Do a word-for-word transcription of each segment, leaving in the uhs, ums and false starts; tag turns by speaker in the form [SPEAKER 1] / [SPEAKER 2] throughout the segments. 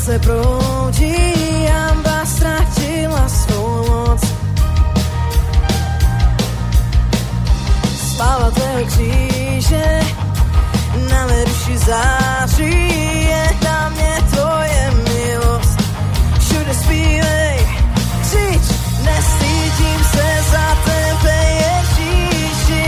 [SPEAKER 1] zase proudí, hanba ztratila svou moc. Sláva tvého kříže na mé duši září, je na mě tvoje milost. Všude zpívej, křič, nestydím se za tebe, Ježíši.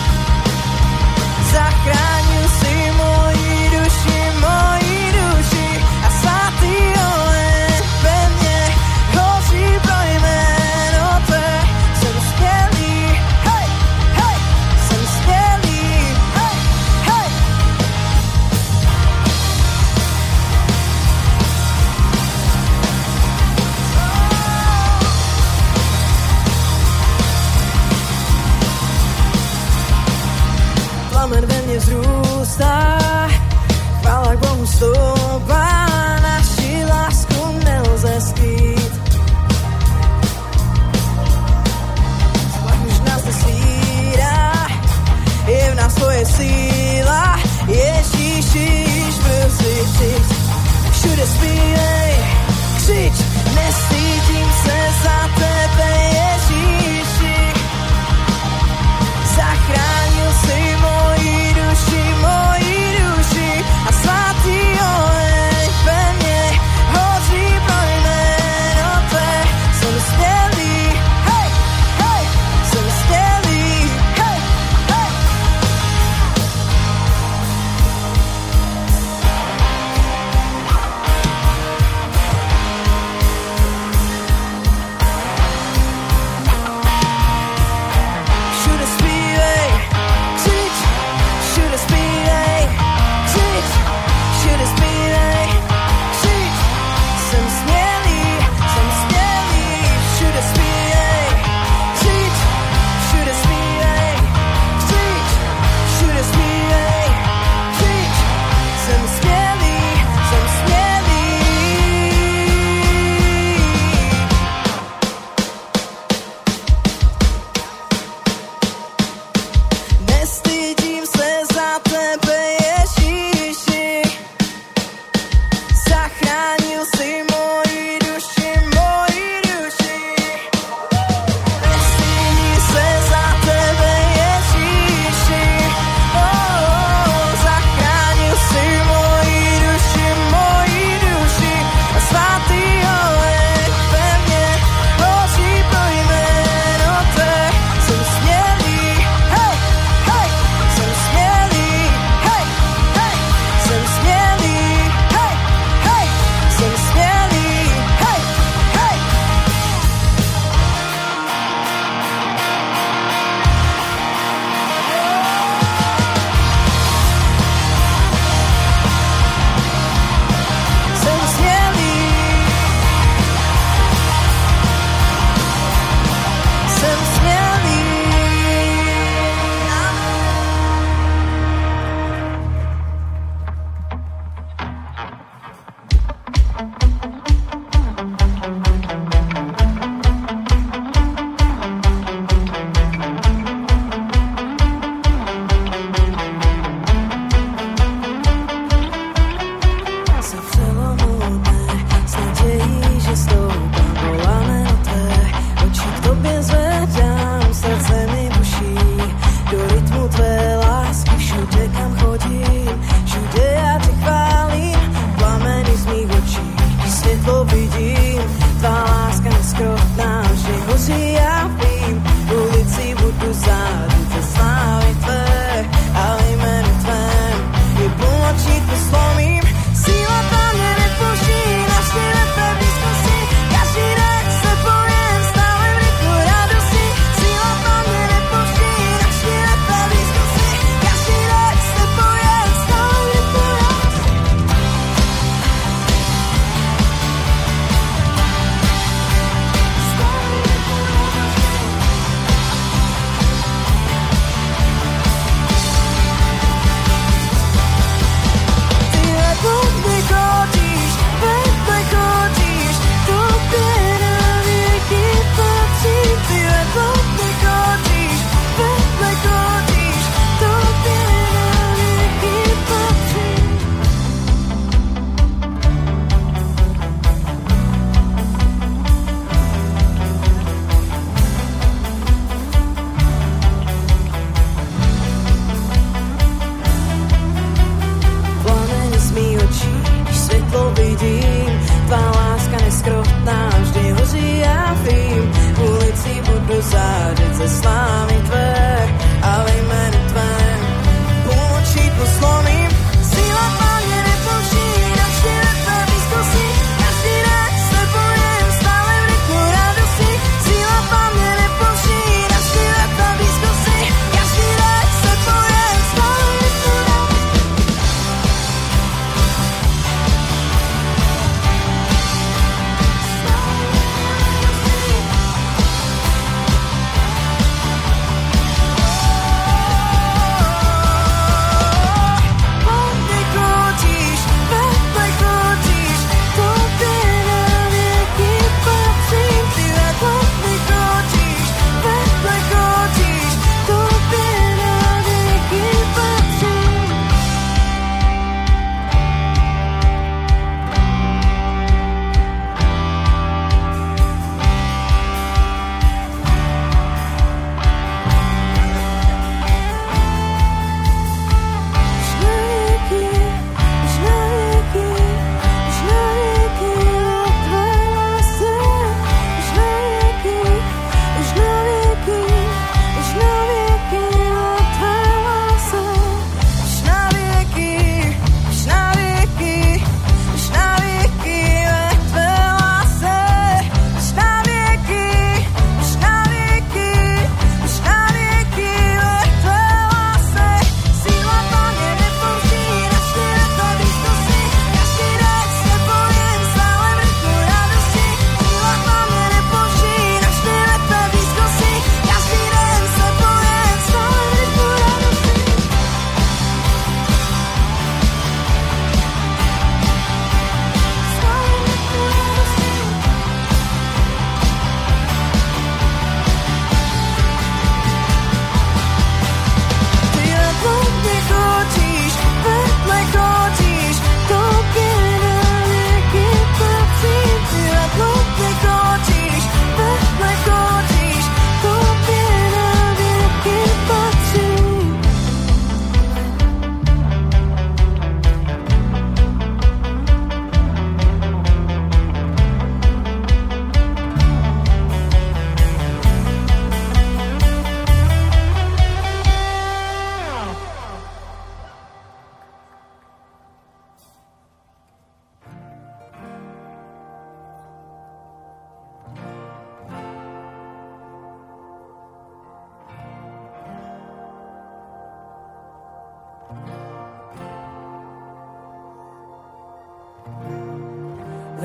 [SPEAKER 1] Zachránil si moji duši, moji duši a svatý oheň ve mne hoří pro jméno tvé. Jsem skvělý, hej, hej, jsem skvělý, hej, hej. Plamen ve mne vzrůstá, chvála k Bohu stoupá, naši lásku nelze skrýt. Tlak už nás nesvírá, je v nás tvoje síla, Ježíši, již brzy přijď. Všude zpívej, křič, nestydím se za tebe, Ježíši. Zachránil si moji duši, moji duši a svatý oheň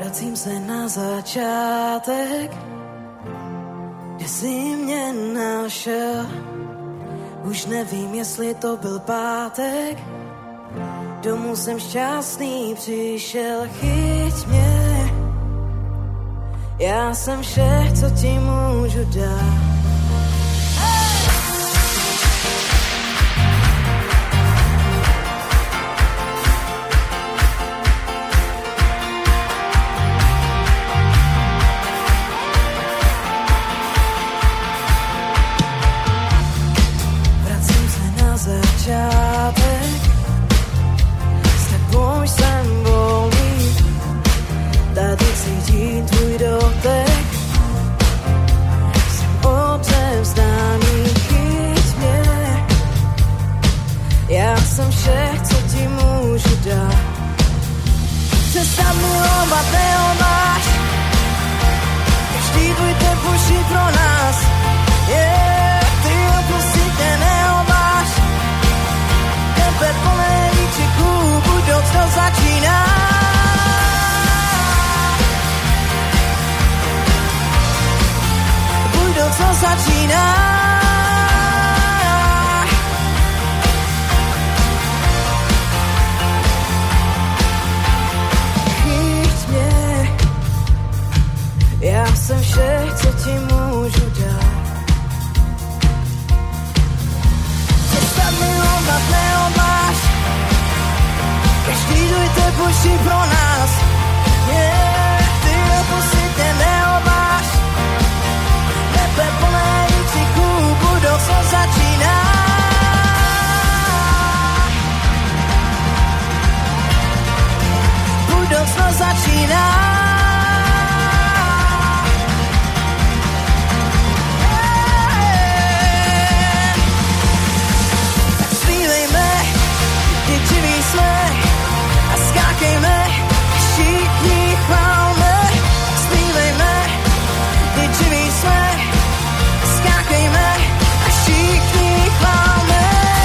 [SPEAKER 1] Vracím se na začátek, kde jsi mě našel. Už nevím, jestli to byl pátek, domů jsem šťastný přišel. Chyť mě, já jsem vše, co ti můžu dát. Začátek, s tebou jsem volný, tady cítím tvůj dotek, jsem odevzdaný, chyť mě, já jsem vše, co ti můžu dát. Přestaň milovat, neomáš, každý tvůj tep už je pro nás, yeah, ty opustitě neomáš. Tebe plné výkřiků, budoucnost začíná. Budoucnost začíná. Chyť mě, já jsem vše, co ti můžu dát. Přestaň milovat, neomáš, každý tvůj tep už je pro nás, yeah, ty opustitě neomáš, nebe plné výkřiků, budoucnost začíná. Budoucnost začíná. A skákejme, všichni chválme, zpívejme, kdy živí jsme. Skákejme a všichni chválme.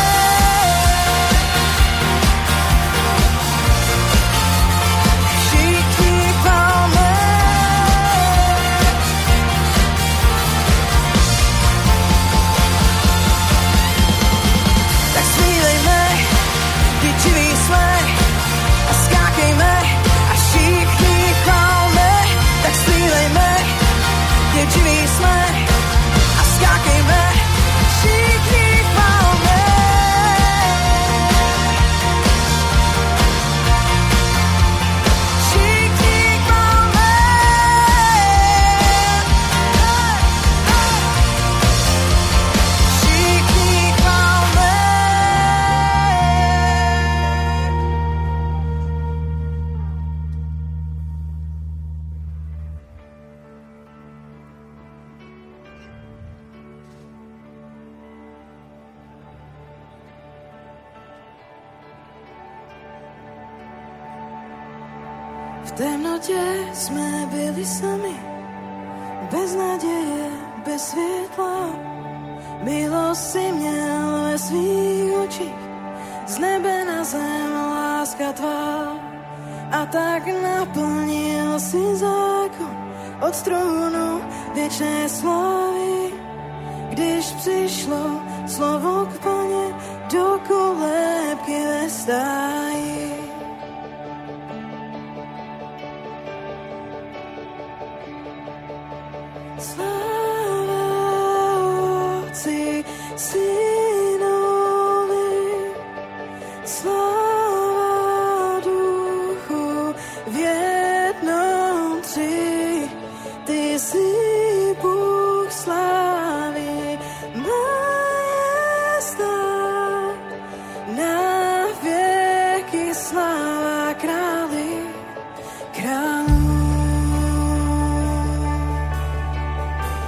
[SPEAKER 1] Všichni chválme. Tak zpívejme, kdy živí jsme. A skákejme a všichni chválme. Tak zpívejme, kdy živí jsme. A skákejme, všichni chválme. Všichni chválme. Všichni chválme. V temnotě jsme byli sami, bez naděje, bez světla. Milost si měl ve svých očích, z nebe na zem láska tvá. A tak naplnil si zákon od trůnu věčné slávy. Když přišlo slovo k Paně do kolébky ve stáji. Sláva Otci, Synovi, sláva Duchu v jednom tři. Ty jsi Bůh slávy, majestát, na věky sláva králi, králů.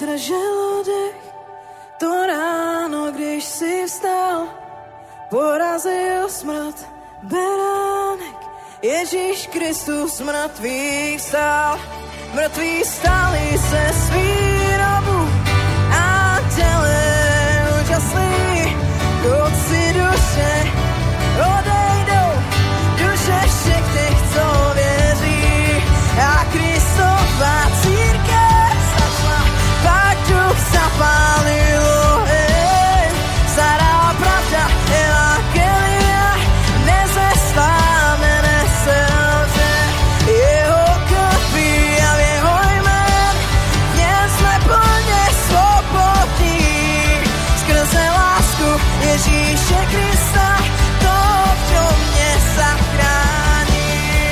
[SPEAKER 1] drželo dech. To ráno, když si vstal, porazil smrt beránek. Ježíš Kristus mrtvý vstal, mrtví stali se z výrobu a těle úžasný. Chodci duše odejdou, duše všech těch, co věří. A Kristova církev začala, pak duch zapálil oheň. Stará pravda evangelia nezestáme, neselže. Jeho krví a v jeho jmén dnes jsme plně svobodní. Skrze lásku Ježíše Krista, to, kdo mě zachránil.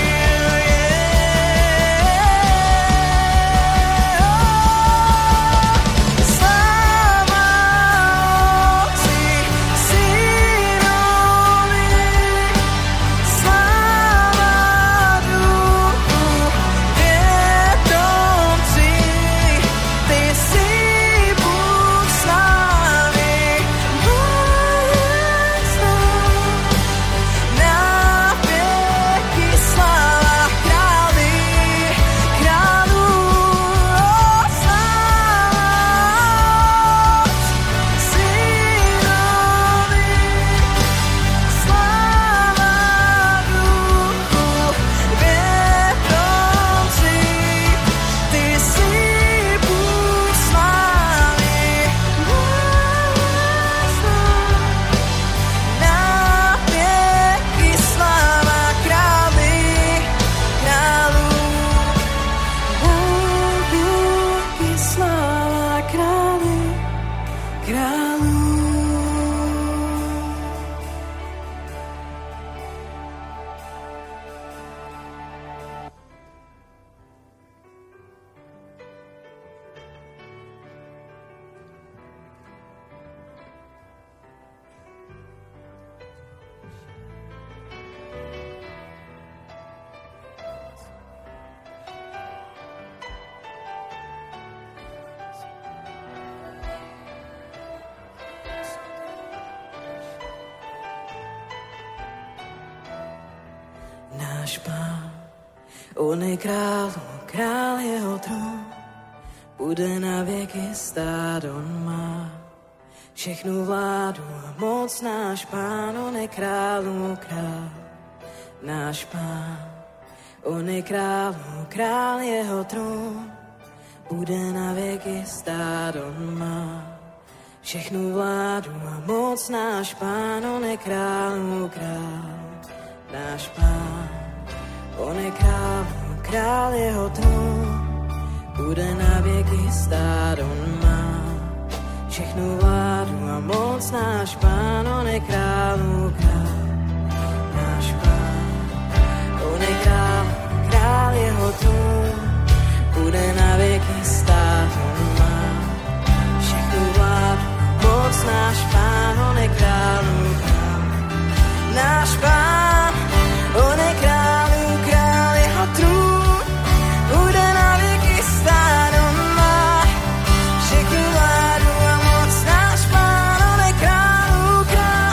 [SPEAKER 1] Náš Pán, on je král, král jeho trůn, bude na věky stát, on má všechnu vládu a moc. Náš Pán, on je král, král, náš Pán, on je král, král jeho trůn, bude na věky stát, on má všechnu vládu a moc. Náš Pán, on je král, král, náš Pán, on je král, král jeho trůn, bude na věky stát, on má všechnu vládu a moc. Náš Pán, on je král, král, náš Pán, on je král, král jeho trůn, bude na věky stát, on má všechnu vládu a moc. Náš Pán, on je král, král, náš Pán, on je král, král jeho trůn, bude na věky stát, on má všechnu vládu a moc. Náš Pán, on je král, král,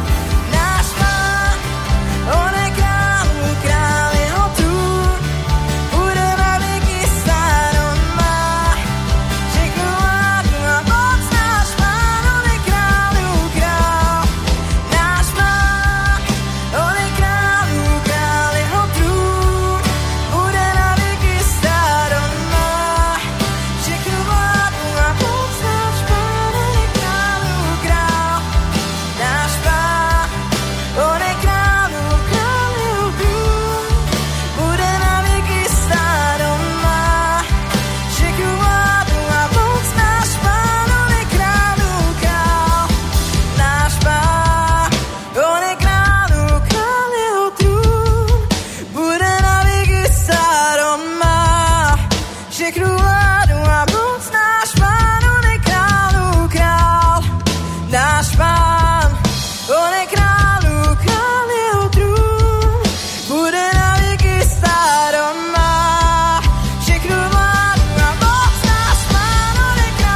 [SPEAKER 1] náš Pán, on je král, král jeho trůn, bude na věky stát, on má všechnu vládu a moc. Náš Pán, on je král, král, náš Pán, on je král, král jeho trůn, bude na věky stát, on má všechnu vládu a moc. Náš Pán, on je král, král, náš Pán, on je král, král jeho trůn, bude na věky stát, on má všechnu vládu a moc. Náš Pán, on je král, král, náš Pán, on je král, král jeho trůn, bude na věky stát, on má všechnu vládu a moc. Náš Pán, on je král, král, náš Pán, on je král, král jeho trůn, bude na věky stát, on má všechnu vládu a moc. Náš Pán, on je král,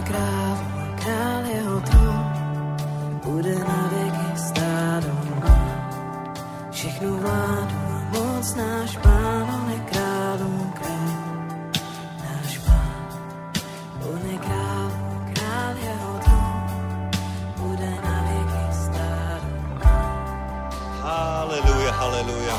[SPEAKER 1] králu, král jeho trůn, bude na věky stát on má. Všechnu vládu a moc náš Pán, on je králům král, náš Pán. On je králu, král jeho trůn, bude na věky stát on má.
[SPEAKER 2] Haleluja, haleluja.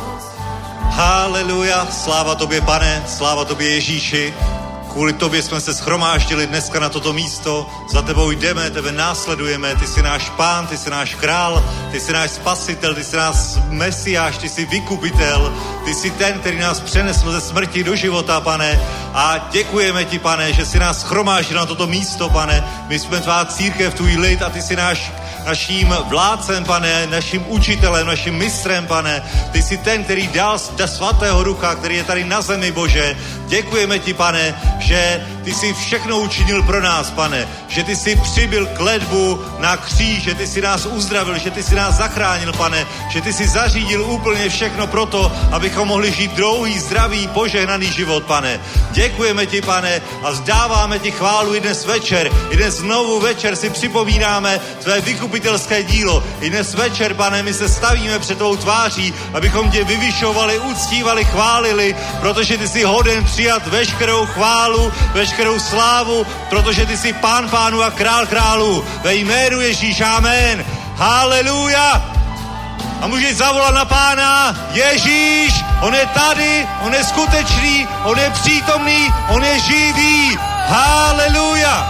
[SPEAKER 2] Haleluja, sláva tobě, Pane, sláva tobě, Ježíši. Kvůli tobě jsme se shromáždili dneska na toto místo. Za tebou jdeme, tebe následujeme. Ty jsi náš Pán, ty jsi náš král, ty jsi náš spasitel, ty jsi náš mesiáš, ty jsi vykupitel. Ty jsi ten, který nás přenesl ze smrti do života, Pane. A děkujeme ti, Pane, že jsi nás shromáždil na toto místo, Pane. My jsme tvá církev, tvůj lid a ty jsi náš naším vládcem, Pane, naším učitelem, naším mistrem, Pane. Ty jsi ten, který dal svatého ducha, který je tady na zemi, Bože. Děkujeme ti, Pane, že ty jsi všechno učinil pro nás, Pane. Že ty jsi přibyl kletbu na kříž, že ty jsi nás uzdravil, že ty jsi nás zachránil, Pane. Že ty jsi zařídil úplně všechno pro to, abychom mohli žít dlouhý, zdravý, požehnaný život, Pane. Děkujeme ti, Pane, a vzdáváme ti chválu i dnes večer. I dnes znovu večer si připomínáme tvé vykupitelské dílo. I dnes večer, Pane, my se stavíme před tvou tváří, abychom tě vyvyšovali, uctívali, chválili, protože ty jsi hoden přijat veškerou chválu, veškerou slávu, protože ty jsi Pán pánů a král králů. Ve jménu Ježíš, amen. Haleluja. A můžeš zavolat na Pána: Ježíš, on je tady, on je skutečný, on je přítomný, on je živý. Haleluja.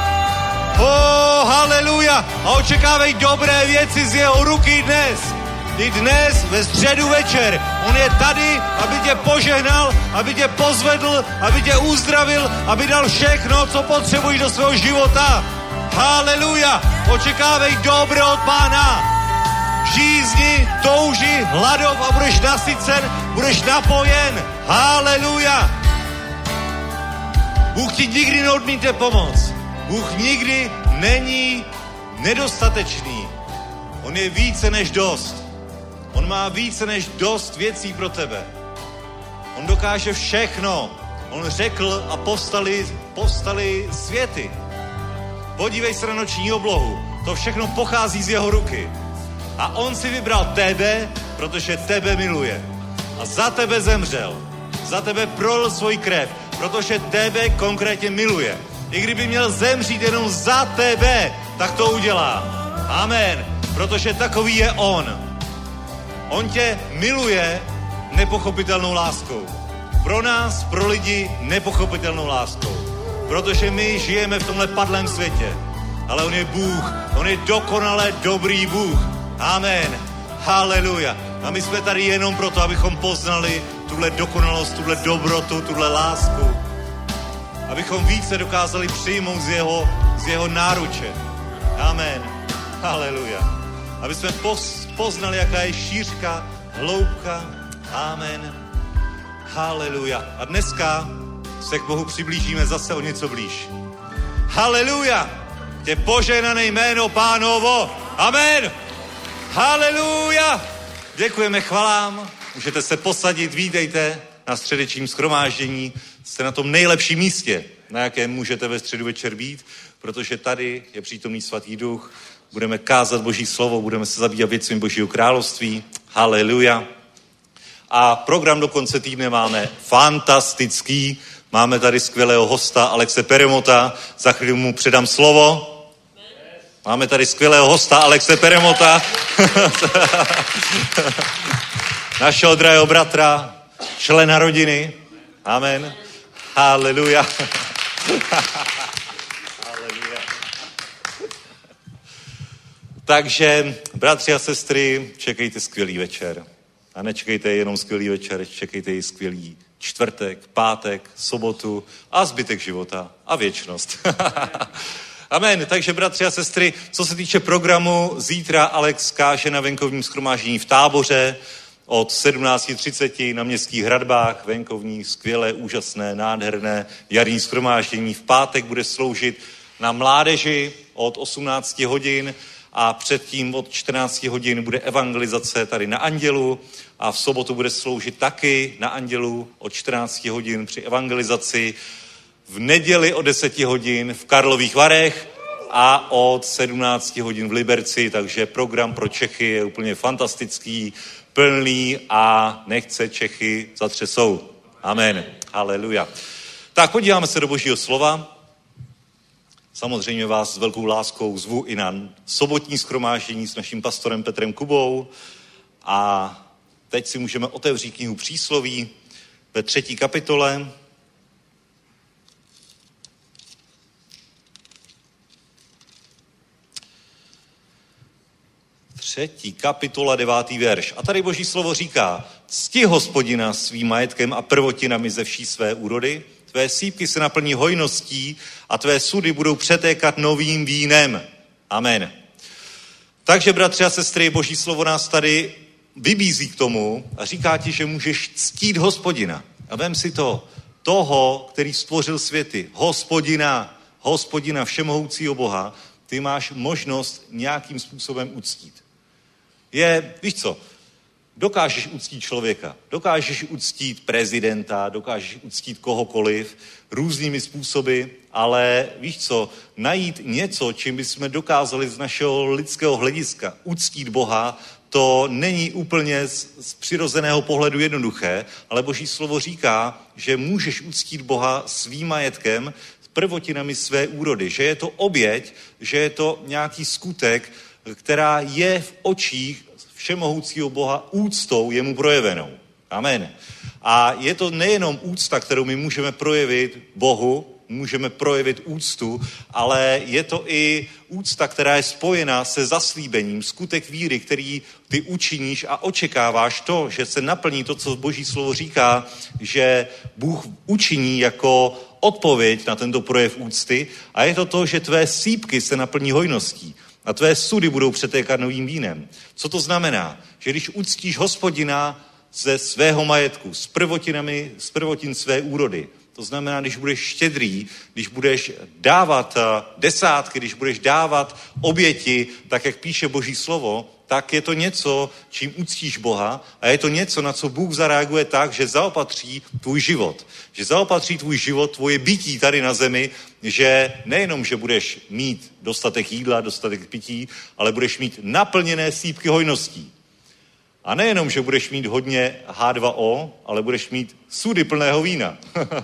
[SPEAKER 2] Oh, haleluja. A očekávej dobré věci z jeho ruky dnes. I dnes ve středu večer. On je tady, aby tě požehnal, aby tě pozvedl, aby tě uzdravil, aby dal všechno, co potřebuješ do svého života. Haleluja. Očekávej dobro od Pána. Žízni, touži, hladov a budeš nasycen, budeš napojen. Haleluja. Bůh ti nikdy neodmítne pomoc. Bůh nikdy není nedostatečný. On je více než dost. On má více než dost věcí pro tebe. On dokáže všechno. On řekl a povstali, povstali světy. Podívej se na noční oblohu. To všechno pochází z jeho ruky. A on si vybral tebe, protože tebe miluje. A za tebe zemřel. Za tebe prolil svůj krev, protože tebe konkrétně miluje. I kdyby měl zemřít jenom za tebe, tak to udělá. Amen. Protože takový je on. On tě miluje nepochopitelnou láskou. Pro nás, pro lidi, nepochopitelnou láskou. Protože my žijeme v tomhle padlém světě. Ale on je Bůh. On je dokonale dobrý Bůh. Amen. Haleluja. A my jsme tady jenom proto, abychom poznali tuhle dokonalost, tuhle dobrotu, tuhle lásku. Abychom více dokázali přijmout z jeho, z jeho náruče. Amen. Haleluja. Aby jsme poznali, jaká je šířka, hloubka. Amen. Haleluja. A dneska se k Bohu přiblížíme zase o něco blíž. Haleluja. Tě požehnané jméno Pánovo. Amen. Haleluja. Děkujeme, chvalám. Můžete se posadit, vítejte na středečním shromáždění. Jste na tom nejlepším místě, na jakém můžete ve středu večer být, protože tady je přítomný svatý duch. Budeme kázat Boží slovo, budeme se zabývat věcmi Božího království. Haleluja. A program do konce týdne máme fantastický. Máme tady skvělého hosta Alexe Peremota. Za chvíli mu předám slovo. Máme tady skvělého hosta Alexe Peremota. Našeho drahého bratra, člena rodiny. Amen. Haleluja. Haleluja. Takže, bratři a sestry, čekejte skvělý večer. A nečekejte jenom skvělý večer, čekejte i skvělý čtvrtek, pátek, sobotu a zbytek života a věčnost. Amen. Takže, bratři a sestry, co se týče programu, zítra Alex káže na venkovním shromáždění v Táboře od sedmnáct třicet na Městských hradbách, venkovní, skvělé, úžasné, nádherné jarní shromáždění. V pátek bude sloužit na mládeži od osmnáct hodin a předtím od čtrnáct hodin bude evangelizace tady na Andělu a v sobotu bude sloužit taky na Andělu od čtrnáct hodin při evangelizaci. V neděli o deset hodin v Karlových Varech a od sedmnáct hodin v Liberci, takže program pro Čechy je úplně fantastický, plný a nechce Čechy zatřesou. Amen. Haleluja. Tak podíváme se do Božího slova. Samozřejmě vás s velkou láskou zvu i na sobotní shromáždění s naším pastorem Petrem Kubou. A teď si můžeme otevřít knihu Přísloví ve třetí kapitole. Třetí kapitola, devátý verš. A tady Boží slovo říká: cti Hospodina svým majetkem a prvotinami ze vší své úrody. Tvé sýpky se naplní hojností a tvé sudy budou přetékat novým vínem. Amen. Takže, bratři a sestry, Boží slovo nás tady vybízí k tomu a říká ti, že můžeš ctít Hospodina. A vem si to, toho, který stvořil světy, Hospodina, Hospodina všemohoucího Boha, ty máš možnost nějakým způsobem uctít. Je, víš co, dokážeš uctít člověka, dokážeš uctít prezidenta, dokážeš uctít kohokoliv různými způsoby, ale víš co, najít něco, čím bychom dokázali z našeho lidského hlediska uctít Boha, to není úplně z, z přirozeného pohledu jednoduché, ale Boží slovo říká, že můžeš uctít Boha svým majetkem, prvotinami své úrody, že je to oběť, že je to nějaký skutek, která je v očích všemohoucího Boha úctou jemu projevenou. Amen. A je to nejenom úcta, kterou my můžeme projevit Bohu, můžeme projevit úctu, ale je to i úcta, která je spojena se zaslíbením, skutek víry, který ty učiníš a očekáváš to, že se naplní to, co Boží slovo říká, že Bůh učiní jako odpověď na tento projev úcty, a je to to, že tvé sýpky se naplní hojností a tvé sudy budou přetékat novým vínem. Co to znamená? Že když uctíš Hospodina ze svého majetku, s prvotinami, z prvotin své úrody, to znamená, když budeš štědrý, když budeš dávat desátky, když budeš dávat oběti, tak jak píše Boží slovo, tak je to něco, čím uctíš Boha, a je to něco, na co Bůh zareaguje tak, že zaopatří tvůj život. Že zaopatří tvůj život, tvoje bytí tady na zemi, že nejenom, že budeš mít dostatek jídla, dostatek pití, ale budeš mít naplněné sýpky hojností. A nejenom, že budeš mít hodně há dva ó, ale budeš mít sudy plného vína.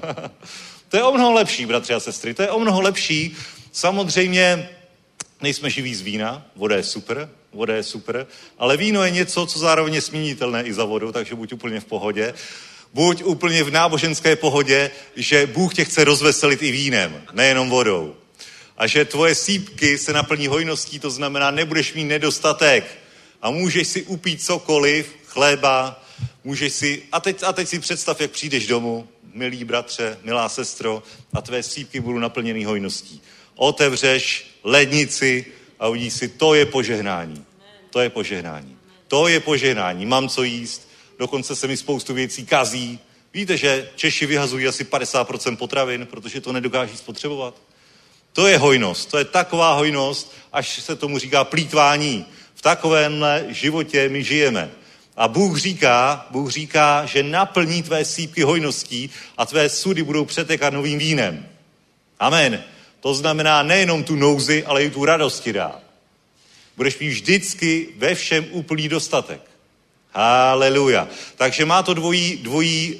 [SPEAKER 2] To je o mnoho lepší, bratři a sestry, to je o mnoho lepší. Samozřejmě nejsme živí z vína, voda je super, voda je super, ale víno je něco, co zároveň je směnitelné i za vodu, takže buď úplně v pohodě. Buď úplně v náboženské pohodě, že Bůh tě chce rozveselit i vínem, nejenom vodou. A že tvoje sýpky se naplní hojností, to znamená, nebudeš mít nedostatek. A můžeš si upít cokoliv, chléba, můžeš si, a teď, a teď si představ, jak přijdeš domů, milý bratře, milá sestro, a tvé sýpky budou naplněný hojností. Otevřeš lednici a uvidíš si, to je požehnání. To je požehnání. To je požehnání. Mám co jíst, dokonce se mi spoustu věcí kazí. Víte, že Češi vyhazují asi padesát procent potravin, protože to nedokáží spotřebovat. To je hojnost. To je taková hojnost, až se tomu říká plýtvání. V takovémhle životě my žijeme. A Bůh říká, Bůh říká, že naplní tvé sýpky hojností a tvé sudy budou přetékat novým vínem. Amen. To znamená nejenom tu nouzi, ale i tu radost ti dá. Budeš mít vždycky ve všem úplný dostatek. Haleluja. Takže má to dvojí, dvojí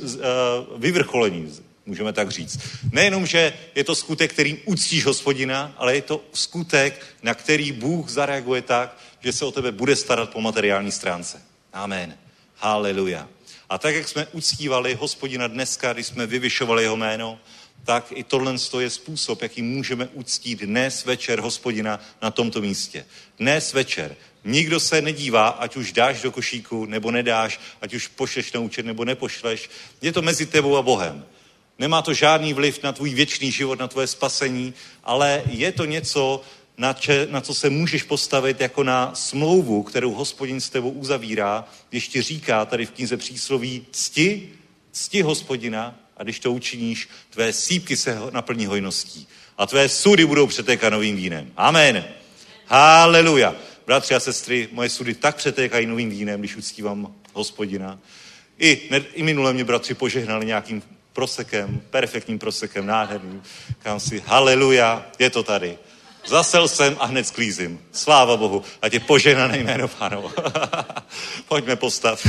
[SPEAKER 2] vyvrcholení, můžeme tak říct. Nejenom, že je to skutek, kterým uctíš Hospodina, ale je to skutek, na který Bůh zareaguje tak, že se o tebe bude starat po materiální stránce. Amen. Haleluja. A tak, jak jsme uctívali Hospodina dneska, když jsme vyvyšovali jeho jméno, tak i tohle je způsob, jaký můžeme uctít dnes večer Hospodina na tomto místě. Dnes večer. Nikdo se nedívá, ať už dáš do košíku, nebo nedáš, ať už pošleš na účet, nebo nepošleš. Je to mezi tebou a Bohem. Nemá to žádný vliv na tvůj věčný život, na tvoje spasení, ale je to něco, na, če, na co se můžeš postavit jako na smlouvu, kterou Hospodin s tebou uzavírá, když ti říká tady v knize Přísloví, cti, cti Hospodina, a když to učiníš, tvé sýpky se naplní hojností a tvé sudy budou přetékat novým vínem. Amen. Haleluja. Bratři a sestry, moje sudy tak přetékají novým vínem, když uctívám Hospodina. I, ne, i minule mě bratři požehnali nějakým prosekem, perfektním prosekem, nádherným. Říkám si, haleluja, je to tady. Zasel jsem a hned sklízím. Sláva Bohu. Ať je požehnané jméno Pánovo. Pojďme postav.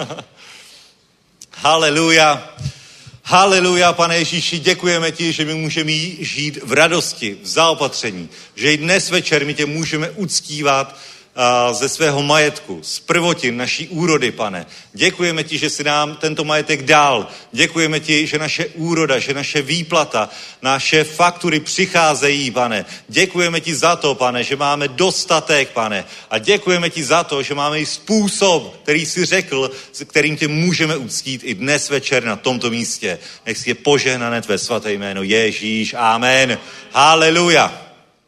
[SPEAKER 2] Haleluja. Haleluja, Pane Ježíši, děkujeme ti, že my můžeme žít v radosti, v zaopatření. Že i dnes večer my tě můžeme uctívat ze svého majetku, z prvotin naší úrody, Pane. Děkujeme ti, že jsi nám tento majetek dal. Děkujeme ti, že naše úroda, že naše výplata, naše faktury přicházejí, Pane. Děkujeme ti za to, Pane, že máme dostatek, Pane. A děkujeme ti za to, že máme i způsob, který jsi řekl, s kterým tě můžeme uctít i dnes večer na tomto místě. Nech si je požehnané tvé svaté jméno. Ježíš, amen. Haleluja.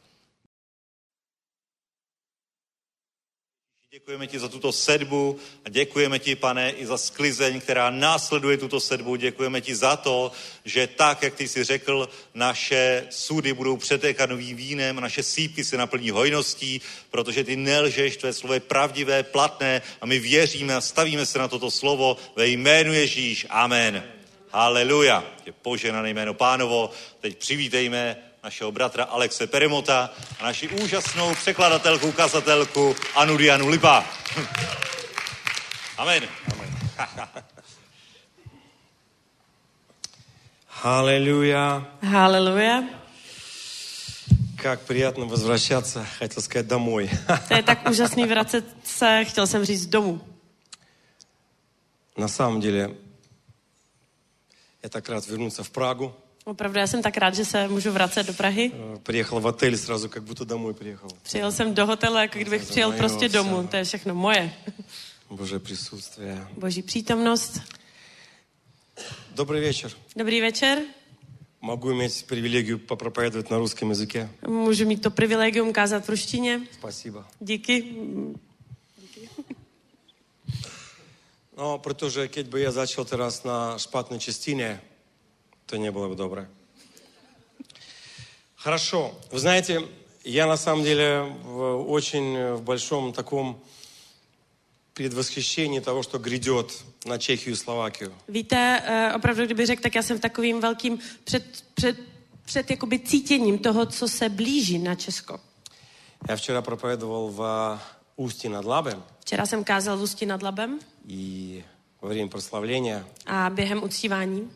[SPEAKER 2] Děkujeme ti za tuto sedbu a děkujeme ti, Pane, i za sklizeň, která následuje tuto sedbu. Děkujeme ti za to, že tak, jak ty jsi řekl, naše sudy budou přetékat novým vínem a naše sýpky se naplní hojností, protože ty nelžeš, tvé slovo je pravdivé, platné a my věříme a stavíme se na toto slovo ve jménu Ježíš. Amen. Haleluja. Je požehnané jméno Pánovo. Teď přivítejme našeho bratra Alexe Peremota a naši úžasnou překladatelku, kazatelku Anu Dianu Lipa. Amen.
[SPEAKER 3] Аллилуйя.
[SPEAKER 1] Haleluja.
[SPEAKER 3] Как приятно возвращаться, хотел сказать, домой.
[SPEAKER 1] To je tak úžasný vracet se, chtěl jsem říct domů.
[SPEAKER 3] На самом деле, я так рад вернуться в Прагу.
[SPEAKER 1] Opravdu, já jsem tak rád, že se můžu vracet do Prahy.
[SPEAKER 3] Приехал в отель сразу, как будто домой приехал.
[SPEAKER 1] Přijel jsem do hotelu, jako kdybych přijel prostě domů. To je všechno moje.
[SPEAKER 3] Божье присутствие.
[SPEAKER 1] Boží přítomnost.
[SPEAKER 3] Добрый вечер.
[SPEAKER 1] Dobrý večer.
[SPEAKER 3] Могу иметь привилегию попроповедовать на русском языке.
[SPEAKER 1] Můžu mít to privilegium kázat v ruštině.
[SPEAKER 3] Спасибо.
[SPEAKER 1] Díky.
[SPEAKER 3] No, protože keď by ja začal teraz na špatnej čistine, to не было бы добре. Хорошо. Вы знаете, я на самом деле в очень в большом таком предвосхищении того, что грядет на Чехию и Словакию.
[SPEAKER 1] Víte, opravdu, kdyby řekl, tak já jsem v takovým velkým před, před, před jakoby cítěním toho, co se blíží na Česko.
[SPEAKER 3] Я вчера проповедовал в Ústí nad Labem.
[SPEAKER 1] Včera jsem kázal v Ústí nad Labem.
[SPEAKER 3] И во время прославления
[SPEAKER 1] a během uctívání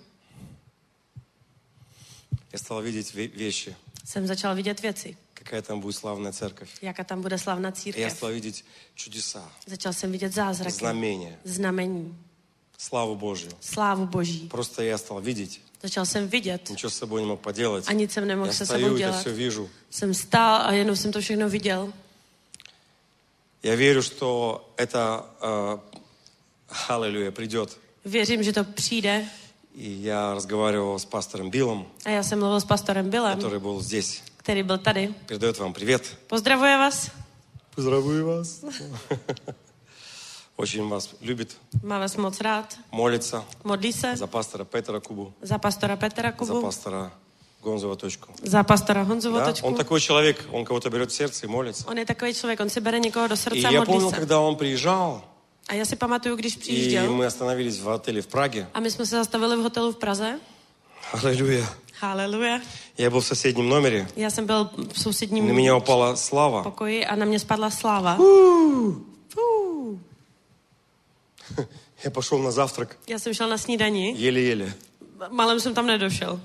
[SPEAKER 3] я стал видеть вещи.
[SPEAKER 1] Jsem začal vidět věci.
[SPEAKER 3] Какая там будет славная церковь.
[SPEAKER 1] Jaká tam bude slavná
[SPEAKER 3] Я
[SPEAKER 1] církev.
[SPEAKER 3] стал видеть чудеса.
[SPEAKER 1] Začal jsem vidět zázraky.
[SPEAKER 3] Знамения.
[SPEAKER 1] Znamení.
[SPEAKER 3] Славу Божью.
[SPEAKER 1] Slávu Boží.
[SPEAKER 3] Просто я стал видеть.
[SPEAKER 1] Začal jsem vidět.
[SPEAKER 3] Ничего с собой не мог поделать.
[SPEAKER 1] A nic jsem nemohl
[SPEAKER 3] Я
[SPEAKER 1] se
[SPEAKER 3] стою
[SPEAKER 1] sebou
[SPEAKER 3] и это
[SPEAKER 1] dělat.
[SPEAKER 3] все вижу.
[SPEAKER 1] Jsem stál a jenom jsem to všechno viděl.
[SPEAKER 3] Я верю, что это, э, аллилуйя, придет.
[SPEAKER 1] Věřím, že to přijde.
[SPEAKER 3] И я разговаривал с пастором Биллом,
[SPEAKER 1] A já jsem mluvil s pastorem Billem,
[SPEAKER 3] который был здесь.
[SPEAKER 1] který byl tady.
[SPEAKER 3] Передает вам привет.
[SPEAKER 1] Pozdravuje vás.
[SPEAKER 3] Поздравляю вас. Очень вас любит.
[SPEAKER 1] Má vás moc rád.
[SPEAKER 3] Молится
[SPEAKER 1] Modlí se
[SPEAKER 3] за пастора Петра Кубу,
[SPEAKER 1] za pastora Petra
[SPEAKER 3] за
[SPEAKER 1] Kubu,
[SPEAKER 3] пастора Гонзова точку.
[SPEAKER 1] za pastora Honzu
[SPEAKER 3] Да?
[SPEAKER 1] Votočku.
[SPEAKER 3] Он такой человек, он кого-то берет в сердце и молится.
[SPEAKER 1] On je takový člověk, on si bere někoho do
[SPEAKER 3] И
[SPEAKER 1] srdce a
[SPEAKER 3] я
[SPEAKER 1] modlí
[SPEAKER 3] помнил,
[SPEAKER 1] se.
[SPEAKER 3] когда он приезжал,
[SPEAKER 1] A já si pamatuju, když
[SPEAKER 3] и
[SPEAKER 1] přijížděl
[SPEAKER 3] мы остановились в отеле в Праге.
[SPEAKER 1] a my jsme se zastavili v hotelu v Praze.
[SPEAKER 3] Аллилуйя.
[SPEAKER 1] Haleluja.
[SPEAKER 3] Я был в соседнем номере.
[SPEAKER 1] Já jsem byl v
[SPEAKER 3] На
[SPEAKER 1] sousedním
[SPEAKER 3] меня упала слава.
[SPEAKER 1] pokoji a na mě spadla sláva. Fú.
[SPEAKER 3] Я пошел на завтрак.
[SPEAKER 1] Já jsem šel na snídani,
[SPEAKER 3] Еле-еле.
[SPEAKER 1] malem jsem tam nedošel.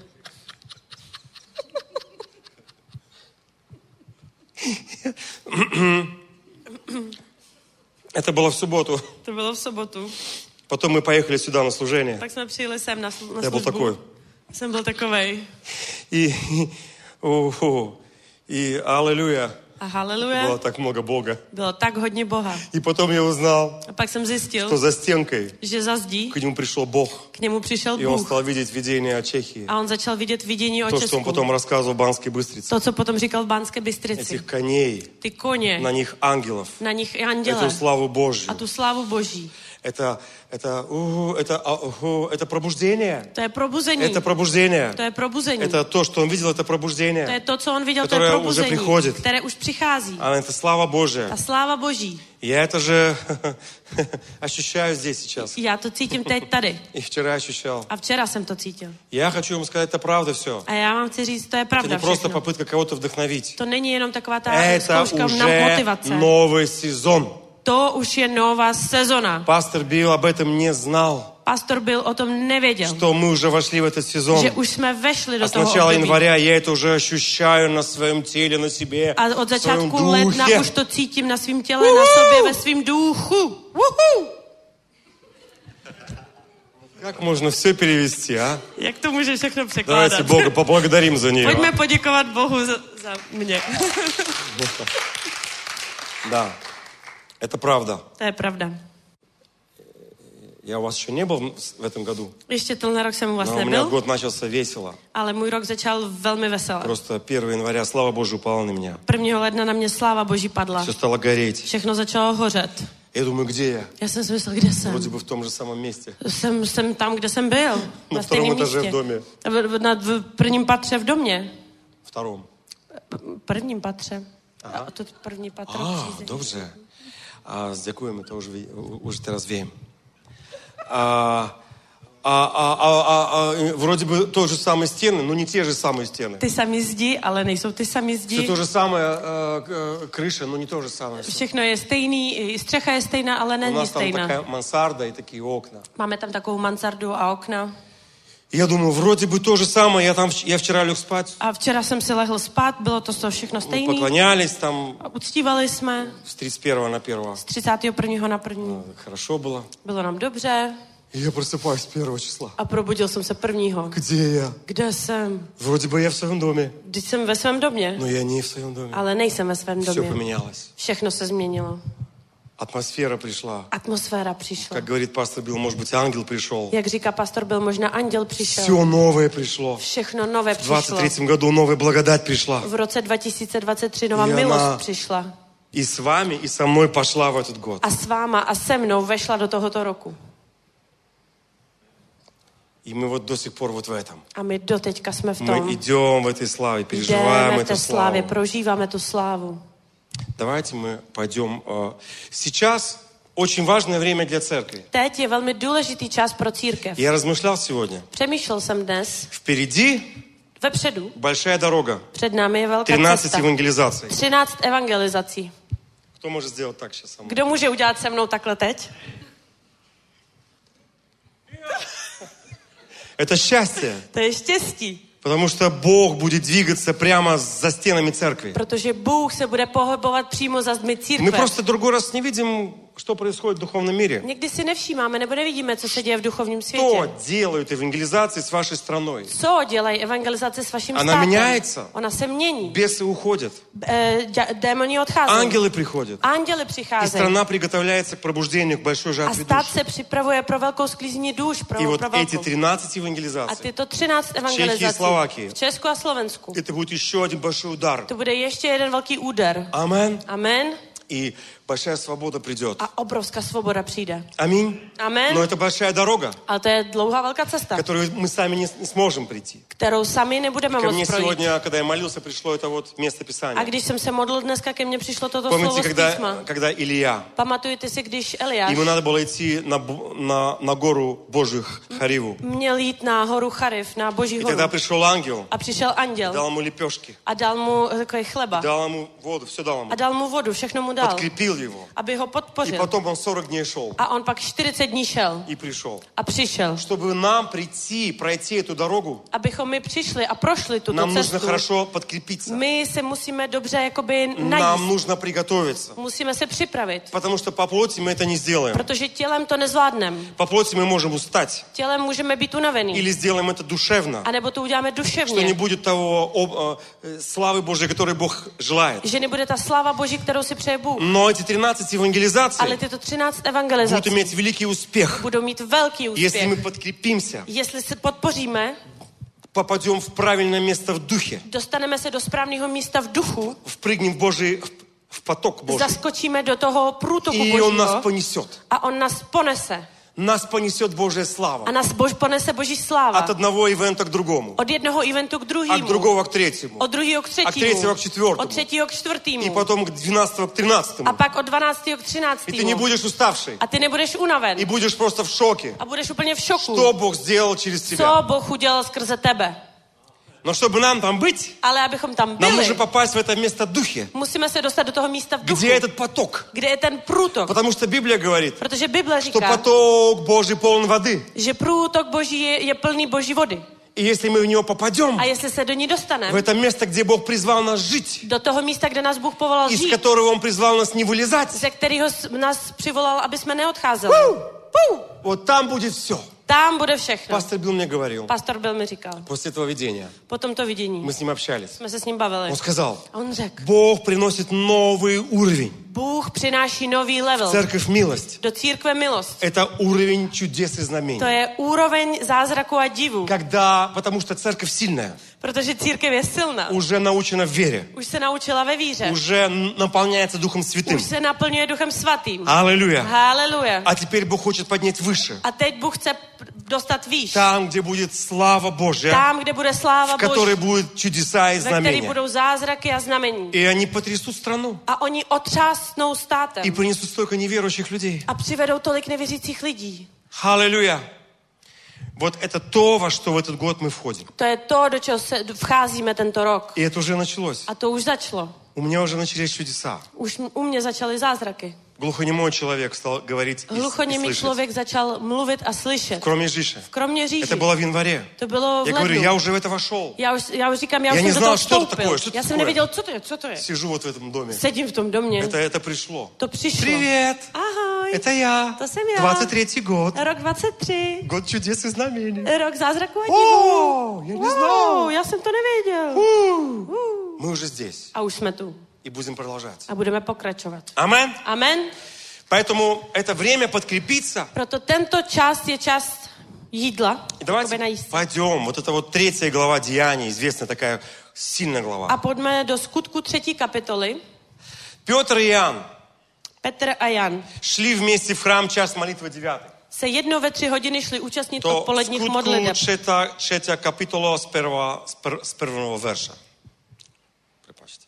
[SPEAKER 3] Это было в субботу.
[SPEAKER 1] To bylo v sobotu.
[SPEAKER 3] Потом мы поехали сюда на служение.
[SPEAKER 1] Tak jsme přijeli sem na, sl- na
[SPEAKER 3] Я был
[SPEAKER 1] službu.
[SPEAKER 3] такой.
[SPEAKER 1] Jsem byl takovej.
[SPEAKER 3] И, о, о, и аллилуйя.
[SPEAKER 1] A haleluja.
[SPEAKER 3] Было так много Бога.
[SPEAKER 1] Bylo tak hodně Boha.
[SPEAKER 3] И потом я узнал,
[SPEAKER 1] A pak jsem zjistil,
[SPEAKER 3] что за стенкой
[SPEAKER 1] že za zdí
[SPEAKER 3] к нему пришел Бог.
[SPEAKER 1] k němu přišel
[SPEAKER 3] И он
[SPEAKER 1] Bůh.
[SPEAKER 3] стал видеть видение о Чехии.
[SPEAKER 1] A on začal vidět vidění o
[SPEAKER 3] То, что он
[SPEAKER 1] Česku.
[SPEAKER 3] потом рассказывал в Банской Быстрице.
[SPEAKER 1] To, co potom říkal v Banské Bystrici.
[SPEAKER 3] Этих коней,
[SPEAKER 1] Ty koně,
[SPEAKER 3] на них ангелов.
[SPEAKER 1] na nich i
[SPEAKER 3] Эту
[SPEAKER 1] anděle
[SPEAKER 3] славу Божью.
[SPEAKER 1] a tu slávu Boží.
[SPEAKER 3] Это, это, у, это, у, это пробуждение.
[SPEAKER 4] To je probuzení.
[SPEAKER 3] Это пробуждение.
[SPEAKER 4] To je probuzení.
[SPEAKER 3] Это то, что он видел, это
[SPEAKER 4] To
[SPEAKER 3] пробуждение.
[SPEAKER 4] je to, co on viděl, to je
[SPEAKER 3] Которое уже
[SPEAKER 4] probuzení,
[SPEAKER 3] приходит.
[SPEAKER 4] které už přichází.
[SPEAKER 3] А это слава Божия.
[SPEAKER 4] Ta sláva Boží.
[SPEAKER 3] Я это же ощущаю здесь сейчас.
[SPEAKER 4] Já to cítím teď tady.
[SPEAKER 3] И вчера ощущал.
[SPEAKER 4] A včera jsem to cítil.
[SPEAKER 3] Я хочу вам сказать, это правда все.
[SPEAKER 4] A já vám chci říct, to je
[SPEAKER 3] Это
[SPEAKER 4] pravda
[SPEAKER 3] не просто
[SPEAKER 4] všechno.
[SPEAKER 3] попытка кого-то вдохновить.
[SPEAKER 4] To není jenom taková ta
[SPEAKER 3] Это
[SPEAKER 4] zkouška na
[SPEAKER 3] уже
[SPEAKER 4] motivace.
[SPEAKER 3] новый сезон.
[SPEAKER 4] To už je nová sezona.
[SPEAKER 3] Пастор Билл об этом не знал,
[SPEAKER 4] Pastor Bill o tom nevěděl,
[SPEAKER 3] что мы уже вошли в этот сезон.
[SPEAKER 4] že už jsme vešli do
[SPEAKER 3] А с
[SPEAKER 4] toho
[SPEAKER 3] начала
[SPEAKER 4] období.
[SPEAKER 3] января я это уже ощущаю на своем теле, на себе,
[SPEAKER 4] A od
[SPEAKER 3] в своем
[SPEAKER 4] začátku ledna
[SPEAKER 3] духе.
[SPEAKER 4] už to cítím na svém těle, na sobě, ve svém duchu. Uhu!
[SPEAKER 3] Как можно все перевести, а?
[SPEAKER 4] Jak to může všechno
[SPEAKER 3] Давайте
[SPEAKER 4] překládat?
[SPEAKER 3] Бога поблагодарим за нее.
[SPEAKER 4] Pojďme poděkovat Bohu za, za mě.
[SPEAKER 3] Да, это правда.
[SPEAKER 4] To je pravda.
[SPEAKER 3] Я у вас еще не был в этом году,
[SPEAKER 4] Ještě tenhle rok jsem u vás
[SPEAKER 3] но у меня
[SPEAKER 4] nebyl,
[SPEAKER 3] год начался весело.
[SPEAKER 4] ale můj rok začal velmi veselé.
[SPEAKER 3] Просто первого января слава Божия упала на меня.
[SPEAKER 4] prvního ledna na mě sláva Boží padla.
[SPEAKER 3] Все стало гореть.
[SPEAKER 4] Všechno začalo hořet.
[SPEAKER 3] Я думаю, где я?
[SPEAKER 4] Já jsem si myslel, kde jsem.
[SPEAKER 3] Вроде бы в том же самом месте.
[SPEAKER 4] Jsem, jsem tam, kde jsem byl.
[SPEAKER 3] Na
[SPEAKER 4] Na stejném
[SPEAKER 3] vtorém etaže
[SPEAKER 4] místě.
[SPEAKER 3] v domě.
[SPEAKER 4] V, v, na, v prvním patře v domě.
[SPEAKER 3] Втором.
[SPEAKER 4] Prvním patře. A to první patro.
[SPEAKER 3] А,
[SPEAKER 4] přízemí.
[SPEAKER 3] добре. А с дякуем это уже, уже teraz wiem. А, а, а, а, а, а, вроде бы то же самые стены, но не те же самые стены.
[SPEAKER 4] Ty samý zdi, ale nejsou ty samý
[SPEAKER 3] Все
[SPEAKER 4] zdi.
[SPEAKER 3] то же самое, а, к- крыша, но не то же самое. всё.
[SPEAKER 4] Všechno je stejný, i střecha je stejná, ale
[SPEAKER 3] У
[SPEAKER 4] není
[SPEAKER 3] нас там
[SPEAKER 4] stejná.
[SPEAKER 3] такая мансарда и такие окна.
[SPEAKER 4] Máme tam takovou mansardu a okna.
[SPEAKER 3] Я думаю, вроде бы то же самое. Я там, вч- я вчера лег спать,
[SPEAKER 4] A včera jsem si lehl spát, bylo to to všechno
[SPEAKER 3] мы
[SPEAKER 4] stejný.
[SPEAKER 3] поклонялись там
[SPEAKER 4] A uctívali jsme
[SPEAKER 3] с тридцать первого на первого.
[SPEAKER 4] z třicátého prvního na první.
[SPEAKER 3] Хорошо было.
[SPEAKER 4] Bylo nám dobře
[SPEAKER 3] И я просыпаюсь первого числа.
[SPEAKER 4] a probudil jsem se prvního.
[SPEAKER 3] Где я?
[SPEAKER 4] Kde jsem?
[SPEAKER 3] Вроде бы я в своем доме,
[SPEAKER 4] Když jsem ve svém domě,
[SPEAKER 3] но я не в своем доме.
[SPEAKER 4] ale nejsem ve svém
[SPEAKER 3] Все
[SPEAKER 4] domě.
[SPEAKER 3] поменялось.
[SPEAKER 4] Všechno se změnilo.
[SPEAKER 3] Атмосфера пришла.
[SPEAKER 4] Atmosféra přišla.
[SPEAKER 3] Как говорит пастор Билл, может быть, ангел пришел.
[SPEAKER 4] Jak říká pastor Bill, možná anděl přišel.
[SPEAKER 3] Все новое пришло.
[SPEAKER 4] Všechno nové
[SPEAKER 3] В двадцать
[SPEAKER 4] přišlo.
[SPEAKER 3] третьем году новая благодать пришла.
[SPEAKER 4] V roce dva tisíce dvacet tři nová
[SPEAKER 3] Je
[SPEAKER 4] milost
[SPEAKER 3] na-
[SPEAKER 4] přišla.
[SPEAKER 3] И с вами, и со мной пошла в этот год.
[SPEAKER 4] A s váma a se mnou vešla do tohoto roku.
[SPEAKER 3] И мы вот до сих пор вот в этом.
[SPEAKER 4] A my doteďka jsme v
[SPEAKER 3] Мы
[SPEAKER 4] tom.
[SPEAKER 3] идем в этой славе, переживаем
[SPEAKER 4] Jdeme v
[SPEAKER 3] эту
[SPEAKER 4] té slávě,
[SPEAKER 3] славу.
[SPEAKER 4] prožíváme tu slávu.
[SPEAKER 3] Давайте мы пойдем. э, Сейчас очень важное время для церкви.
[SPEAKER 4] Teď je velmi důležitý čas pro církev.
[SPEAKER 3] Я размышлял сегодня.
[SPEAKER 4] Přemýšlel jsem dnes,
[SPEAKER 3] Впереди
[SPEAKER 4] vepředu,
[SPEAKER 3] большая дорога.
[SPEAKER 4] před námi je velká
[SPEAKER 3] тринадцать
[SPEAKER 4] cesta.
[SPEAKER 3] евангелизаций.
[SPEAKER 4] třináct evangelizací.
[SPEAKER 3] Кто может сделать так сейчас со мной?
[SPEAKER 4] Kdo může udělat se mnou takhle teď?
[SPEAKER 3] Это счастье.
[SPEAKER 4] To je štěstí,
[SPEAKER 3] Потому что Бог будет двигаться прямо за стенами церкви.
[SPEAKER 4] protože Bůh se bude pohybovat přímo za zdmi
[SPEAKER 3] Мы
[SPEAKER 4] církve.
[SPEAKER 3] просто другой раз не видим, что происходит в духовном мире.
[SPEAKER 4] Někdy si nevšímáme nebo nevidíme, co se děje v duchovním
[SPEAKER 3] Что
[SPEAKER 4] světě.
[SPEAKER 3] делают евангелизации с вашей страной?
[SPEAKER 4] Co dělají evangelizace s vaším
[SPEAKER 3] Она
[SPEAKER 4] státem?
[SPEAKER 3] меняется.
[SPEAKER 4] Ona se mění.
[SPEAKER 3] Бесы уходят.
[SPEAKER 4] E, dě- démoni odcházejí.
[SPEAKER 3] Ангелы приходят.
[SPEAKER 4] Anděli
[SPEAKER 3] И
[SPEAKER 4] přicházejí.
[SPEAKER 3] страна приготовляется к пробуждению, к большой
[SPEAKER 4] A
[SPEAKER 3] жатве
[SPEAKER 4] stát
[SPEAKER 3] душ.
[SPEAKER 4] se připravuje pro velkou sklízení duš, pro,
[SPEAKER 3] И вот
[SPEAKER 4] pro
[SPEAKER 3] эти
[SPEAKER 4] velkou.
[SPEAKER 3] тринадцать
[SPEAKER 4] A
[SPEAKER 3] евангелизаций,
[SPEAKER 4] tyto třináct evangelizací
[SPEAKER 3] Словакии.
[SPEAKER 4] v Česku a Slovensku.
[SPEAKER 3] это будет еще один большой удар.
[SPEAKER 4] To bude ještě jeden velký úder.
[SPEAKER 3] Амен.
[SPEAKER 4] Amen.
[SPEAKER 3] И большая свобода придет.
[SPEAKER 4] A obrovská svoboda přijde.
[SPEAKER 3] Аминь.
[SPEAKER 4] Amen.
[SPEAKER 3] Но это большая дорога,
[SPEAKER 4] Ale to je dlouhá velká cesta,
[SPEAKER 3] которую мы сами не, не сможем прийти.
[SPEAKER 4] kterou sami nebudeme
[SPEAKER 3] Ко мне
[SPEAKER 4] moct projít.
[SPEAKER 3] сегодня, когда я молился, пришло это вот место
[SPEAKER 4] A
[SPEAKER 3] Писания.
[SPEAKER 4] když jsem se modlil dneska, ke mně přišlo toto
[SPEAKER 3] Помните,
[SPEAKER 4] slovo z
[SPEAKER 3] когда,
[SPEAKER 4] písma.
[SPEAKER 3] когда Илья,
[SPEAKER 4] Pamatujete si, když Eliáš
[SPEAKER 3] ему надо было идти на, бу- на, на гору Божию Хариву.
[SPEAKER 4] měl jít na horu Chariv, na Boží
[SPEAKER 3] И
[SPEAKER 4] horu.
[SPEAKER 3] тогда пришел ангел,
[SPEAKER 4] A přišel anděl
[SPEAKER 3] дал ему лепешки,
[SPEAKER 4] a dal mu takový chleba.
[SPEAKER 3] дал ему воду, все дал ему.
[SPEAKER 4] A dal mu vodu, všechno mu dal,
[SPEAKER 3] Подкрепил его.
[SPEAKER 4] aby ho
[SPEAKER 3] И
[SPEAKER 4] podpořil.
[SPEAKER 3] потом он сорок дней шел
[SPEAKER 4] A on pak čtyřicet dní šel
[SPEAKER 3] и пришел.
[SPEAKER 4] a přišel.
[SPEAKER 3] Чтобы нам прийти, пройти эту дорогу,
[SPEAKER 4] Abychom my přišli a prošli tuto
[SPEAKER 3] нам нужно
[SPEAKER 4] cestu,
[SPEAKER 3] хорошо подкрепиться.
[SPEAKER 4] my se musíme dobře jakoby
[SPEAKER 3] Нам
[SPEAKER 4] najíst.
[SPEAKER 3] нужно приготовиться.
[SPEAKER 4] Musíme se připravit,
[SPEAKER 3] Потому что по плоти мы это не сделаем.
[SPEAKER 4] protože tělem to nezvládneme.
[SPEAKER 3] По плоти мы можем устать.
[SPEAKER 4] Tělem můžeme být unavený.
[SPEAKER 3] Или сделаем это душевно.
[SPEAKER 4] A nebo to uděláme
[SPEAKER 3] Что
[SPEAKER 4] duševně.
[SPEAKER 3] не будет того об- э, славы Божьей, которую Бог желает.
[SPEAKER 4] Že nebude ta sláva Boží, kterou si přeje Bůh.
[SPEAKER 3] Но эти тринадцать
[SPEAKER 4] Ale
[SPEAKER 3] евангелизаций
[SPEAKER 4] tyto třináct
[SPEAKER 3] будут
[SPEAKER 4] evangelizací
[SPEAKER 3] иметь великий успех,
[SPEAKER 4] budou mít velký
[SPEAKER 3] если мы
[SPEAKER 4] úspěch.
[SPEAKER 3] подкрепимся,
[SPEAKER 4] Jestli se podpoříme,
[SPEAKER 3] попадем в правильное место в духе,
[SPEAKER 4] dostaneme se do správného místa v duchu,
[SPEAKER 3] впрыгнем в Божий, в в поток Божий.
[SPEAKER 4] zaskočíme do toho průtoku
[SPEAKER 3] И Он нас
[SPEAKER 4] Božího
[SPEAKER 3] понесет.
[SPEAKER 4] a on nás ponese.
[SPEAKER 3] Нас понесет Божья слава.
[SPEAKER 4] A nás Bož ponese Boží sláva.
[SPEAKER 3] От одного ивента к другому.
[SPEAKER 4] Od jednoho eventu k
[SPEAKER 3] От
[SPEAKER 4] druhému.
[SPEAKER 3] другого к третьему.
[SPEAKER 4] Od druhého k třetímu.
[SPEAKER 3] От третьего к четвертому.
[SPEAKER 4] Od třetího k čtvrtému.
[SPEAKER 3] И потом к двенадцатого к тринадцатому.
[SPEAKER 4] A pak od dvanáctého k
[SPEAKER 3] И
[SPEAKER 4] třináctému.
[SPEAKER 3] ты не будешь уставший.
[SPEAKER 4] A ty nebudeš unaven.
[SPEAKER 3] И будешь просто в шоке.
[SPEAKER 4] A budeš úplně v šoku.
[SPEAKER 3] Что Бог сделал через
[SPEAKER 4] Co
[SPEAKER 3] тебя.
[SPEAKER 4] Bůh udělal skrze tebe.
[SPEAKER 3] Но чтобы нам там быть,
[SPEAKER 4] Ale abychom tam
[SPEAKER 3] нам
[SPEAKER 4] byli,
[SPEAKER 3] нужно попасть в это место духе.
[SPEAKER 4] musíme se dostat do toho místa v duchu.
[SPEAKER 3] Где этот поток?
[SPEAKER 4] Kde je ten průtok.
[SPEAKER 3] Потому что Библия говорит,
[SPEAKER 4] Protože Bible
[SPEAKER 3] что
[SPEAKER 4] říká,
[SPEAKER 3] поток Божий полон воды.
[SPEAKER 4] že průtok Boží je, je plný Boží vody.
[SPEAKER 3] И если мы в него попадем,
[SPEAKER 4] A jestli se do ní
[SPEAKER 3] в
[SPEAKER 4] dostaneme,
[SPEAKER 3] это место, где Бог призвал нас жить,
[SPEAKER 4] do toho místa, kde nás Bůh povolal
[SPEAKER 3] из
[SPEAKER 4] žít,
[SPEAKER 3] которого Он призвал нас не вылезать,
[SPEAKER 4] ze kterého s- nás přivolal, aby jsme neodcházeli. Pů!
[SPEAKER 3] вот там будет все.
[SPEAKER 4] Tam bude všechno.
[SPEAKER 3] Пастор Билл мне говорил,
[SPEAKER 4] Pastor Bill mi říkal.
[SPEAKER 3] после этого видения,
[SPEAKER 4] Po tomto vidění
[SPEAKER 3] мы с ним общались,
[SPEAKER 4] jsme se s ním bavili.
[SPEAKER 3] он сказал,
[SPEAKER 4] A on řekl,
[SPEAKER 3] Бог приносит новый уровень.
[SPEAKER 4] Bůh přináší nový level
[SPEAKER 3] Церковь милость.
[SPEAKER 4] do církve milost.
[SPEAKER 3] Это уровень чудес и
[SPEAKER 4] To
[SPEAKER 3] знамений.
[SPEAKER 4] je úroveň zázraku a divu,
[SPEAKER 3] Когда, потому что церковь сильная,
[SPEAKER 4] protože církev je silná.
[SPEAKER 3] уже научена в вере,
[SPEAKER 4] Už se naučila ve víře.
[SPEAKER 3] уже наполняется Духом Святым.
[SPEAKER 4] Už se naplňuje Duchem Svatým.
[SPEAKER 3] Аллилуйя.
[SPEAKER 4] Haleluja.
[SPEAKER 3] А теперь Бог хочет поднять выше.
[SPEAKER 4] A teď Bůh chce dostat výš.
[SPEAKER 3] Там, где будет слава Божья,
[SPEAKER 4] Tam, kde bude sláva
[SPEAKER 3] в которой
[SPEAKER 4] Boží,
[SPEAKER 3] будут чудеса и
[SPEAKER 4] ve který
[SPEAKER 3] знамения.
[SPEAKER 4] budou zázraky a znamení.
[SPEAKER 3] И они потрясут страну.
[SPEAKER 4] A oni otřásnou státem.
[SPEAKER 3] И принесут столько неверующих людей.
[SPEAKER 4] A přivedou tolik nevěřících lidí.
[SPEAKER 3] Аллилуйя. Вот это то, во что в этот год мы входим.
[SPEAKER 4] To je to, do čeho se vcházíme tento rok.
[SPEAKER 3] И это уже началось.
[SPEAKER 4] A to už začalo.
[SPEAKER 3] У меня уже начались чудеса.
[SPEAKER 4] Už u mě začaly zázraky.
[SPEAKER 3] Глухонемой человек стал говорить и, и
[SPEAKER 4] Hluchoněmý
[SPEAKER 3] слышать.
[SPEAKER 4] člověk začal mluvit a slyšet.
[SPEAKER 3] Кроме Жиши.
[SPEAKER 4] Kromě říši.
[SPEAKER 3] Это было в январе.
[SPEAKER 4] To bylo v
[SPEAKER 3] Я говорю, я
[SPEAKER 4] lednu.
[SPEAKER 3] уже в это вошел.
[SPEAKER 4] Já už, já už říkám, já,
[SPEAKER 3] Já
[SPEAKER 4] už jsem do
[SPEAKER 3] neznal,
[SPEAKER 4] toho
[SPEAKER 3] что это
[SPEAKER 4] vstoupil.
[SPEAKER 3] такое, что это
[SPEAKER 4] Já jsem
[SPEAKER 3] такое.
[SPEAKER 4] nevěděl, co to je, co to je.
[SPEAKER 3] Сижу вот в этом доме.
[SPEAKER 4] Sedím v tom domě.
[SPEAKER 3] Это, это пришло.
[SPEAKER 4] To přišlo.
[SPEAKER 3] Привет!
[SPEAKER 4] Ahoj.
[SPEAKER 3] Это я.
[SPEAKER 4] To jsem já.
[SPEAKER 3] двадцать третий год.
[SPEAKER 4] Rok dvacet tři.
[SPEAKER 3] Год чудес и знамений.
[SPEAKER 4] Rok zázraku a
[SPEAKER 3] О,
[SPEAKER 4] divu.
[SPEAKER 3] я не знал.
[SPEAKER 4] Wow, já jsem to nevěděl.
[SPEAKER 3] У,
[SPEAKER 4] Uh.
[SPEAKER 3] Мы уже здесь.
[SPEAKER 4] A už jsme tu.
[SPEAKER 3] И будем продолжать.
[SPEAKER 4] A budeme pokračovat.
[SPEAKER 3] Амен.
[SPEAKER 4] Amen.
[SPEAKER 3] Поэтому это время подкрепиться.
[SPEAKER 4] Proto tento čas je čas jídla.
[SPEAKER 3] И давайте
[SPEAKER 4] jakoby najíst.
[SPEAKER 3] пойдем. Вот это вот третья глава Деяний. Известная такая сильная глава.
[SPEAKER 4] A pojďme do skutku třetí kapitoly.
[SPEAKER 3] Петр и Иоанн
[SPEAKER 4] Petr a Jan
[SPEAKER 3] шли вместе в храм час молитвы девятый.
[SPEAKER 4] se jednou ve tři hodiny šli účastnit
[SPEAKER 3] То
[SPEAKER 4] odpoledních
[SPEAKER 3] skutku
[SPEAKER 4] modliteb.
[SPEAKER 3] trzecia, trzecia kapitola z, perwa, z, per, z первого верша. Препачьте.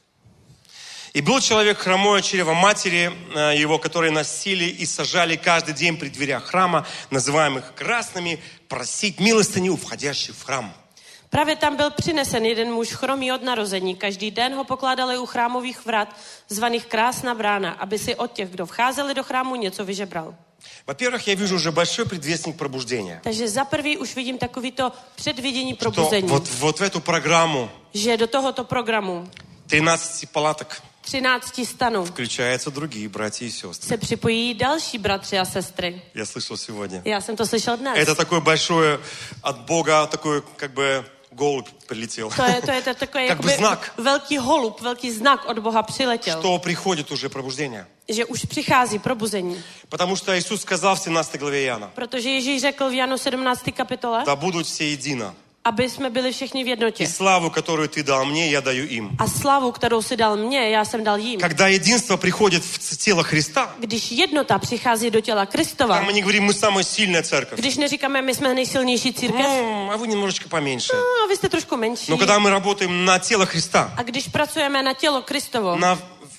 [SPEAKER 3] И был человек хромой от чрева матери э, его, которые носили и сажали каждый день при дверях храма, называемых красными, просить милостыню у входящих в храм.
[SPEAKER 4] Právě tam byl přinesen jeden muž chromý od narození. Každý den ho pokládali u chrámových vrat, zvaných Krásná brána, aby si od těch, kdo vcházeli do chrámu, něco vyžebral.
[SPEAKER 3] Во-первых, я вижу уже большой предвестник пробуждения.
[SPEAKER 4] Takže za prvý už vidím takovýto předvidění
[SPEAKER 3] Что
[SPEAKER 4] probuzení,
[SPEAKER 3] вот, вот в эту программу
[SPEAKER 4] že do tohoto programu
[SPEAKER 3] тринадцати палаток
[SPEAKER 4] třinácti stanů
[SPEAKER 3] включаются другие братья и сестры.
[SPEAKER 4] se připojí další bratři a sestry.
[SPEAKER 3] Я слышал сегодня.
[SPEAKER 4] Já jsem to slyšel dnes.
[SPEAKER 3] Это такое большое от Бога, такой как бы голубь прилетел.
[SPEAKER 4] To je, to je to takový
[SPEAKER 3] Jak by
[SPEAKER 4] jakoby
[SPEAKER 3] znak.
[SPEAKER 4] velký holub, velký znak od Boha přiletěl,
[SPEAKER 3] Что приходит уже пробуждение.
[SPEAKER 4] že už přichází probuzení.
[SPEAKER 3] Потому что Иисус сказал в семнадцатой главе Иоанна,
[SPEAKER 4] Protože Ježíš řekl v Janu sedmnácté kapitole,
[SPEAKER 3] да будут все едино.
[SPEAKER 4] aby jsme byli všichni v
[SPEAKER 3] И
[SPEAKER 4] jednotě.
[SPEAKER 3] славу, которую ты дал мне, я даю им.
[SPEAKER 4] A slavu, kterou si dal mně, já jsem dal jim.
[SPEAKER 3] Когда единство приходит в тело Христа,
[SPEAKER 4] Když jednota přichází do těla Kristova,
[SPEAKER 3] там мы не говорим, мы самая сильная церковь.
[SPEAKER 4] když neříkáme, my jsme nejsilnější církev,
[SPEAKER 3] Ну, а вы немножечко поменьше.
[SPEAKER 4] no, a vy jste trošku menší.
[SPEAKER 3] Но когда мы работаем на тело Христа,
[SPEAKER 4] A když pracujeme na tělo Kristovo,
[SPEAKER 3] на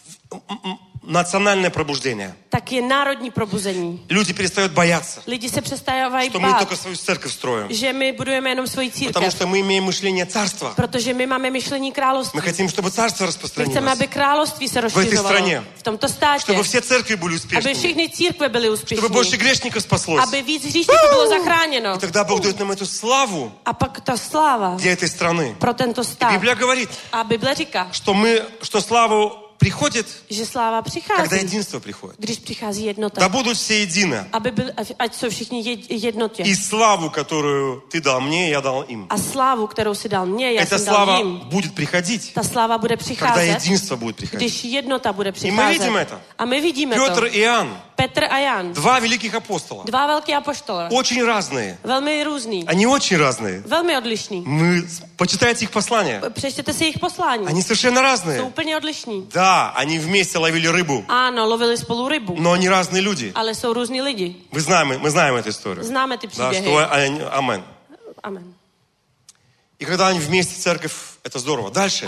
[SPEAKER 3] национальное пробуждение,
[SPEAKER 4] tak je národní probuzení.
[SPEAKER 3] люди перестают бояться,
[SPEAKER 4] Lidi se přestávají
[SPEAKER 3] что мы
[SPEAKER 4] bát,
[SPEAKER 3] только свою церковь строим.
[SPEAKER 4] že my budujeme jenom svoji
[SPEAKER 3] Потому
[SPEAKER 4] církev.
[SPEAKER 3] что мы имеем мышление царства.
[SPEAKER 4] Protože my máme myšlení království.
[SPEAKER 3] Мы хотим, чтобы царство
[SPEAKER 4] My chceme,
[SPEAKER 3] распространилось.
[SPEAKER 4] aby království se
[SPEAKER 3] этой
[SPEAKER 4] rozšiřovalo
[SPEAKER 3] стране.
[SPEAKER 4] v tomto státě.
[SPEAKER 3] Чтобы все церкви были
[SPEAKER 4] Aby
[SPEAKER 3] успешными.
[SPEAKER 4] všechny církve byly
[SPEAKER 3] Чтобы больше
[SPEAKER 4] úspěšné.
[SPEAKER 3] грешников спаслось.
[SPEAKER 4] Aby víc hříšníků bylo zachráněno.
[SPEAKER 3] И тогда Бог дает нам эту славу
[SPEAKER 4] A pak ta sláva
[SPEAKER 3] для этой страны.
[SPEAKER 4] pro tento
[SPEAKER 3] И
[SPEAKER 4] stát.
[SPEAKER 3] Библия говорит,
[SPEAKER 4] A Bible říká,
[SPEAKER 3] что мы, что слава приходит,
[SPEAKER 4] že sláva
[SPEAKER 3] когда
[SPEAKER 4] přichází,
[SPEAKER 3] единство приходит.
[SPEAKER 4] když přichází jednota.
[SPEAKER 3] Да будут все едины.
[SPEAKER 4] Aby byl, ať jsou všichni jed- jednotě.
[SPEAKER 3] И славу, которую ты дал мне, я дал им.
[SPEAKER 4] A slávu, kterou si dal mně, já
[SPEAKER 3] Эта
[SPEAKER 4] jsem dal
[SPEAKER 3] слава
[SPEAKER 4] jim.
[SPEAKER 3] будет приходить,
[SPEAKER 4] Ta sláva bude
[SPEAKER 3] когда
[SPEAKER 4] přicházet,
[SPEAKER 3] единство будет приходить.
[SPEAKER 4] když jednota bude
[SPEAKER 3] my
[SPEAKER 4] přicházet.
[SPEAKER 3] vidíme to.
[SPEAKER 4] A my vidíme
[SPEAKER 3] Петр
[SPEAKER 4] to.
[SPEAKER 3] и Иоанн,
[SPEAKER 4] Petr a Jan,
[SPEAKER 3] два великих апостола,
[SPEAKER 4] dva velký apoštole,
[SPEAKER 3] очень разные.
[SPEAKER 4] velmi různý,
[SPEAKER 3] Они очень разные.
[SPEAKER 4] velmi odlišný.
[SPEAKER 3] Мы, почитайте их послания.
[SPEAKER 4] Přečtěte si jejich poslání.
[SPEAKER 3] Они совершенно
[SPEAKER 4] Jsou
[SPEAKER 3] разные.
[SPEAKER 4] úplně odlišní.
[SPEAKER 3] Да, Да, они вместе ловили рыбу,
[SPEAKER 4] Ano, lovili spolu rybu,
[SPEAKER 3] но они разные люди.
[SPEAKER 4] ale jsou různí lidi.
[SPEAKER 3] Вы знаем, мы знаем эту историю.
[SPEAKER 4] Známe ty
[SPEAKER 3] Да,
[SPEAKER 4] příběhy.
[SPEAKER 3] что они, амен.
[SPEAKER 4] Amen.
[SPEAKER 3] И когда они вместе в церковь, это здорово. Дальше.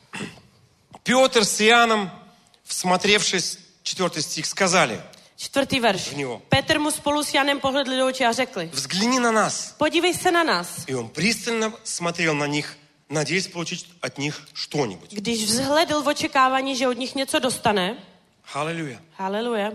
[SPEAKER 3] Петр с Иоанном, всмотревшись, четвертый стих, сказали
[SPEAKER 4] Čtvrtý verš.
[SPEAKER 3] v něho.
[SPEAKER 4] Petr mu spolu s Janem pohledli do očí a řekli,
[SPEAKER 3] Взгляни на нас.
[SPEAKER 4] podívej se na nás.
[SPEAKER 3] И он пристально смотрел на них, надеясь получить от них что-нибудь.
[SPEAKER 4] Když vzhledl v očekávání, že od nich něco dostane,
[SPEAKER 3] Аллилуйя.
[SPEAKER 4] haleluja,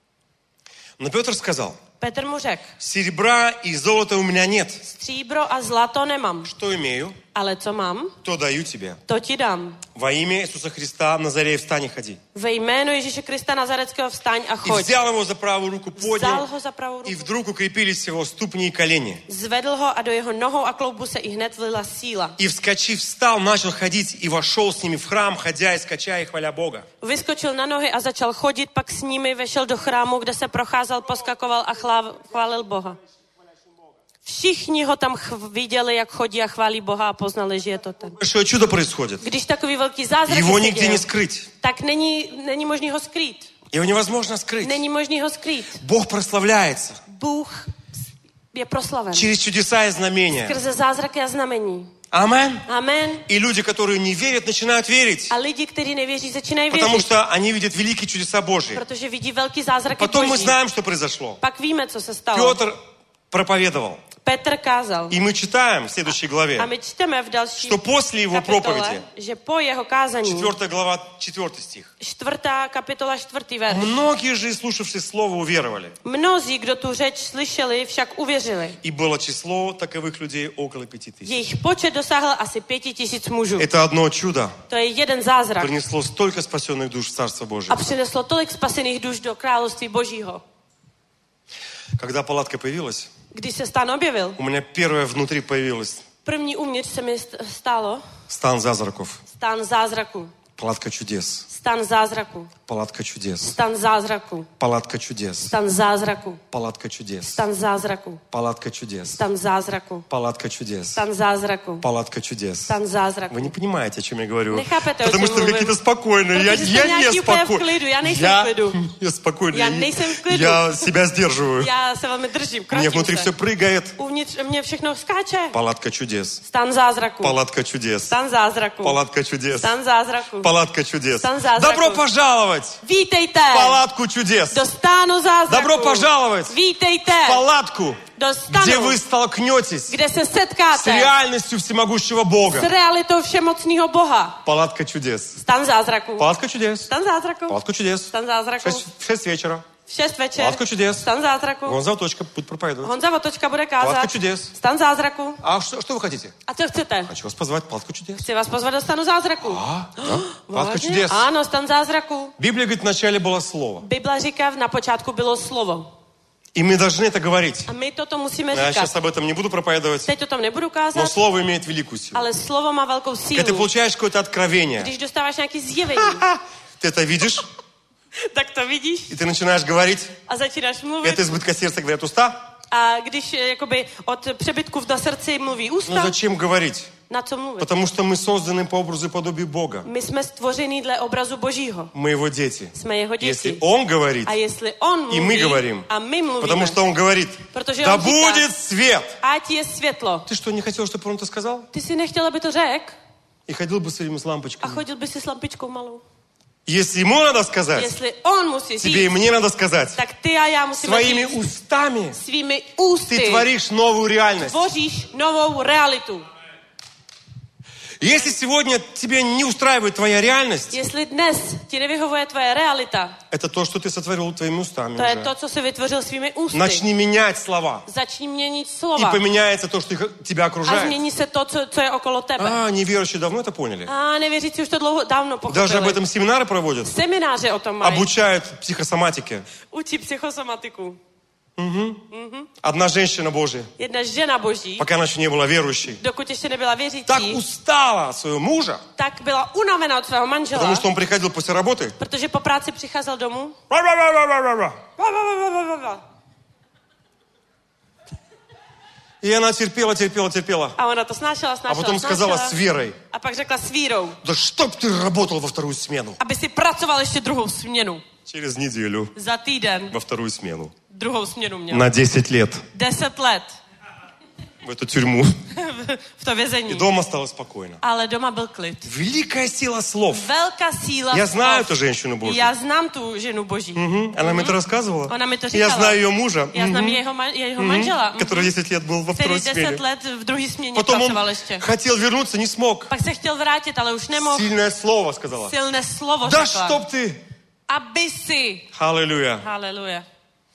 [SPEAKER 3] Но Петр сказал,
[SPEAKER 4] Petr mu řekl,
[SPEAKER 3] серебра и золота у меня нет.
[SPEAKER 4] stříbro a zlato nemám,
[SPEAKER 3] Что имею,
[SPEAKER 4] ale co mám,
[SPEAKER 3] то даю тебе.
[SPEAKER 4] to ti dám.
[SPEAKER 3] Во имя Иисуса Христа, Назарея, встань и ходи.
[SPEAKER 4] Ve jménu Ježíše Krista Nazareckého vstaň a
[SPEAKER 3] И
[SPEAKER 4] choď.
[SPEAKER 3] взял его за правую руку,
[SPEAKER 4] Vzal
[SPEAKER 3] поднял,
[SPEAKER 4] ho za pravou
[SPEAKER 3] и
[SPEAKER 4] ruku,
[SPEAKER 3] вдруг укрепились его ступни и колени.
[SPEAKER 4] zvedl ho a do jeho nohou a kloubu se i hned vlila síla.
[SPEAKER 3] И, вскочив, встал, начал ходить и вошел с ними в храм, ходя и скачая и хваля Бога.
[SPEAKER 4] Vyskočil na nohy a začal chodit, pak s nimi vešel do chrámu, kde se procházel, poskakoval a chláv, chválil Boha. Všichni ho tam chv- viděli, jak chodí a chválí Boha a poznali, že je to ten.
[SPEAKER 3] Большое чудо происходит.
[SPEAKER 4] Když takový velký zázrak
[SPEAKER 3] Его
[SPEAKER 4] se
[SPEAKER 3] нигде
[SPEAKER 4] děje,
[SPEAKER 3] не скрыть.
[SPEAKER 4] tak není, není možný ho skrýt.
[SPEAKER 3] Его невозможно скрыть.
[SPEAKER 4] Není možný ho skrýt.
[SPEAKER 3] Бог прославляется
[SPEAKER 4] Bůh je proslaven.
[SPEAKER 3] через чудеса и знамения.
[SPEAKER 4] Skrze zázraky a znamení.
[SPEAKER 3] Амен.
[SPEAKER 4] Amen.
[SPEAKER 3] И люди, которые не верят, начинают верить.
[SPEAKER 4] A lidi, kteří nevěří, začínají
[SPEAKER 3] Потому
[SPEAKER 4] věřit.
[SPEAKER 3] что они видят великие чудеса Божьи.
[SPEAKER 4] Protože vidí velký zázraky
[SPEAKER 3] Потом мы
[SPEAKER 4] Boží.
[SPEAKER 3] знаем, что произошло.
[SPEAKER 4] Pak víme, co se stalo.
[SPEAKER 3] Петр проповедовал.
[SPEAKER 4] Petr kázal.
[SPEAKER 3] И мы читаем в следующей
[SPEAKER 4] A
[SPEAKER 3] главе,
[SPEAKER 4] my čteme v další
[SPEAKER 3] что после его
[SPEAKER 4] kapitole,
[SPEAKER 3] проповеди,
[SPEAKER 4] že po jeho kázání,
[SPEAKER 3] четвёртая глава, четвёртый стих,
[SPEAKER 4] čtvrtá kapitola, čtvrtý verš.
[SPEAKER 3] многие же, слушавшие слово, уверовали.
[SPEAKER 4] Mnozí, kdo tu řeč slyšeli, však uvěřili.
[SPEAKER 3] И было число таковых людей около пяти тысяч.
[SPEAKER 4] Jejich počet dosáhl asi pěti tisíc mužů.
[SPEAKER 3] Это одно чудо
[SPEAKER 4] To je jeden zázrak.
[SPEAKER 3] принесло столько спасенных душ в Царство Божие.
[SPEAKER 4] A přineslo tolik spasených duš do království Božího.
[SPEAKER 3] Когда палатка появилась,
[SPEAKER 4] Když se stan objevil,
[SPEAKER 3] у меня первое внутри появилось
[SPEAKER 4] první uvnitř se mi st- stálo
[SPEAKER 3] стан зазраков.
[SPEAKER 4] stan zázraku.
[SPEAKER 3] Палатка чудес.
[SPEAKER 4] Stan zázraku.
[SPEAKER 3] Палатка чудес.
[SPEAKER 4] Stan zázraku.
[SPEAKER 3] Палатка чудес.
[SPEAKER 4] Stan zázraku.
[SPEAKER 3] Палатка чудес.
[SPEAKER 4] Stan zázraku.
[SPEAKER 3] Палатка чудес.
[SPEAKER 4] Stan zázraku.
[SPEAKER 3] Палатка чудес.
[SPEAKER 4] Stan zázraku.
[SPEAKER 3] Palatka чудес.
[SPEAKER 4] Stan zázraku.
[SPEAKER 3] Вы не понимаете, о чем я говорю.
[SPEAKER 4] Nechápete, o
[SPEAKER 3] Потому
[SPEAKER 4] čem
[SPEAKER 3] что вы
[SPEAKER 4] mluvím.
[SPEAKER 3] какие-то спокойные. Я,
[SPEAKER 4] Protože jste
[SPEAKER 3] я не
[SPEAKER 4] nějaký úplně v
[SPEAKER 3] спокойный.
[SPEAKER 4] klidu, já nejsem
[SPEAKER 3] Я,
[SPEAKER 4] v klidu.
[SPEAKER 3] я спокойный.
[SPEAKER 4] Já
[SPEAKER 3] Я,
[SPEAKER 4] nejsem v klidu.
[SPEAKER 3] я себя сдерживаю.
[SPEAKER 4] Já se velmi držím,
[SPEAKER 3] Мне
[SPEAKER 4] krotím
[SPEAKER 3] внутри
[SPEAKER 4] se.
[SPEAKER 3] все прыгает.
[SPEAKER 4] Uvnitř mě všechno skáče.
[SPEAKER 3] Палатка чудес.
[SPEAKER 4] Stan zázraku.
[SPEAKER 3] Палатка чудес.
[SPEAKER 4] Stan zázraku.
[SPEAKER 3] Палатка чудес.
[SPEAKER 4] Stan zázraku.
[SPEAKER 3] Palatka чудес.
[SPEAKER 4] Stan zázraku.
[SPEAKER 3] Добро пожаловать
[SPEAKER 4] Vítejte
[SPEAKER 3] в палатку чудес.
[SPEAKER 4] do stánu zázraku.
[SPEAKER 3] Добро пожаловать
[SPEAKER 4] Vítejte
[SPEAKER 3] в палатку,
[SPEAKER 4] do
[SPEAKER 3] где
[SPEAKER 4] stanu,
[SPEAKER 3] вы столкнетесь
[SPEAKER 4] kde se
[SPEAKER 3] с
[SPEAKER 4] setkáte
[SPEAKER 3] реальностью всемогущего Бога.
[SPEAKER 4] s realitou všemocného Boha.
[SPEAKER 3] Палатка чудес.
[SPEAKER 4] Stan zázraku.
[SPEAKER 3] Палатка чудес.
[SPEAKER 4] Stan zázraku.
[SPEAKER 3] Палатка чудес.
[SPEAKER 4] Stan zázraku.
[SPEAKER 3] Шесть- В шесть вечера.
[SPEAKER 4] V šest večer.
[SPEAKER 3] Палатка чудес.
[SPEAKER 4] Stan zázraku.
[SPEAKER 3] Вон Завточка будет проповедовать.
[SPEAKER 4] Honza Votočka bude
[SPEAKER 3] Palatka
[SPEAKER 4] kázat.
[SPEAKER 3] čudes.
[SPEAKER 4] Stan zázraku.
[SPEAKER 3] А что, что вы хотите?
[SPEAKER 4] A co chcete?
[SPEAKER 3] Хочу вас позвать в палатку чудес.
[SPEAKER 4] Chci vás pozvat do stanu zázraku.
[SPEAKER 3] А, да? Палатка
[SPEAKER 4] Vážně?
[SPEAKER 3] чудес.
[SPEAKER 4] Ano, stan zázraku.
[SPEAKER 3] Библия говорит, вначале было слово.
[SPEAKER 4] Bible říká, na počátku bylo slovo.
[SPEAKER 3] И мы должны это говорить.
[SPEAKER 4] A my toto musíme
[SPEAKER 3] Я сейчас
[SPEAKER 4] říkat.
[SPEAKER 3] об этом не буду проповедовать,
[SPEAKER 4] Teď o tom nebudu
[SPEAKER 3] но
[SPEAKER 4] kázat,
[SPEAKER 3] слово имеет великую силу.
[SPEAKER 4] ale slovo má velkou
[SPEAKER 3] Когда ты
[SPEAKER 4] sílu.
[SPEAKER 3] получаешь какое-то откровение,
[SPEAKER 4] Když dostáváš nějaký zjevení,
[SPEAKER 3] ты это видишь,
[SPEAKER 4] tak to vidíš
[SPEAKER 3] и ты начинаешь говорить.
[SPEAKER 4] a začínáš mluvit.
[SPEAKER 3] Это избытка сердца, говорят уста.
[SPEAKER 4] A když eh, jakoby od přebytku na srdci mluví
[SPEAKER 3] Ну
[SPEAKER 4] ústa,
[SPEAKER 3] зачем говорить?
[SPEAKER 4] na co mluvit?
[SPEAKER 3] Потому что мы soзданы по образу и подобию Бога.
[SPEAKER 4] My jsme stvoření dle obrazu Božího.
[SPEAKER 3] Мы его дети.
[SPEAKER 4] Jsme jeho
[SPEAKER 3] Если
[SPEAKER 4] děti.
[SPEAKER 3] Он говорит,
[SPEAKER 4] A jestli on
[SPEAKER 3] и мы
[SPEAKER 4] mluví
[SPEAKER 3] говорим,
[SPEAKER 4] a my mluvíme,
[SPEAKER 3] потому что Он говорит,
[SPEAKER 4] protože
[SPEAKER 3] да
[SPEAKER 4] on říká,
[SPEAKER 3] будет свет.
[SPEAKER 4] ať je světlo.
[SPEAKER 3] Ты что, не хотел, чтобы он это сказал?
[SPEAKER 4] Ty si nechtěl, aby to řekl
[SPEAKER 3] И ходил бы своими с
[SPEAKER 4] a
[SPEAKER 3] лампочками.
[SPEAKER 4] chodil by si s lampičkou malou.
[SPEAKER 3] Если ему надо сказать,
[SPEAKER 4] Jestli on musí
[SPEAKER 3] тебе и
[SPEAKER 4] říct,
[SPEAKER 3] мне надо сказать.
[SPEAKER 4] tak ty a já musíme
[SPEAKER 3] Своими
[SPEAKER 4] říct
[SPEAKER 3] устами
[SPEAKER 4] svými
[SPEAKER 3] ты
[SPEAKER 4] ústy
[SPEAKER 3] творишь новую реальность.
[SPEAKER 4] tvoříš novou realitu.
[SPEAKER 3] Если сегодня тебе не устраивает твоя реальность,
[SPEAKER 4] Jestli dnes ti nevyhovuje tvoje realita,
[SPEAKER 3] это то, что ты sotvorил твоими устами
[SPEAKER 4] to je
[SPEAKER 3] уже.
[SPEAKER 4] to, co jsi vytvořil svými ústy.
[SPEAKER 3] Начни менять слова.
[SPEAKER 4] Začni měnit
[SPEAKER 3] И
[SPEAKER 4] slova
[SPEAKER 3] поменяется то, что их- тебя
[SPEAKER 4] a
[SPEAKER 3] окружает.
[SPEAKER 4] změní se to, co, co je okolo tebe.
[SPEAKER 3] А, неверующие давно это поняли.
[SPEAKER 4] A nevěřící už to dlouho, dávno
[SPEAKER 3] Даже об
[SPEAKER 4] pochopili.
[SPEAKER 3] этом семинары проводят.
[SPEAKER 4] Semináře o tom mají.
[SPEAKER 3] Обучают психосоматике.
[SPEAKER 4] Učí psychosomatiku.
[SPEAKER 3] Одна женщина Божья,
[SPEAKER 4] Jedna žena boží,
[SPEAKER 3] пока она еще не была верующей,
[SPEAKER 4] dokud ještě nebyla
[SPEAKER 3] так
[SPEAKER 4] věřící,
[SPEAKER 3] устала от своего мужа,
[SPEAKER 4] tak byla unavená od svého manžela,
[SPEAKER 3] потому что он приходил после работы.
[SPEAKER 4] protože po práci přicházel domů.
[SPEAKER 3] И она терпела, терпела, терпела.
[SPEAKER 4] A ona to snášela,
[SPEAKER 3] А
[SPEAKER 4] snášela,
[SPEAKER 3] потом сказала
[SPEAKER 4] snášela.
[SPEAKER 3] с верой:
[SPEAKER 4] A pak řekla s vírou,
[SPEAKER 3] да чтоб ты работал во вторую смену.
[SPEAKER 4] aby si pracoval ještě druhou směnu.
[SPEAKER 3] Через неделю
[SPEAKER 4] Za týden
[SPEAKER 3] во вторую смену.
[SPEAKER 4] druhou směnu měl.
[SPEAKER 3] На десять лет
[SPEAKER 4] Deset let
[SPEAKER 3] в эту тюрьму.
[SPEAKER 4] v to
[SPEAKER 3] И
[SPEAKER 4] vězení.
[SPEAKER 3] дома стало спокойно.
[SPEAKER 4] Ale doma byl klid.
[SPEAKER 3] Великая сила слов.
[SPEAKER 4] Velká síla
[SPEAKER 3] Я знаю
[SPEAKER 4] slov.
[SPEAKER 3] эту женщину Божью.
[SPEAKER 4] Já znám tu ženu Boží.
[SPEAKER 3] Мгм. Она мне это рассказывала.
[SPEAKER 4] Ona mi to
[SPEAKER 3] Я
[SPEAKER 4] říkala.
[SPEAKER 3] знаю ее мужа,
[SPEAKER 4] Já znám
[SPEAKER 3] мгм,
[SPEAKER 4] jeho, ma- jeho manžela,
[SPEAKER 3] который десять лет был во
[SPEAKER 4] který
[SPEAKER 3] второй
[SPEAKER 4] deset
[SPEAKER 3] смене.
[SPEAKER 4] let v druhé směně
[SPEAKER 3] Потом
[SPEAKER 4] pracoval
[SPEAKER 3] он
[SPEAKER 4] ještě.
[SPEAKER 3] хотел вернуться, не смог.
[SPEAKER 4] Pak se chtěl vrátit, ale už nemohl.
[SPEAKER 3] Сильное слово сказала.
[SPEAKER 4] Silné slovo
[SPEAKER 3] Да
[SPEAKER 4] řekla.
[SPEAKER 3] чтоб ты!
[SPEAKER 4] Aby si.
[SPEAKER 3] Аллилуйя.
[SPEAKER 4] Haleluja.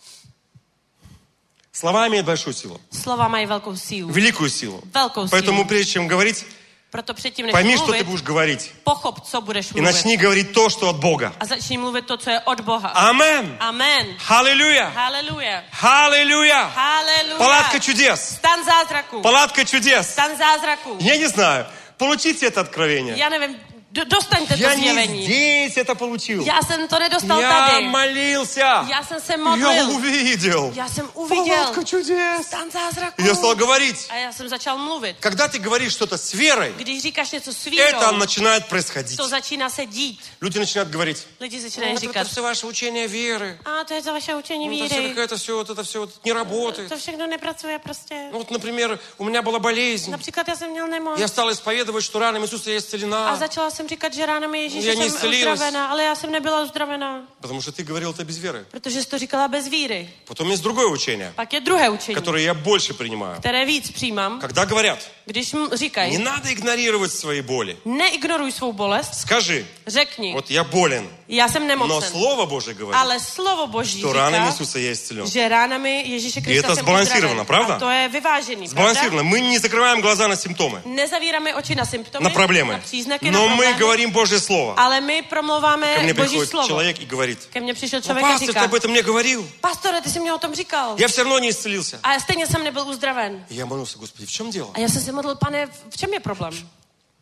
[SPEAKER 3] Слова имеют большую силу.
[SPEAKER 4] Slova mají velkou sílu.
[SPEAKER 3] Великую силу.
[SPEAKER 4] Velkou
[SPEAKER 3] Поэтому
[SPEAKER 4] sílu.
[SPEAKER 3] прежде чем говорить,
[SPEAKER 4] Proto předtím, než
[SPEAKER 3] пойми, что ты
[SPEAKER 4] mluvit,
[SPEAKER 3] будешь говорить.
[SPEAKER 4] pochop, co budeš
[SPEAKER 3] И
[SPEAKER 4] mluvit.
[SPEAKER 3] начни говорить то, что от Бога.
[SPEAKER 4] A začni mluvit to, co je od Boha.
[SPEAKER 3] Амен.
[SPEAKER 4] Amen.
[SPEAKER 3] Аллилуйя.
[SPEAKER 4] Haleluja.
[SPEAKER 3] Аллилуйя.
[SPEAKER 4] Haleluja.
[SPEAKER 3] Палатка чудес.
[SPEAKER 4] Stan zázraku.
[SPEAKER 3] Палатка чудес.
[SPEAKER 4] Stan zázraku.
[SPEAKER 3] Я не знаю. Получите это откровение.
[SPEAKER 4] Já nevím, do, dostaňte to
[SPEAKER 3] Я не
[SPEAKER 4] zjevení.
[SPEAKER 3] здесь это получил.
[SPEAKER 4] Já jsem to nedostal
[SPEAKER 3] Я
[SPEAKER 4] tady.
[SPEAKER 3] молился.
[SPEAKER 4] Já jsem se
[SPEAKER 3] Я
[SPEAKER 4] modlil.
[SPEAKER 3] увидел.
[SPEAKER 4] Já jsem uviděl
[SPEAKER 3] Палатка чудес.
[SPEAKER 4] stan zázraku.
[SPEAKER 3] И я стал говорить.
[SPEAKER 4] A já jsem začal mluvit.
[SPEAKER 3] Когда ты говоришь что-то с верой,
[SPEAKER 4] Když říkáš něco s
[SPEAKER 3] это
[SPEAKER 4] vírou,
[SPEAKER 3] начинает происходить.
[SPEAKER 4] to začíná se dít.
[SPEAKER 3] Люди начинают говорить:
[SPEAKER 4] Lidi začínají
[SPEAKER 3] это
[SPEAKER 4] říkat,
[SPEAKER 3] все ваше учение веры.
[SPEAKER 4] a to je to vaše učení
[SPEAKER 3] Это все
[SPEAKER 4] víry.
[SPEAKER 3] какое-то все, вот это все вот не работает.
[SPEAKER 4] To všechno nepracuje prostě.
[SPEAKER 3] Ну вот, например, у меня была болезнь.
[SPEAKER 4] Například já jsem měl nemoc.
[SPEAKER 3] Я стал исповедовать, что ранами Иисуса я
[SPEAKER 4] A
[SPEAKER 3] исцелена.
[SPEAKER 4] začala jsem říkat, že ránami Ježíše
[SPEAKER 3] Já
[SPEAKER 4] jsem
[SPEAKER 3] neiscelilась.
[SPEAKER 4] uzdravená, ale já jsem nebyla uzdravená,
[SPEAKER 3] Потому что ты говорил это без веры.
[SPEAKER 4] protože jsi to říkala bez víry.
[SPEAKER 3] Потом есть другое учение,
[SPEAKER 4] Pak je druhé učení,
[SPEAKER 3] которое я больше принимаю.
[SPEAKER 4] které víc přijímám,
[SPEAKER 3] Когда говорят:
[SPEAKER 4] když m-
[SPEAKER 3] не
[SPEAKER 4] říkají,
[SPEAKER 3] надо игнорировать свои боли.
[SPEAKER 4] neignoruj svou bolest,
[SPEAKER 3] Скажи:
[SPEAKER 4] řekni,
[SPEAKER 3] вот я болен,
[SPEAKER 4] já jsem
[SPEAKER 3] но
[SPEAKER 4] nemocen,
[SPEAKER 3] Слово Божие говорит,
[SPEAKER 4] ale slovo Boží
[SPEAKER 3] что ранами
[SPEAKER 4] říká,
[SPEAKER 3] Иисуса я исцелен.
[SPEAKER 4] že ránami Ježíše Krista
[SPEAKER 3] to
[SPEAKER 4] jsem
[SPEAKER 3] zbalansировано,
[SPEAKER 4] uzdraven.
[SPEAKER 3] pravda?
[SPEAKER 4] A to je vyvážený,
[SPEAKER 3] Сбалансировано.
[SPEAKER 4] pravda?
[SPEAKER 3] Мы не закрываем глаза на симптомы,
[SPEAKER 4] Nezavíráme oči na symptomy,
[SPEAKER 3] на проблемы.
[SPEAKER 4] na příznaky,
[SPEAKER 3] Но
[SPEAKER 4] na
[SPEAKER 3] мы
[SPEAKER 4] problémy,
[SPEAKER 3] говорим Божье Слово.
[SPEAKER 4] ale my promlouváme
[SPEAKER 3] Ко мне
[SPEAKER 4] Boží
[SPEAKER 3] приходит
[SPEAKER 4] slovo.
[SPEAKER 3] человек и говорит:
[SPEAKER 4] Ke mně přišel
[SPEAKER 3] ну,
[SPEAKER 4] člověk a
[SPEAKER 3] пастор, ты
[SPEAKER 4] říká,
[SPEAKER 3] об этом мне говорил.
[SPEAKER 4] pastore, ty jsi mě o tom říkal.
[SPEAKER 3] Я все равно не исцелился.
[SPEAKER 4] A stejně jsem nebyl uzdraven.
[SPEAKER 3] И я молился: Господи, в чем дело?
[SPEAKER 4] A já jsem se modlil, pane, v čem je problém?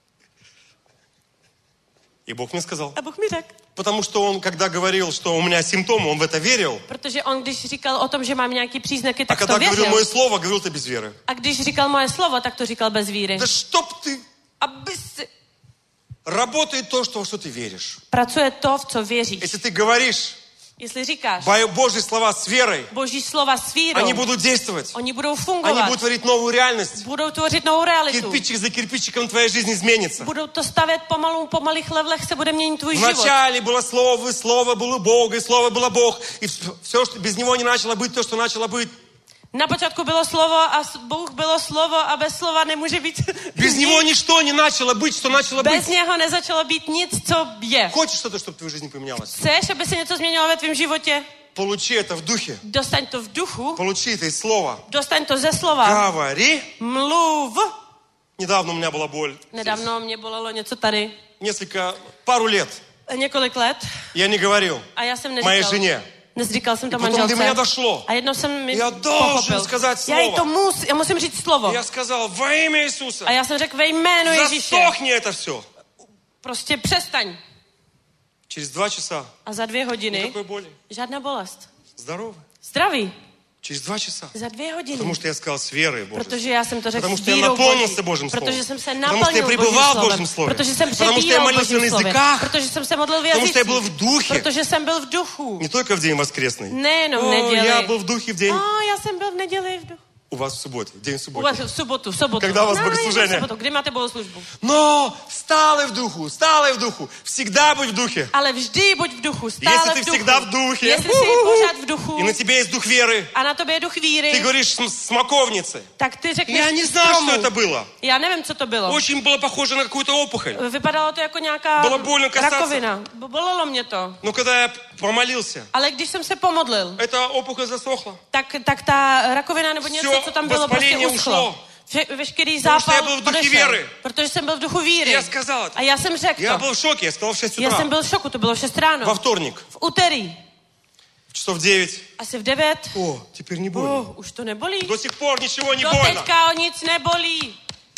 [SPEAKER 3] И Бог мне сказал.
[SPEAKER 4] A Bůh mi řekl.
[SPEAKER 3] Потому что он, когда говорил, что у меня симптомы, он в это верил.
[SPEAKER 4] Protože on, když říkal o tom, že mám nějaký příznaky,
[SPEAKER 3] А
[SPEAKER 4] tak
[SPEAKER 3] когда
[SPEAKER 4] to
[SPEAKER 3] говорил
[SPEAKER 4] věřil.
[SPEAKER 3] мое слово, говорил ты без веры.
[SPEAKER 4] A když říkal moje slovo, tak to říkal bez víry.
[SPEAKER 3] Да чтоб ты...
[SPEAKER 4] Aby si...
[SPEAKER 3] Работает то, что, во что ты веришь.
[SPEAKER 4] Pracuje to, v co věříš.
[SPEAKER 3] Если ты говоришь
[SPEAKER 4] Jestli říkáš
[SPEAKER 3] Божьи слова с верой,
[SPEAKER 4] Boží slova s vírou,
[SPEAKER 3] они будут действовать.
[SPEAKER 4] oni budou
[SPEAKER 3] Они
[SPEAKER 4] fungovat,
[SPEAKER 3] будут творить новую реальность.
[SPEAKER 4] budou tvořit novou realitu.
[SPEAKER 3] Кирпичик за кирпичиком твоя жизнь изменится.
[SPEAKER 4] Budou to stavět pomalu, po malých levelech se bude měnit tvůj život.
[SPEAKER 3] Вначале было Слово, и Слово было Бог, и Слово было Бог. И все, что без Него не начало быть, то, что начало быть.
[SPEAKER 4] Na počátku bylo slovo a s- Bůh bylo slovo a bez slova nemůže být
[SPEAKER 3] Без
[SPEAKER 4] nic.
[SPEAKER 3] Него ничто не начало быть, что начало
[SPEAKER 4] Bez
[SPEAKER 3] быть.
[SPEAKER 4] něho nezačalo být nic, co je.
[SPEAKER 3] Хочешь что-то, чтобы в твоей жизни поменялось?
[SPEAKER 4] Chceš, aby se něco změnilo ve tvém životě?
[SPEAKER 3] Получи это в духе.
[SPEAKER 4] Dostaň to v duchu,
[SPEAKER 3] Получи это из слова.
[SPEAKER 4] dostaň to ze slova.
[SPEAKER 3] Говори.
[SPEAKER 4] Mluv.
[SPEAKER 3] Недавно у меня была боль.
[SPEAKER 4] Nedávno mě bolelo něco tady.
[SPEAKER 3] Несколько, пару лет.
[SPEAKER 4] Několik let.
[SPEAKER 3] Я не говорил
[SPEAKER 4] A já jsem
[SPEAKER 3] моей
[SPEAKER 4] neříkal.
[SPEAKER 3] жене.
[SPEAKER 4] Neříkal jsem to
[SPEAKER 3] И потом до меня
[SPEAKER 4] manželce.
[SPEAKER 3] дошло.
[SPEAKER 4] A jednou jsem mi
[SPEAKER 3] Já должен
[SPEAKER 4] pochopil.
[SPEAKER 3] сказать
[SPEAKER 4] Já jí
[SPEAKER 3] slovo.
[SPEAKER 4] to mus, já musím říct slovo.
[SPEAKER 3] Я сказал: во имя Иисуса.
[SPEAKER 4] A já jsem řekl ve jménu Ježíše.
[SPEAKER 3] Засохни это все.
[SPEAKER 4] Prostě přestaň.
[SPEAKER 3] Через два часа.
[SPEAKER 4] A za dvě hodiny
[SPEAKER 3] Никакой боли.
[SPEAKER 4] žádná bolest.
[SPEAKER 3] Здорово.
[SPEAKER 4] Zdraví.
[SPEAKER 3] Через два часа.
[SPEAKER 4] Za dvě hodiny.
[SPEAKER 3] Потому что я сказал с верой Божьей.
[SPEAKER 4] Protože já jsem to řekl
[SPEAKER 3] Потому
[SPEAKER 4] s
[SPEAKER 3] что я
[SPEAKER 4] vírou
[SPEAKER 3] наполнился
[SPEAKER 4] Boží.
[SPEAKER 3] Божьим словом.
[SPEAKER 4] Protože jsem se
[SPEAKER 3] Потому что я
[SPEAKER 4] naplnil
[SPEAKER 3] пребывал в
[SPEAKER 4] Božím
[SPEAKER 3] Божьем слове.
[SPEAKER 4] Protože jsem
[SPEAKER 3] Потому что я
[SPEAKER 4] přebýval v
[SPEAKER 3] молился на
[SPEAKER 4] Božím slově.
[SPEAKER 3] языках.
[SPEAKER 4] Protože jsem se modlil v
[SPEAKER 3] Потому что я
[SPEAKER 4] jazycích.
[SPEAKER 3] был в духе.
[SPEAKER 4] Protože jsem byl v duchu.
[SPEAKER 3] Не только в день воскресный.
[SPEAKER 4] Nejenom v
[SPEAKER 3] О,
[SPEAKER 4] neděli.
[SPEAKER 3] я был в духе в день.
[SPEAKER 4] A já jsem byl v neděli v duchu.
[SPEAKER 3] У вас в субботе. В день
[SPEAKER 4] U
[SPEAKER 3] субботы.
[SPEAKER 4] vás v sobotu, v sobotu.
[SPEAKER 3] Когда у вас
[SPEAKER 4] No,
[SPEAKER 3] богослужение?
[SPEAKER 4] v sobotu. Kdy máte bohoslužbu?
[SPEAKER 3] Но stále в духу, stále в духу. Всегда будь в духе.
[SPEAKER 4] Ale vždy buď v duchu, stále
[SPEAKER 3] Если ты
[SPEAKER 4] v duchu.
[SPEAKER 3] всегда в духе,
[SPEAKER 4] Jestli jsi pořád v duchu
[SPEAKER 3] и на тебе есть дух веры,
[SPEAKER 4] a na tobě je duch
[SPEAKER 3] ты
[SPEAKER 4] víry,
[SPEAKER 3] говоришь см- смоковнице.
[SPEAKER 4] tak ty řekneš
[SPEAKER 3] Я не знаю,
[SPEAKER 4] stromu.
[SPEAKER 3] что это было.
[SPEAKER 4] Já nevím, co to bylo.
[SPEAKER 3] Очень было похоже на какую-то опухоль.
[SPEAKER 4] Vypadalo to jako nějaká
[SPEAKER 3] Bylo больно касаться.
[SPEAKER 4] rakovina. Bo- Bolelo mě to.
[SPEAKER 3] Но когда я помолился,
[SPEAKER 4] Ale když jsem se pomodlil,
[SPEAKER 3] эта опухоль засохла.
[SPEAKER 4] tak, tak ta rakovina nebo něco,
[SPEAKER 3] Всё
[SPEAKER 4] co tam bylo, prostě
[SPEAKER 3] воспаление
[SPEAKER 4] uschlo.
[SPEAKER 3] ушло.
[SPEAKER 4] Vše, veškerý
[SPEAKER 3] Потому что я
[SPEAKER 4] zápal
[SPEAKER 3] был в духе
[SPEAKER 4] odešel.
[SPEAKER 3] веры.
[SPEAKER 4] Protože jsem byl v duchu víry.
[SPEAKER 3] И я сказал это.
[SPEAKER 4] A já jsem řekl
[SPEAKER 3] Я
[SPEAKER 4] to.
[SPEAKER 3] был в шоке, я сказал в шесть
[SPEAKER 4] Já jsem
[SPEAKER 3] утра.
[SPEAKER 4] byl v šoku, to bylo v šest ráno.
[SPEAKER 3] Во вторник,
[SPEAKER 4] V úterý,
[SPEAKER 3] в часов девять.
[SPEAKER 4] asi v devět.
[SPEAKER 3] О, теперь не больно.
[SPEAKER 4] Oh, už to nebolí.
[SPEAKER 3] До сих пор ничего не
[SPEAKER 4] Do
[SPEAKER 3] больно.
[SPEAKER 4] teďka o nic nebolí.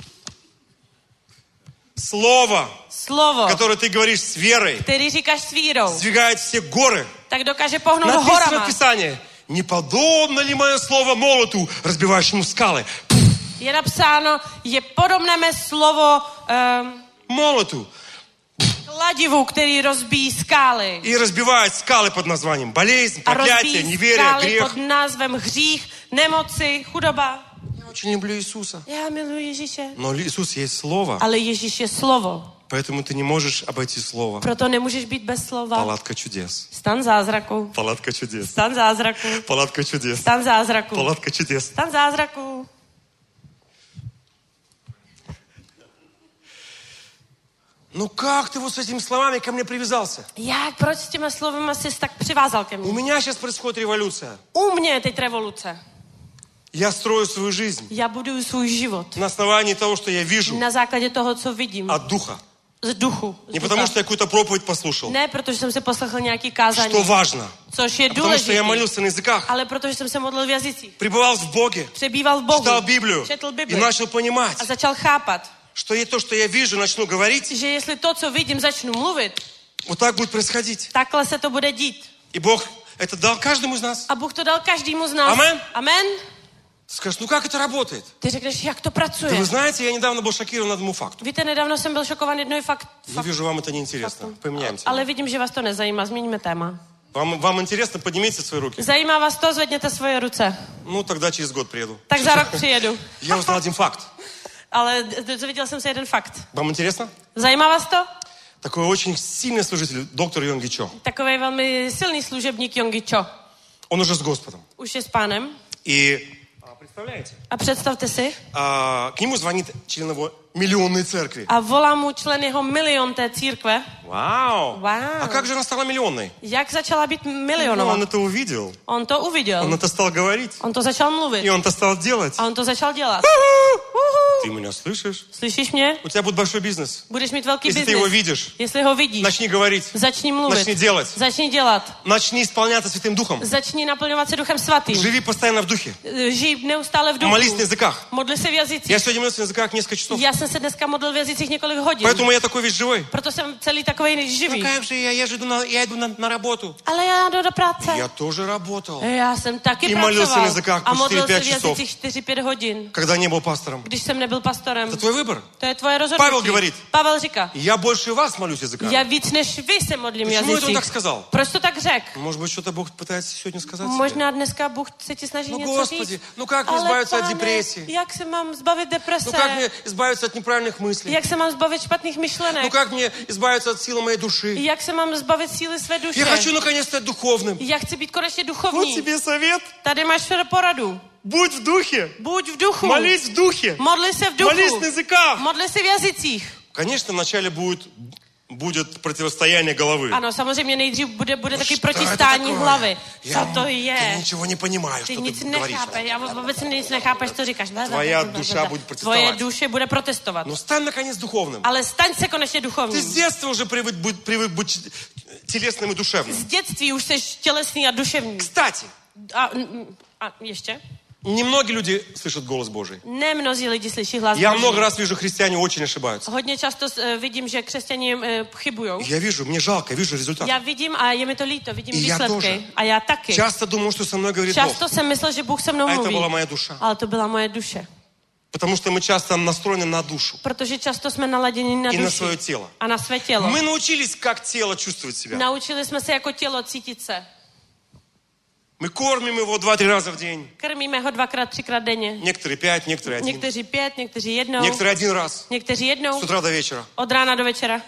[SPEAKER 3] Слово,
[SPEAKER 4] Slovo,
[SPEAKER 3] которое ты говоришь с верой,
[SPEAKER 4] který říkáš s vírou,
[SPEAKER 3] сдвигает все горы.
[SPEAKER 4] tak dokáže pohnout
[SPEAKER 3] Написано
[SPEAKER 4] horama.
[SPEAKER 3] в Писании: не подобно ли мое слово молоту, разбивающему скалы?
[SPEAKER 4] Je napsáno, je podobné mé slovo um,
[SPEAKER 3] молоту.
[SPEAKER 4] kladivu, který rozbíjí skály.
[SPEAKER 3] И разбивает скалы под названием болезнь,
[SPEAKER 4] A
[SPEAKER 3] проклятие,
[SPEAKER 4] rozbíjí
[SPEAKER 3] неверие,
[SPEAKER 4] skály
[SPEAKER 3] грех.
[SPEAKER 4] pod názvem hřích, nemoci, chudoba.
[SPEAKER 3] Я очень люблю Иисуса.
[SPEAKER 4] Já miluji Ježíše.
[SPEAKER 3] Но Иисус есть Слово,
[SPEAKER 4] Ale Ježíš je slovo.
[SPEAKER 3] поэтому ты не можешь обойти Слово.
[SPEAKER 4] Proto nemůžeš být bez slova.
[SPEAKER 3] Палатка чудес.
[SPEAKER 4] Stan zázraku.
[SPEAKER 3] Палатка чудес.
[SPEAKER 4] Stan zázraku.
[SPEAKER 3] Палатка чудес.
[SPEAKER 4] Stan zázraku.
[SPEAKER 3] Палатка чудес.
[SPEAKER 4] Stan zázraku.
[SPEAKER 3] Ну как ты вот с этими словами ко мне привязался?
[SPEAKER 4] Jak, proč s těma slovama jsi tak přivázal ke
[SPEAKER 3] У
[SPEAKER 4] mně?
[SPEAKER 3] меня сейчас происходит революция.
[SPEAKER 4] U mě je teď revoluce.
[SPEAKER 3] Я строю свою жизнь
[SPEAKER 4] Já buduju svůj život
[SPEAKER 3] на основании того, что я вижу
[SPEAKER 4] na základě toho, co vidím.
[SPEAKER 3] от Духа.
[SPEAKER 4] Z duchu. Z
[SPEAKER 3] Не
[SPEAKER 4] ducha.
[SPEAKER 3] потому, что я какую-то проповедь послушал.
[SPEAKER 4] Ne, protože jsem si poslechl nějaký kázání,
[SPEAKER 3] Что важно.
[SPEAKER 4] což je
[SPEAKER 3] А потому, что я
[SPEAKER 4] důležité,
[SPEAKER 3] молился на языках.
[SPEAKER 4] ale protože jsem se modlil v jazycích.
[SPEAKER 3] Пребывал в Боге.
[SPEAKER 4] Přebýval v Bohu.
[SPEAKER 3] Читал Библию.
[SPEAKER 4] Četl
[SPEAKER 3] И
[SPEAKER 4] Bibli.
[SPEAKER 3] начал понимать,
[SPEAKER 4] A začal chápat,
[SPEAKER 3] что и то, что я вижу, начну говорить,
[SPEAKER 4] že jestli to, co vidím, začnu mluvit,
[SPEAKER 3] вот так будет происходить.
[SPEAKER 4] takhle se to bude dít.
[SPEAKER 3] И Бог это дал каждому из нас.
[SPEAKER 4] A Bůh to dal každému z nás.
[SPEAKER 3] Amen.
[SPEAKER 4] Amen.
[SPEAKER 3] Ты skажешь, ну как это работает?
[SPEAKER 4] Ty řekneš, jak to
[SPEAKER 3] Да
[SPEAKER 4] pracuje.
[SPEAKER 3] вы знаете, я недавно был шокирован одному факту.
[SPEAKER 4] Víte, nedávno jsem byl šokovaný jednou fakt,
[SPEAKER 3] Я
[SPEAKER 4] fakt
[SPEAKER 3] вижу, вам это неинтересно. Поменяемся.
[SPEAKER 4] ale vidím, že vás to nezajímá. Změníme téma.
[SPEAKER 3] Vám, vám интересно? Поднимите свои руки.
[SPEAKER 4] Zajímá vás to? Zvedněte svoje ruce.
[SPEAKER 3] Ну, тогда через год приеду.
[SPEAKER 4] Tak za rok přijedu.
[SPEAKER 3] Я узнал один факт.
[SPEAKER 4] Ale dozvěděl jsem se jeden fakt.
[SPEAKER 3] Вам интересно?
[SPEAKER 4] Zajímá vás to?
[SPEAKER 3] Такой очень сильный служитель, доктор Йонги Чо.
[SPEAKER 4] Takový velmi silný služebník Yonggi Cho.
[SPEAKER 3] Он уже с Господом.
[SPEAKER 4] Už je s pánem.
[SPEAKER 3] И а, представляете,
[SPEAKER 4] A představte si.
[SPEAKER 3] а, к нему звонит член его миллионной церкви.
[SPEAKER 4] A volá mu člen jeho milion té církve.
[SPEAKER 3] Вау!
[SPEAKER 4] Wow.
[SPEAKER 3] А как же она стала миллионной?
[SPEAKER 4] Jak začala být
[SPEAKER 3] Ну,
[SPEAKER 4] milionová?
[SPEAKER 3] он это увидел.
[SPEAKER 4] On to uviděl.
[SPEAKER 3] Он это стал говорить.
[SPEAKER 4] On to začal mluvit.
[SPEAKER 3] И он это стал делать.
[SPEAKER 4] A on to začal dělat.
[SPEAKER 3] Ты меня слышишь?
[SPEAKER 4] Slyšíš mě?
[SPEAKER 3] У тебя будет большой бизнес.
[SPEAKER 4] Budeš mít velký
[SPEAKER 3] Если ты его
[SPEAKER 4] biznis.
[SPEAKER 3] видишь,
[SPEAKER 4] Jestli ho vidíš,
[SPEAKER 3] начни говорить.
[SPEAKER 4] začni mluvit.
[SPEAKER 3] Начни делать.
[SPEAKER 4] Začni dělat.
[SPEAKER 3] Начни исполняться Святым Духом.
[SPEAKER 4] Začni naplňovat se Duchem Svatým.
[SPEAKER 3] Живи постоянно в Духе.
[SPEAKER 4] Žij neustále v duchu.
[SPEAKER 3] Молись на языках.
[SPEAKER 4] Modli se v jazycích.
[SPEAKER 3] Я сегодня молился на языках несколько часов.
[SPEAKER 4] Já jsem se dneska modlil v jazycích několik hodin.
[SPEAKER 3] Поэтому я такой весь живой.
[SPEAKER 4] Proto jsem celý takovej živý.
[SPEAKER 3] Ну как же я, я же иду на, я иду на, на работу.
[SPEAKER 4] Ale já jdu do práce.
[SPEAKER 3] Я тоже работал.
[SPEAKER 4] Já jsem taky
[SPEAKER 3] I молился
[SPEAKER 4] pracoval.
[SPEAKER 3] на языках
[SPEAKER 4] A
[SPEAKER 3] po
[SPEAKER 4] modlil se v
[SPEAKER 3] čtyři pět časov.
[SPEAKER 4] jazycích čtyři pět hodin.
[SPEAKER 3] Когда не был пастором.
[SPEAKER 4] Když jsem nebyl pastorem.
[SPEAKER 3] Это твой выбор.
[SPEAKER 4] To je tvoje rozhodnutí.
[SPEAKER 3] Pavel говорит.
[SPEAKER 4] Pavel říká.
[SPEAKER 3] Я больше вас молюсь языками.
[SPEAKER 4] Já víc než vy se modlím v
[SPEAKER 3] Почему это он
[SPEAKER 4] jazycích.
[SPEAKER 3] так сказал?
[SPEAKER 4] Proč to tak řekl?
[SPEAKER 3] Может быть, что-то Бог пытается сегодня сказать тебе?
[SPEAKER 4] Možná dneska Bůh se ti snaží
[SPEAKER 3] Ну,
[SPEAKER 4] něco
[SPEAKER 3] Господи,
[SPEAKER 4] říct.
[SPEAKER 3] ну как мне
[SPEAKER 4] Ale
[SPEAKER 3] избавиться от
[SPEAKER 4] pane,
[SPEAKER 3] депрессии?
[SPEAKER 4] jak se mám zbavit deprese?
[SPEAKER 3] Ну как мне избавиться от неправильных мыслей?
[SPEAKER 4] Jak se mám zbavit špatných myšlenek?
[SPEAKER 3] Ну как мне избавиться от силы моей души?
[SPEAKER 4] Jak se mám zbavit síly své duše?
[SPEAKER 3] Я хочу наконец стать духовным.
[SPEAKER 4] Já chci být konečně
[SPEAKER 3] Вот
[SPEAKER 4] duchovní.
[SPEAKER 3] тебе совет.
[SPEAKER 4] Tady máš poradu.
[SPEAKER 3] Будь в духе.
[SPEAKER 4] Buď v duchu.
[SPEAKER 3] Молись в духе.
[SPEAKER 4] Modli se v duchu.
[SPEAKER 3] Молись на языках.
[SPEAKER 4] Modli se v jazycích.
[SPEAKER 3] Конечно, вначале будет, будет противостояние головы.
[SPEAKER 4] Ano, samozřejmě nejdřív bude, bude
[SPEAKER 3] Ну,
[SPEAKER 4] taky
[SPEAKER 3] что это
[SPEAKER 4] protistání
[SPEAKER 3] такое?
[SPEAKER 4] hlavy.
[SPEAKER 3] Я
[SPEAKER 4] Co to je?
[SPEAKER 3] ты ничего не понимаю,
[SPEAKER 4] Ty
[SPEAKER 3] что
[SPEAKER 4] nic
[SPEAKER 3] ты говоришь.
[SPEAKER 4] nechápeš, já vůbec nic nechápeš, co říkáš.
[SPEAKER 3] Tvoje duša bude protestovat.
[SPEAKER 4] Tvoje duše bude protestovat.
[SPEAKER 3] Но стань наконец духовным.
[SPEAKER 4] Ale staň se konečně
[SPEAKER 3] Ты
[SPEAKER 4] duchovním.
[SPEAKER 3] с детства уже привык быть, привык быть телесным и душевным.
[SPEAKER 4] Z dětství už jsi tělesný a duševní.
[SPEAKER 3] Кстати,
[SPEAKER 4] A, mm, a ještě?
[SPEAKER 3] немногие люди слышат голос Божий.
[SPEAKER 4] Ne mnozí lidi slyší hlas
[SPEAKER 3] Я
[SPEAKER 4] Boží.
[SPEAKER 3] много раз вижу, христиане очень ошибаются.
[SPEAKER 4] Hodně často uh, vidím, že křesťané uh, chybujou.
[SPEAKER 3] Я вижу, мне жалко, я вижу результат.
[SPEAKER 4] Já vidím a je mi to líto, vidím
[SPEAKER 3] I já
[SPEAKER 4] výsledky.
[SPEAKER 3] тоже.
[SPEAKER 4] A já taky.
[SPEAKER 3] Часто думал, что со мной говорит Бог.
[SPEAKER 4] Často jsem myslel, že Bůh se mnou
[SPEAKER 3] А это
[SPEAKER 4] mluví.
[SPEAKER 3] была моя душа.
[SPEAKER 4] Ale to byla moje duše.
[SPEAKER 3] Потому что мы часто настроены на душу
[SPEAKER 4] Protože často jsme naladěni na
[SPEAKER 3] и на
[SPEAKER 4] duši
[SPEAKER 3] свое тело.
[SPEAKER 4] a na své tělo.
[SPEAKER 3] Мы научились, как тело чувствовать себя.
[SPEAKER 4] Naučili jsme se jako tělo cítit se.
[SPEAKER 3] Мы кормим его два-три раза в день.
[SPEAKER 4] Krmíme ho dvakrát, třikrát denně.
[SPEAKER 3] Некоторые пять, некоторые один.
[SPEAKER 4] Někteří pět, někteří jednou.
[SPEAKER 3] Некоторые один раз.
[SPEAKER 4] Někteří jednou.
[SPEAKER 3] С утра до вечера.
[SPEAKER 4] Od rána do večera.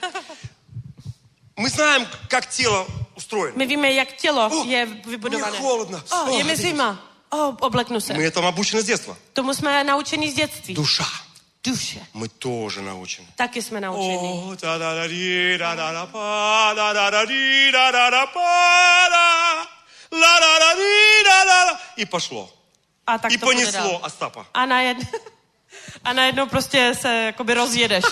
[SPEAKER 3] Мы знаем, как тело устроено.
[SPEAKER 4] My víme, jak tělo
[SPEAKER 3] О,
[SPEAKER 4] je
[SPEAKER 3] мне
[SPEAKER 4] vybudované.
[SPEAKER 3] холодно.
[SPEAKER 4] O,
[SPEAKER 3] О,
[SPEAKER 4] je mi zima. O, obleknu se.
[SPEAKER 3] Мы этому обучены с детства.
[SPEAKER 4] Tomu jsme naučeni z dětství.
[SPEAKER 3] Душа.
[SPEAKER 4] Duše.
[SPEAKER 3] Мы тоже научены.
[SPEAKER 4] Taky jsme naučeni.
[SPEAKER 3] О, та-да-да-ди, да-да-да-па, да-да-да-ди, да-да-да-па, да. Ла-да-да-ди, да-да-да. И пошло.
[SPEAKER 4] A tak
[SPEAKER 3] И
[SPEAKER 4] to bude dál.
[SPEAKER 3] понесло Остапа.
[SPEAKER 4] A najednou, a najednou prostě se jakoby rozjedeš.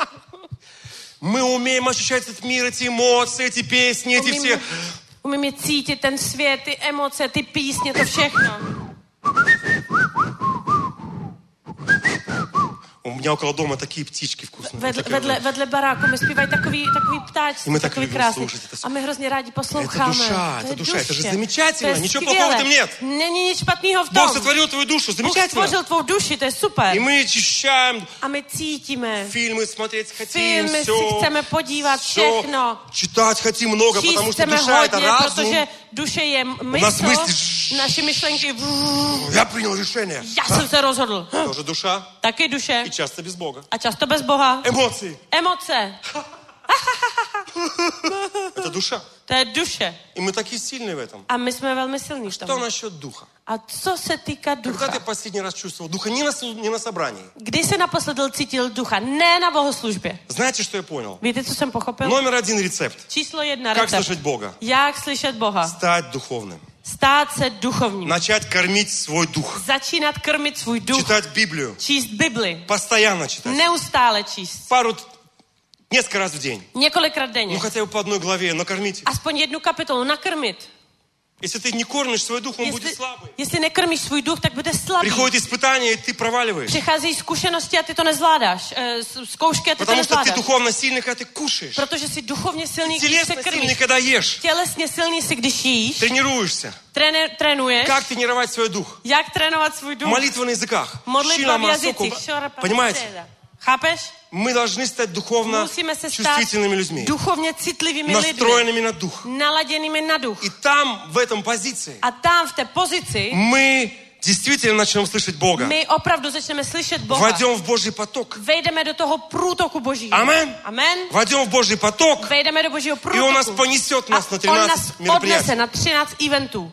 [SPEAKER 3] Мы умеем ощущать этот мир, эти эмоции, эти песни, эти все...
[SPEAKER 4] Umíme cítit ten svět, ty emoce, ty písně, to všechno.
[SPEAKER 3] меня около дома такие птички вкусные.
[SPEAKER 4] Vedle,
[SPEAKER 3] такие
[SPEAKER 4] vedle,
[SPEAKER 3] вот.
[SPEAKER 4] vedle baráku mi zpívají takový, takový
[SPEAKER 3] I
[SPEAKER 4] ptáčci,
[SPEAKER 3] my tak
[SPEAKER 4] takový
[SPEAKER 3] любим
[SPEAKER 4] krásný.
[SPEAKER 3] слушать это всё.
[SPEAKER 4] A my hrozně rádi posloucháme.
[SPEAKER 3] Это душа,
[SPEAKER 4] To
[SPEAKER 3] это
[SPEAKER 4] je
[SPEAKER 3] душа, это же
[SPEAKER 4] duše.
[SPEAKER 3] замечательно,
[SPEAKER 4] To je
[SPEAKER 3] ничего
[SPEAKER 4] skvělé.
[SPEAKER 3] плохого в этом нет.
[SPEAKER 4] Není nic špatného v
[SPEAKER 3] Бог
[SPEAKER 4] tom.
[SPEAKER 3] сотворил твою душу,
[SPEAKER 4] Bůh
[SPEAKER 3] замечательно.
[SPEAKER 4] stvořil tvou duši, to je super.
[SPEAKER 3] И мы ощущаем,
[SPEAKER 4] A my cítíme.
[SPEAKER 3] фильмы смотреть хотим,
[SPEAKER 4] Filmy si
[SPEAKER 3] все,
[SPEAKER 4] chceme podívat, všechno.
[SPEAKER 3] читать хотим много,
[SPEAKER 4] Číst
[SPEAKER 3] потому что
[SPEAKER 4] chceme
[SPEAKER 3] душа это
[SPEAKER 4] hodně,
[SPEAKER 3] разум.
[SPEAKER 4] protože duše je
[SPEAKER 3] nás
[SPEAKER 4] mysl,
[SPEAKER 3] mysli-
[SPEAKER 4] naše myšlenky.
[SPEAKER 3] Я принял решение.
[SPEAKER 4] Já jsem se rozhodl.
[SPEAKER 3] Тоже душа
[SPEAKER 4] Taky duše.
[SPEAKER 3] и часто без Бога.
[SPEAKER 4] A často bez Boha.
[SPEAKER 3] Эмоции.
[SPEAKER 4] Emoce.
[SPEAKER 3] Это душа.
[SPEAKER 4] To je duše.
[SPEAKER 3] И мы такие сильные в этом.
[SPEAKER 4] A my jsme velmi silní v
[SPEAKER 3] Что
[SPEAKER 4] tom.
[SPEAKER 3] насчет духа?
[SPEAKER 4] A co se týká
[SPEAKER 3] Когда
[SPEAKER 4] ducha?
[SPEAKER 3] ты последний раз чувствовал духа не на, су- не на собрании?
[SPEAKER 4] Kdy jsi naposledy cítil ducha? Ne na bohoslužbě.
[SPEAKER 3] Знаете, что я понял?
[SPEAKER 4] Víte, co jsem pochopil?
[SPEAKER 3] Номер один рецепт.
[SPEAKER 4] Číslo jedna
[SPEAKER 3] Как
[SPEAKER 4] recept.
[SPEAKER 3] слышать Бога?
[SPEAKER 4] Jak slyšet Boha?
[SPEAKER 3] Стать духовным.
[SPEAKER 4] Stát se duchovním.
[SPEAKER 3] Начать кормить свой дух.
[SPEAKER 4] Začínat krmit svůj duch.
[SPEAKER 3] Читать Библию.
[SPEAKER 4] Číst Bibli.
[SPEAKER 3] Постоянно читать.
[SPEAKER 4] Neustále číst.
[SPEAKER 3] Пару, несколько раз в день.
[SPEAKER 4] Několikrát
[SPEAKER 3] Ну,
[SPEAKER 4] denně.
[SPEAKER 3] хотя бы по одной главе, накормите.
[SPEAKER 4] Aspoň jednu kapitolu nakrmit.
[SPEAKER 3] Если ты не кормишь свой дух, он будет
[SPEAKER 4] Jestli,
[SPEAKER 3] слабый.
[SPEAKER 4] jestli nekrmíš svůj duch, tak bude slabý.
[SPEAKER 3] Приходит испытание, и ты проваливаешь.
[SPEAKER 4] Přicházejí zkušenosti a ty to nezvládáš. Eh, Zkoušky a ty to
[SPEAKER 3] Потому что ты
[SPEAKER 4] nezvládáš.
[SPEAKER 3] духовно сильный, когда ты кушаешь.
[SPEAKER 4] Protože jsi duchovně silný, když se
[SPEAKER 3] Телесно сильный,
[SPEAKER 4] krmíš.
[SPEAKER 3] когда ешь.
[SPEAKER 4] Tělesně silný si, když jíš.
[SPEAKER 3] Тренируешься.
[SPEAKER 4] Tréne, trénuješ.
[SPEAKER 3] Как тренировать свой дух?
[SPEAKER 4] Jak trénovat svůj duch?
[SPEAKER 3] Молитва на языках.
[SPEAKER 4] Modlitba v
[SPEAKER 3] Шила
[SPEAKER 4] jazycích.
[SPEAKER 3] масоку.
[SPEAKER 4] Šorapa,
[SPEAKER 3] Понимаете?
[SPEAKER 4] teda. Chápeš?
[SPEAKER 3] Мы должны стать духовно
[SPEAKER 4] Musíme se stát
[SPEAKER 3] чувствительными людьми.
[SPEAKER 4] duchovně citlivými lidmi.
[SPEAKER 3] Настроенными на дух.
[SPEAKER 4] Naladěnými na duch.
[SPEAKER 3] И там, в этом позиции,
[SPEAKER 4] A tam v té pozici
[SPEAKER 3] мы действительно начнем слышать Бога.
[SPEAKER 4] my opravdu začneme slyšet Boha.
[SPEAKER 3] Войдем в Божий поток.
[SPEAKER 4] Vejdeme do toho průtoku Božího.
[SPEAKER 3] Amen.
[SPEAKER 4] Amen.
[SPEAKER 3] Войдем в Божий поток.
[SPEAKER 4] Vejdeme do Božího
[SPEAKER 3] И Он нас
[SPEAKER 4] průtoku.
[SPEAKER 3] понесет
[SPEAKER 4] A
[SPEAKER 3] нас на
[SPEAKER 4] on
[SPEAKER 3] тринадцать
[SPEAKER 4] nás odnese
[SPEAKER 3] мероприятий.
[SPEAKER 4] na třináct eventů.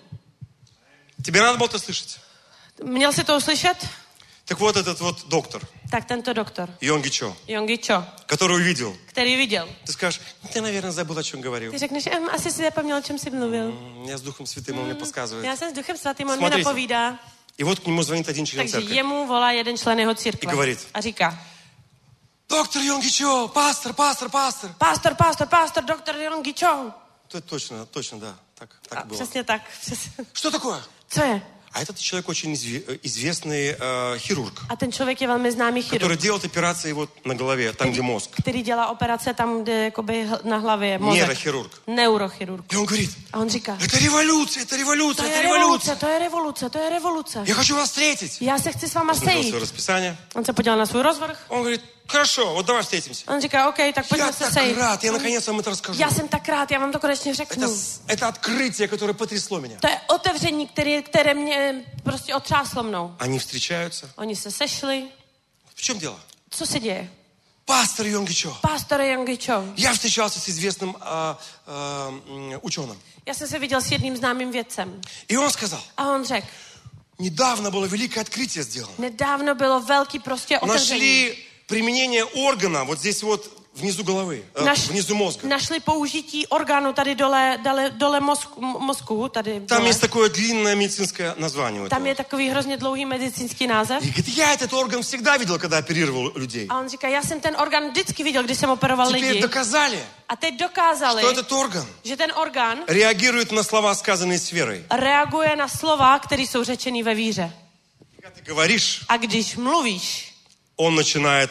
[SPEAKER 3] Тебе надо было это слышать?
[SPEAKER 4] Měl jsi to uslyšet?
[SPEAKER 3] Так вот этот вот доктор,
[SPEAKER 4] Tak tento doktor,
[SPEAKER 3] Йонги Чо,
[SPEAKER 4] Yonggi Cho,
[SPEAKER 3] который увидел.
[SPEAKER 4] který viděl.
[SPEAKER 3] Ты скажешь, ты, наверное, забыл, о чем говорил.
[SPEAKER 4] Ty řekneš, ehm, asi si zapomněl, o čem jsi mluvil.
[SPEAKER 3] Я с Духом Святым, он мне подсказывает.
[SPEAKER 4] Já jsem s Duchem Svatým, on mi
[SPEAKER 3] Смотрите.
[SPEAKER 4] napovídá.
[SPEAKER 3] И вот к нему звонит один член
[SPEAKER 4] Takže
[SPEAKER 3] церкви.
[SPEAKER 4] jemu volá jeden člen jeho církve.
[SPEAKER 3] I говорит.
[SPEAKER 4] A říká,
[SPEAKER 3] Доктор Йонги Чо, пастор, пастор, пастор.
[SPEAKER 4] pastor, pastor, pastor, doktor Yonggi Cho.
[SPEAKER 3] Это точно, точно, да, так,
[SPEAKER 4] A
[SPEAKER 3] так было.
[SPEAKER 4] přesně tak. Přesně.
[SPEAKER 3] Что такое?
[SPEAKER 4] Co je?
[SPEAKER 3] А этот человек очень изве- известный э, хирург,
[SPEAKER 4] A ten člověk je velmi známý chirurg,
[SPEAKER 3] который делает операции вот на голове, tam, где мозг.
[SPEAKER 4] který dělá operace tam, kde jakoby hl- na hlavě je mozek.
[SPEAKER 3] Нейрохирург.
[SPEAKER 4] Neurochirurg.
[SPEAKER 3] И он говорит,
[SPEAKER 4] A on říká,
[SPEAKER 3] это революция, это
[SPEAKER 4] to
[SPEAKER 3] революция, это
[SPEAKER 4] je
[SPEAKER 3] революция.
[SPEAKER 4] revoluce, to je revoluce, to je revoluce.
[SPEAKER 3] Я хочу вас встретить.
[SPEAKER 4] Já se chci s váma
[SPEAKER 3] Посмотрел
[SPEAKER 4] sejít.
[SPEAKER 3] свое расписание.
[SPEAKER 4] On se podíval na svůj rozvrh.
[SPEAKER 3] Он говорит, хорошо, вот давай встретимся.
[SPEAKER 4] On říká, OK, tak pojďme
[SPEAKER 3] Я
[SPEAKER 4] se
[SPEAKER 3] так
[SPEAKER 4] sejít.
[SPEAKER 3] рад, я наконец вам это расскажу.
[SPEAKER 4] Já jsem tak rád, já vám to konečně
[SPEAKER 3] Это,
[SPEAKER 4] řeknu.
[SPEAKER 3] с- это открытие, которое потрясло меня.
[SPEAKER 4] To je otevření, které, které mě prostě otřáslo mnou.
[SPEAKER 3] Они встречаются.
[SPEAKER 4] Oni se sešli.
[SPEAKER 3] В чем дело?
[SPEAKER 4] Co se děje?
[SPEAKER 3] Пастор Йонги Чо.
[SPEAKER 4] Pastor Yonggi Cho.
[SPEAKER 3] Я встречался с известным а, а, м, ученым.
[SPEAKER 4] Já jsem se viděl s jedním známým vědcem.
[SPEAKER 3] И он сказал,
[SPEAKER 4] A on řekl,
[SPEAKER 3] недавно было великое открытие сделано.
[SPEAKER 4] nedávno bylo velký prostě otevření.
[SPEAKER 3] Нашли применение органа вот здесь вот внизу головы, э,
[SPEAKER 4] Naš,
[SPEAKER 3] внизу мозга.
[SPEAKER 4] našli použití orgánu tady dole, dole, dole mozku, mozku tady
[SPEAKER 3] Там
[SPEAKER 4] dole.
[SPEAKER 3] есть такое длинное медицинское название у
[SPEAKER 4] Tam
[SPEAKER 3] этого.
[SPEAKER 4] je takový hrozně dlouhý medicínský název.
[SPEAKER 3] И говорит, я этот орган всегда видел, когда оперировал людей.
[SPEAKER 4] A on říká, já jsem ten orgán vždycky viděl, když jsem operoval
[SPEAKER 3] Теперь
[SPEAKER 4] lidi.
[SPEAKER 3] доказали,
[SPEAKER 4] A teď dokázali,
[SPEAKER 3] что этот орган
[SPEAKER 4] že ten orgán
[SPEAKER 3] реагирует на слова, сказанные с верой.
[SPEAKER 4] reaguje na slova, které jsou řečený ve víře.
[SPEAKER 3] Когда ты говоришь,
[SPEAKER 4] A když mluvíš,
[SPEAKER 3] он начинает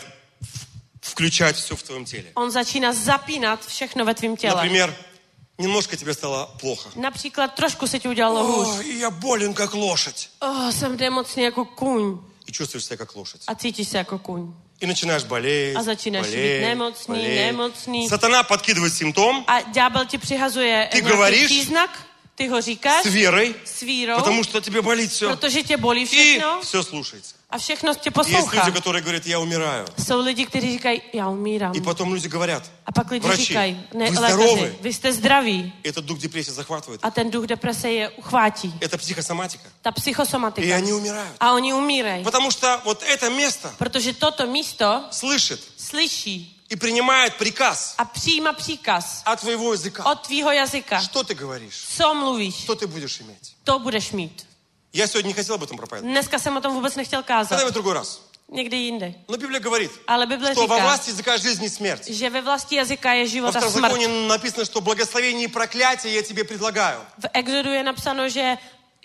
[SPEAKER 3] в- включать все в твоем теле.
[SPEAKER 4] on začíná zapínat všechno ve tvém těle.
[SPEAKER 3] Например, немножко тебе стало плохо.
[SPEAKER 4] Například trošku se ti udělalo hůř.
[SPEAKER 3] О, и я болен, как лошадь.
[SPEAKER 4] Oh, jsem nemocný jako kůň.
[SPEAKER 3] И чувствуешь себя как лошадь.
[SPEAKER 4] A cítíš se jako kůň.
[SPEAKER 3] И начинаешь болеть,
[SPEAKER 4] А začínáš
[SPEAKER 3] болеть,
[SPEAKER 4] být nemocný,
[SPEAKER 3] болеть.
[SPEAKER 4] nemocný.
[SPEAKER 3] Сатана подкидывает симптом
[SPEAKER 4] A ďábel ti přihazuje
[SPEAKER 3] Ty
[SPEAKER 4] nějaký
[SPEAKER 3] говоришь
[SPEAKER 4] příznak, ty ho říkáš
[SPEAKER 3] с верой,
[SPEAKER 4] s vírou,
[SPEAKER 3] потому что тебе болит все.
[SPEAKER 4] protože tě bolí
[SPEAKER 3] И
[SPEAKER 4] všechno
[SPEAKER 3] все слушается.
[SPEAKER 4] a všechno tě
[SPEAKER 3] Есть
[SPEAKER 4] poslouchá.
[SPEAKER 3] люди, которые говорят, я умираю.
[SPEAKER 4] Jsou lidi, kteří říkají, já umírám.
[SPEAKER 3] И потом люди говорят,
[SPEAKER 4] A pak lidi
[SPEAKER 3] врачи,
[SPEAKER 4] říkají, ne,
[SPEAKER 3] вы
[SPEAKER 4] lékaři,
[SPEAKER 3] здоровы.
[SPEAKER 4] vy jste zdraví.
[SPEAKER 3] Этот дух депрессии захватывает.
[SPEAKER 4] A ten duch deprese je uchvátí.
[SPEAKER 3] Это психосоматика.
[SPEAKER 4] Ta
[SPEAKER 3] И
[SPEAKER 4] psychosomatika.
[SPEAKER 3] они умирают.
[SPEAKER 4] A oni umírají.
[SPEAKER 3] Потому что вот это место
[SPEAKER 4] Protože toto místo
[SPEAKER 3] слышит
[SPEAKER 4] slyší
[SPEAKER 3] и принимает приказ
[SPEAKER 4] a přijímá příkaz
[SPEAKER 3] от твоего языка.
[SPEAKER 4] od tvýho jazyka.
[SPEAKER 3] Что ты говоришь?
[SPEAKER 4] Co mluvíš,
[SPEAKER 3] Что ты будешь иметь?
[SPEAKER 4] to budeš mít.
[SPEAKER 3] Я сегодня не хотел об этом проповедовать.
[SPEAKER 4] Dneska jsem o tom vůbec nechtěl kázat.
[SPEAKER 3] Давай в другой раз.
[SPEAKER 4] Někdy jindy.
[SPEAKER 3] Но Библия говорит,
[SPEAKER 4] Ale Bible
[SPEAKER 3] что во
[SPEAKER 4] říká,
[SPEAKER 3] власти языка жизнь и смерть.
[SPEAKER 4] že ve vlasti jazyka je
[SPEAKER 3] Во
[SPEAKER 4] život a smrt.
[SPEAKER 3] Второзаконии написано, что благословение и проклятие я тебе предлагаю.
[SPEAKER 4] V Exodu je napsáno, že,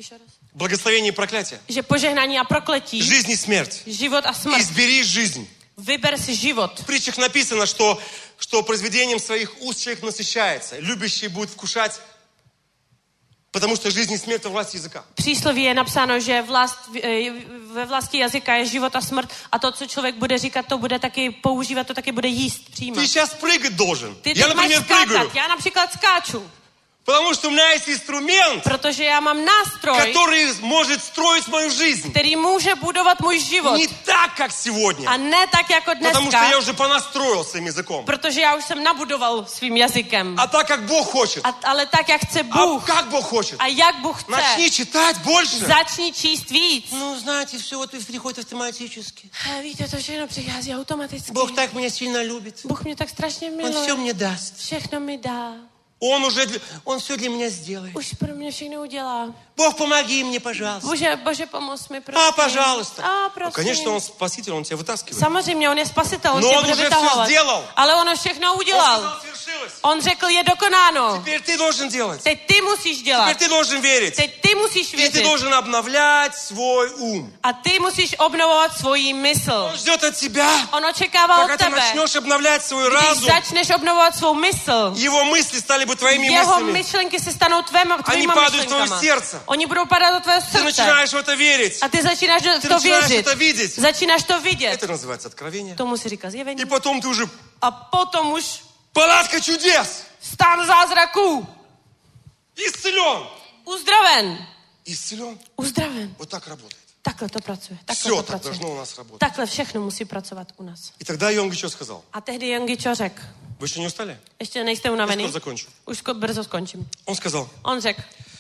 [SPEAKER 3] Благословение и проклятие.
[SPEAKER 4] že požehnání a prokletí,
[SPEAKER 3] Жизнь и смерть.
[SPEAKER 4] život a smrt.
[SPEAKER 3] Избери жизнь.
[SPEAKER 4] Vyber si život.
[SPEAKER 3] В притчах написано, что, что произведением своих уст человек насыщается. Любящий будет вкушать, потому что жизнь и смерть во власти языка.
[SPEAKER 4] Přísloví je napsáno, že vlast, ve vlasti jazyka je život a smrt a to, co člověk bude říkat, to bude taky používat, to taky bude jíst, přijímat.
[SPEAKER 3] Ты сейчас прыгать должен.
[SPEAKER 4] Ty
[SPEAKER 3] Я,
[SPEAKER 4] teď máš
[SPEAKER 3] например, прыгаю.
[SPEAKER 4] skákat. Já například skáču.
[SPEAKER 3] Потому что у меня есть инструмент,
[SPEAKER 4] Protože já mám nástroj,
[SPEAKER 3] который может stроить мою жизнь.
[SPEAKER 4] který může budovat můj život.
[SPEAKER 3] Не так, как сегодня.
[SPEAKER 4] A ne tak jako
[SPEAKER 3] Потому что
[SPEAKER 4] dneska,
[SPEAKER 3] я уже понастроил своим языком.
[SPEAKER 4] protože já už jsem nabudoval svým jazykem.
[SPEAKER 3] А так, как Бог хочет.
[SPEAKER 4] A, ale tak, jak chce
[SPEAKER 3] А
[SPEAKER 4] Bůh.
[SPEAKER 3] как Бог хочет.
[SPEAKER 4] A jak Bůh chce.
[SPEAKER 3] Начни читать больше.
[SPEAKER 4] Začni číst víc.
[SPEAKER 3] Ну, знаете, все вот приходит автоматически.
[SPEAKER 4] A víte, to všechno přichází automaticky.
[SPEAKER 3] Бог так меня сильно любит.
[SPEAKER 4] Bůh mě tak strašně
[SPEAKER 3] Он все
[SPEAKER 4] miluje.
[SPEAKER 3] мне даст.
[SPEAKER 4] Všechno mi dá.
[SPEAKER 3] Он уже, для- Он все для меня сделает.
[SPEAKER 4] Už pro mě všechno udělá.
[SPEAKER 3] Бог, помоги мне, пожалуйста.
[SPEAKER 4] Bože, Bože, pomoz mi, prosím.
[SPEAKER 3] А, пожалуйста.
[SPEAKER 4] A,
[SPEAKER 3] Ну,
[SPEAKER 4] prosím.
[SPEAKER 3] конечно, Он спаситель, Он тебя вытаскивает.
[SPEAKER 4] Samozřejmě, on je spasitel, on
[SPEAKER 3] No,
[SPEAKER 4] tě
[SPEAKER 3] on
[SPEAKER 4] bude
[SPEAKER 3] už
[SPEAKER 4] vytahovat.
[SPEAKER 3] vše сделал.
[SPEAKER 4] Ale on už všechno
[SPEAKER 3] Он
[SPEAKER 4] udělal.
[SPEAKER 3] сказал, свершилось.
[SPEAKER 4] On řekl, je dokonáno.
[SPEAKER 3] Теперь ты должен делать.
[SPEAKER 4] Teď ty musíš dělat.
[SPEAKER 3] Теперь ты должен верить.
[SPEAKER 4] Teď ty musíš
[SPEAKER 3] И ты
[SPEAKER 4] věřit.
[SPEAKER 3] должен обновлять свой ум.
[SPEAKER 4] A ty musíš obnovovat svoji mysl.
[SPEAKER 3] Он ждет от тебя,
[SPEAKER 4] On očekává
[SPEAKER 3] пока
[SPEAKER 4] od
[SPEAKER 3] ты
[SPEAKER 4] tebe.
[SPEAKER 3] начнешь обновлять свой
[SPEAKER 4] Když
[SPEAKER 3] разум,
[SPEAKER 4] začneš obnovovat svou mysl,
[SPEAKER 3] его мысли стали бы твоими
[SPEAKER 4] jeho
[SPEAKER 3] мыслями.
[SPEAKER 4] myšlenky se stanou tvéma, tvýma
[SPEAKER 3] падают в твое
[SPEAKER 4] myšlenkama.
[SPEAKER 3] сердце.
[SPEAKER 4] Oni budou padat do tvého
[SPEAKER 3] Ты
[SPEAKER 4] srdce.
[SPEAKER 3] начинаешь в это верить.
[SPEAKER 4] A ty začínáš do-
[SPEAKER 3] Ты
[SPEAKER 4] to
[SPEAKER 3] начинаешь
[SPEAKER 4] věřit.
[SPEAKER 3] это видеть.
[SPEAKER 4] Začínáš to vidět.
[SPEAKER 3] Это называется откровение.
[SPEAKER 4] Tomu se říká zjevení.
[SPEAKER 3] И потом ты уже
[SPEAKER 4] A potom už
[SPEAKER 3] палатка чудес.
[SPEAKER 4] stán zázraků.
[SPEAKER 3] Исцелен.
[SPEAKER 4] Uzdraven.
[SPEAKER 3] Исцелен.
[SPEAKER 4] Uzdraven.
[SPEAKER 3] Вот так работает.
[SPEAKER 4] Takhle to pracuje. Takhle
[SPEAKER 3] Все
[SPEAKER 4] to
[SPEAKER 3] так
[SPEAKER 4] pracuje.
[SPEAKER 3] должно у нас работать.
[SPEAKER 4] Takhle všechno musí pracovat u nás.
[SPEAKER 3] И тогда Йонги что сказал?
[SPEAKER 4] A tehdy Jongičo řekl,
[SPEAKER 3] Вы еще не устали?
[SPEAKER 4] ještě nejste
[SPEAKER 3] Я
[SPEAKER 4] unavený,
[SPEAKER 3] скоро закончу.
[SPEAKER 4] už ko- brzo skončím.
[SPEAKER 3] Он сказал,
[SPEAKER 4] On řekl,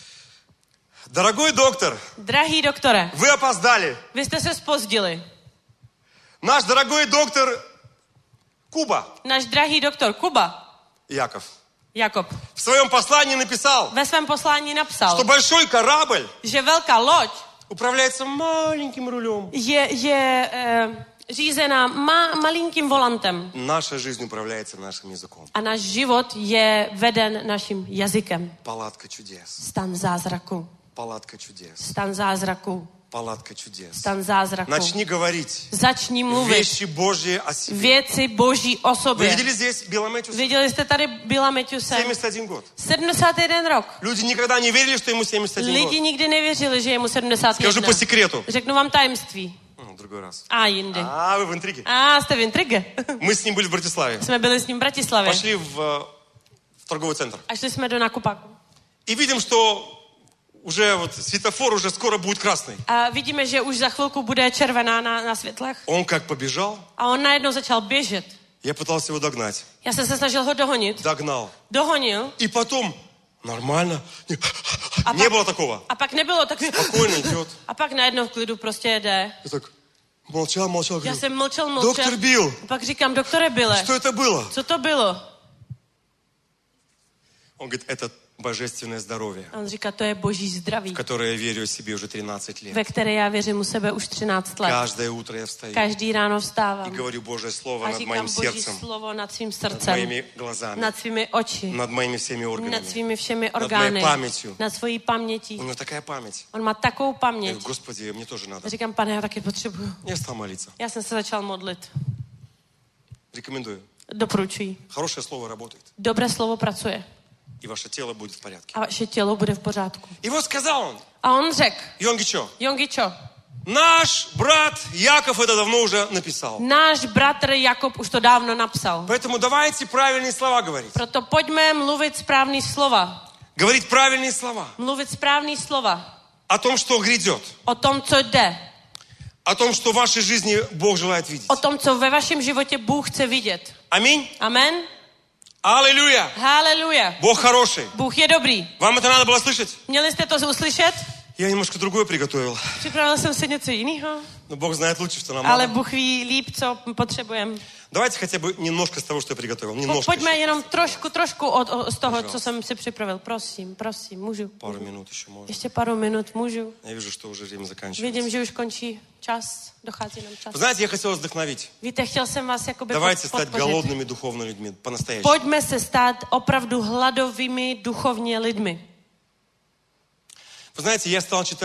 [SPEAKER 3] дорогой доктор,
[SPEAKER 4] drahý doktore,
[SPEAKER 3] вы опоздали.
[SPEAKER 4] vy jste se zpozdili.
[SPEAKER 3] Наш дорогой доктор Куба,
[SPEAKER 4] Náš drahý doktor Kuba,
[SPEAKER 3] Яков,
[SPEAKER 4] Jakob,
[SPEAKER 3] в своем послании написал,
[SPEAKER 4] ve svém poslání napsal,
[SPEAKER 3] что большой корабль
[SPEAKER 4] že velká loď
[SPEAKER 3] управляется маленьким рулем.
[SPEAKER 4] je, je e, řízená ma, malinkým volantem
[SPEAKER 3] Наша жизнь управляется нашим языком.
[SPEAKER 4] a náš život je veden naším jazykem.
[SPEAKER 3] Палатка чудес.
[SPEAKER 4] Stan zázraku,
[SPEAKER 3] Палатка чудес.
[SPEAKER 4] stan zázraku,
[SPEAKER 3] Палатка чудес.
[SPEAKER 4] stan zázraku.
[SPEAKER 3] Начни говорить
[SPEAKER 4] Začni mluvit
[SPEAKER 3] вещи Божьи о себе.
[SPEAKER 4] věci Boží o
[SPEAKER 3] Вы
[SPEAKER 4] sobě.
[SPEAKER 3] видели здесь Билла Мэтьюса?
[SPEAKER 4] Viděli jste tady Billa Matthewse?
[SPEAKER 3] семьдесят один год.
[SPEAKER 4] sedmdesát jeden rok.
[SPEAKER 3] Люди никогда не верили, что ему семьдесят один
[SPEAKER 4] Lidi
[SPEAKER 3] год.
[SPEAKER 4] nikdy nevěřili, že je mu sedmdesát
[SPEAKER 3] Скажу
[SPEAKER 4] jedna.
[SPEAKER 3] по секрету.
[SPEAKER 4] Řeknu vám tajemství.
[SPEAKER 3] М, Другой раз.
[SPEAKER 4] A jindy.
[SPEAKER 3] А, вы в интриге.
[SPEAKER 4] A jste v intrige.
[SPEAKER 3] Мы с ним были в Братиславе.
[SPEAKER 4] Jsme byli s ním v Bratislavě.
[SPEAKER 3] Пошли в, э, в торговый центр.
[SPEAKER 4] A šli jsme do nakupáku.
[SPEAKER 3] И видим, что уже вот светофор уже скоро будет красный.
[SPEAKER 4] A vidíme, že už za chvilku bude červená na, na světlech.
[SPEAKER 3] Он как побежал,
[SPEAKER 4] A on najednou začal běžet.
[SPEAKER 3] я pытался его догнать.
[SPEAKER 4] Já jsem se snažil ho dohonit.
[SPEAKER 3] Догнал.
[SPEAKER 4] Dohonil.
[SPEAKER 3] И потом нормально. Не,
[SPEAKER 4] А
[SPEAKER 3] не
[SPEAKER 4] пак-
[SPEAKER 3] было такого.
[SPEAKER 4] A pak nebylo tak...
[SPEAKER 3] Spokojně идет.
[SPEAKER 4] A pak najednou v klidu prostě jede.
[SPEAKER 3] Я так молчал, молчал.
[SPEAKER 4] Já
[SPEAKER 3] Говорю,
[SPEAKER 4] jsem mlčel, mlčel.
[SPEAKER 3] доктор Билл,
[SPEAKER 4] A pak říkám, doktore Bille,
[SPEAKER 3] что это было?
[SPEAKER 4] co to bylo?
[SPEAKER 3] Он говорит, это божественное здоровье,
[SPEAKER 4] A on říká, to je boží zdraví,
[SPEAKER 3] в которое я верю о себе уже тринадцать лет.
[SPEAKER 4] ve které já věřím u sebe už třináct let.
[SPEAKER 3] Каждое утро я встаю
[SPEAKER 4] Každý ráno
[SPEAKER 3] и
[SPEAKER 4] vstávám
[SPEAKER 3] говорю Божье Слово
[SPEAKER 4] a
[SPEAKER 3] над
[SPEAKER 4] říkám
[SPEAKER 3] моим
[SPEAKER 4] boží
[SPEAKER 3] сердцем,
[SPEAKER 4] slovo nad svým
[SPEAKER 3] над
[SPEAKER 4] srdcem,
[SPEAKER 3] моими глазами,
[SPEAKER 4] nad svými oči,
[SPEAKER 3] над моими всеми
[SPEAKER 4] nad
[SPEAKER 3] органами.
[SPEAKER 4] svými všemi
[SPEAKER 3] mojí
[SPEAKER 4] orgány,
[SPEAKER 3] paměťí.
[SPEAKER 4] nad svojí pamětí.
[SPEAKER 3] У него такая память.
[SPEAKER 4] On má takovou
[SPEAKER 3] Я
[SPEAKER 4] paměť.
[SPEAKER 3] говорю, Господи, мне тоже надо.
[SPEAKER 4] A říkám, pane, já taky potřebuju.
[SPEAKER 3] Я стал молиться.
[SPEAKER 4] Já jsem se začal modlit.
[SPEAKER 3] Рекомендую.
[SPEAKER 4] Doporučuji.
[SPEAKER 3] Хорошее слово работает.
[SPEAKER 4] Dobré slovo pracuje
[SPEAKER 3] И ваше тело будет в порядке.
[SPEAKER 4] a vaše tělo bude v pořádku.
[SPEAKER 3] И вот сказал он,
[SPEAKER 4] A on řekl,
[SPEAKER 3] Йонги Чо,
[SPEAKER 4] Jongičo,
[SPEAKER 3] наш брат Яков это давно уже написал.
[SPEAKER 4] náš bratr Jakob už to dávno napsal.
[SPEAKER 3] Поэтому давайте правильные слова говорить.
[SPEAKER 4] Proto pojďme mluvit správný slova.
[SPEAKER 3] Говорить правильные слова.
[SPEAKER 4] Mluvit správný slova
[SPEAKER 3] О том, что грядет.
[SPEAKER 4] o tom, co jde.
[SPEAKER 3] О том, что в вашей жизни Бог желает видеть.
[SPEAKER 4] O tom, co ve vašem životě Bůh chce vidět.
[SPEAKER 3] Аминь.
[SPEAKER 4] Amen.
[SPEAKER 3] Аллилуйя.
[SPEAKER 4] Haleluja.
[SPEAKER 3] Бог хороший.
[SPEAKER 4] Bůh je dobrý.
[SPEAKER 3] Вам это надо было слышать?
[SPEAKER 4] Měli jste to uslyšet?
[SPEAKER 3] Я немножко другое приготовил.
[SPEAKER 4] Připravil jsem si něco jiného,
[SPEAKER 3] Но Бог знает лучше, что нам
[SPEAKER 4] ale
[SPEAKER 3] надо.
[SPEAKER 4] Bůh ví líp, co potřebujeme.
[SPEAKER 3] Давайте хотя бы немножко z того, что я приготовил. Немножко
[SPEAKER 4] Pojďme
[SPEAKER 3] еще.
[SPEAKER 4] jenom trošku, trošku od, od, z toho,
[SPEAKER 3] Пожалуйста.
[SPEAKER 4] co jsem si připravil. Prosím, prosím, můžu.
[SPEAKER 3] Пару минут еще можно.
[SPEAKER 4] Ještě pár minut, můžu.
[SPEAKER 3] Я вижу, что уже время заканчивается.
[SPEAKER 4] Vidím, že už končí čas, dochází nám čas.
[SPEAKER 3] Вы знаете, я хотел вдохновить.
[SPEAKER 4] Víte, chtěl jsem vás jakoby
[SPEAKER 3] Давайте
[SPEAKER 4] pod,
[SPEAKER 3] стать
[SPEAKER 4] podpořit.
[SPEAKER 3] голодными духовными людьми, по-настоящему.
[SPEAKER 4] Pojďme se stát opravdu hladovými duchovně lidmi.
[SPEAKER 3] Вы знаете, я стал читать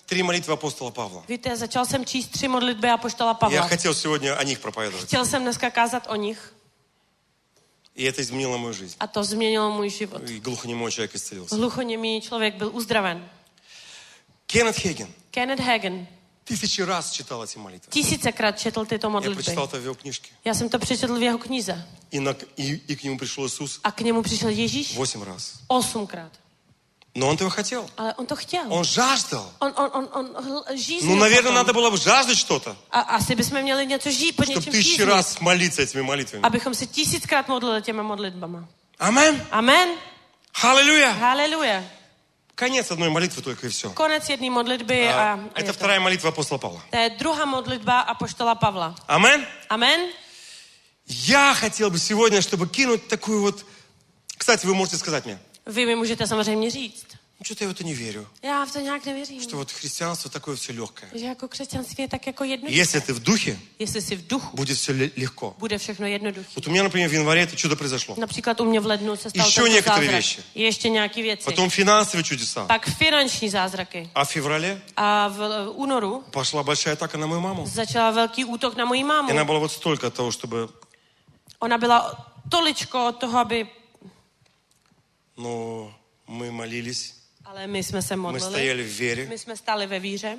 [SPEAKER 3] Три молитвы апостола Павла.
[SPEAKER 4] Víte, začal jsem číst tři modlitby apoštola
[SPEAKER 3] Я
[SPEAKER 4] Pavla.
[SPEAKER 3] хотел сегодня о них проповедовать.
[SPEAKER 4] Chtěl jsem dneska kázat o nich.
[SPEAKER 3] И это изменило мою жизнь.
[SPEAKER 4] A to změnilo můj život.
[SPEAKER 3] И глухонемой человек исцелился.
[SPEAKER 4] Hluchoněmý člověk byl uzdraven.
[SPEAKER 3] Кеннет Хейген
[SPEAKER 4] Kenneth Hagin
[SPEAKER 3] тысячи раз читал эти молитвы.
[SPEAKER 4] tisícekrát četl tyto
[SPEAKER 3] Я
[SPEAKER 4] modlitby.
[SPEAKER 3] прочитал это в его книжке.
[SPEAKER 4] Já jsem to přečetl v jeho knize.
[SPEAKER 3] И, на, и, и к нему пришел Иисус
[SPEAKER 4] A k němu přišel Ježíš
[SPEAKER 3] восемь раз.
[SPEAKER 4] osmkrát.
[SPEAKER 3] Но он этого хотел.
[SPEAKER 4] Ale on to chtěl.
[SPEAKER 3] Он жаждал.
[SPEAKER 4] On, on, on, on hl- žíznil
[SPEAKER 3] Ну, наверное,
[SPEAKER 4] potom.
[SPEAKER 3] надо было бы жаждать что-то,
[SPEAKER 4] A asi bychom měli něco žít, po
[SPEAKER 3] чтобы
[SPEAKER 4] něčem
[SPEAKER 3] тысячи
[SPEAKER 4] žíznit.
[SPEAKER 3] раз молиться этими молитвами.
[SPEAKER 4] Abychom se tisíckrát modlili těma modlitbama.
[SPEAKER 3] Амен.
[SPEAKER 4] Amen.
[SPEAKER 3] Аллилуйя.
[SPEAKER 4] Haleluja.
[SPEAKER 3] Конец одной молитвы только и все.
[SPEAKER 4] Konec jedné modlitby a, a
[SPEAKER 3] Это
[SPEAKER 4] je to.
[SPEAKER 3] вторая молитва апостола Павла.
[SPEAKER 4] To je druhá modlitba apoštola Pavla.
[SPEAKER 3] Амен.
[SPEAKER 4] Amen.
[SPEAKER 3] Я хотел бы сегодня, чтобы кинуть такую вот... Кстати, вы можете сказать мне,
[SPEAKER 4] Vy mi můžete samozřejmě říct.
[SPEAKER 3] ну что-то я в это не верю,
[SPEAKER 4] Já v to nějak nevěřím.
[SPEAKER 3] что вот христианство такое все легкое.
[SPEAKER 4] Že jako křesťanství je tak jako jednoduché.
[SPEAKER 3] Если ты в духе,
[SPEAKER 4] Jestli jsi v duchu,
[SPEAKER 3] будет все легко.
[SPEAKER 4] bude všechno jednoduché.
[SPEAKER 3] Вот у меня, например, в январе это чудо произошло.
[SPEAKER 4] Například u mě v lednu se stal
[SPEAKER 3] Ještě
[SPEAKER 4] tento
[SPEAKER 3] některé
[SPEAKER 4] zázrak.
[SPEAKER 3] věci.
[SPEAKER 4] Ještě nějaké věci.
[SPEAKER 3] Потом финансовые чудеса.
[SPEAKER 4] Pak finanční zázraky.
[SPEAKER 3] А в феврале
[SPEAKER 4] A v v únoru
[SPEAKER 3] пошла большая атака на мою маму.
[SPEAKER 4] začala velký útok na moji
[SPEAKER 3] И
[SPEAKER 4] mámu.
[SPEAKER 3] она была вот столько от того, чтобы...
[SPEAKER 4] Ona byla toličko od toho, aby...
[SPEAKER 3] Но мы молились,
[SPEAKER 4] Ale my jsme se
[SPEAKER 3] мы
[SPEAKER 4] modlili.
[SPEAKER 3] стояли в вере.
[SPEAKER 4] My jsme stáli ve víře.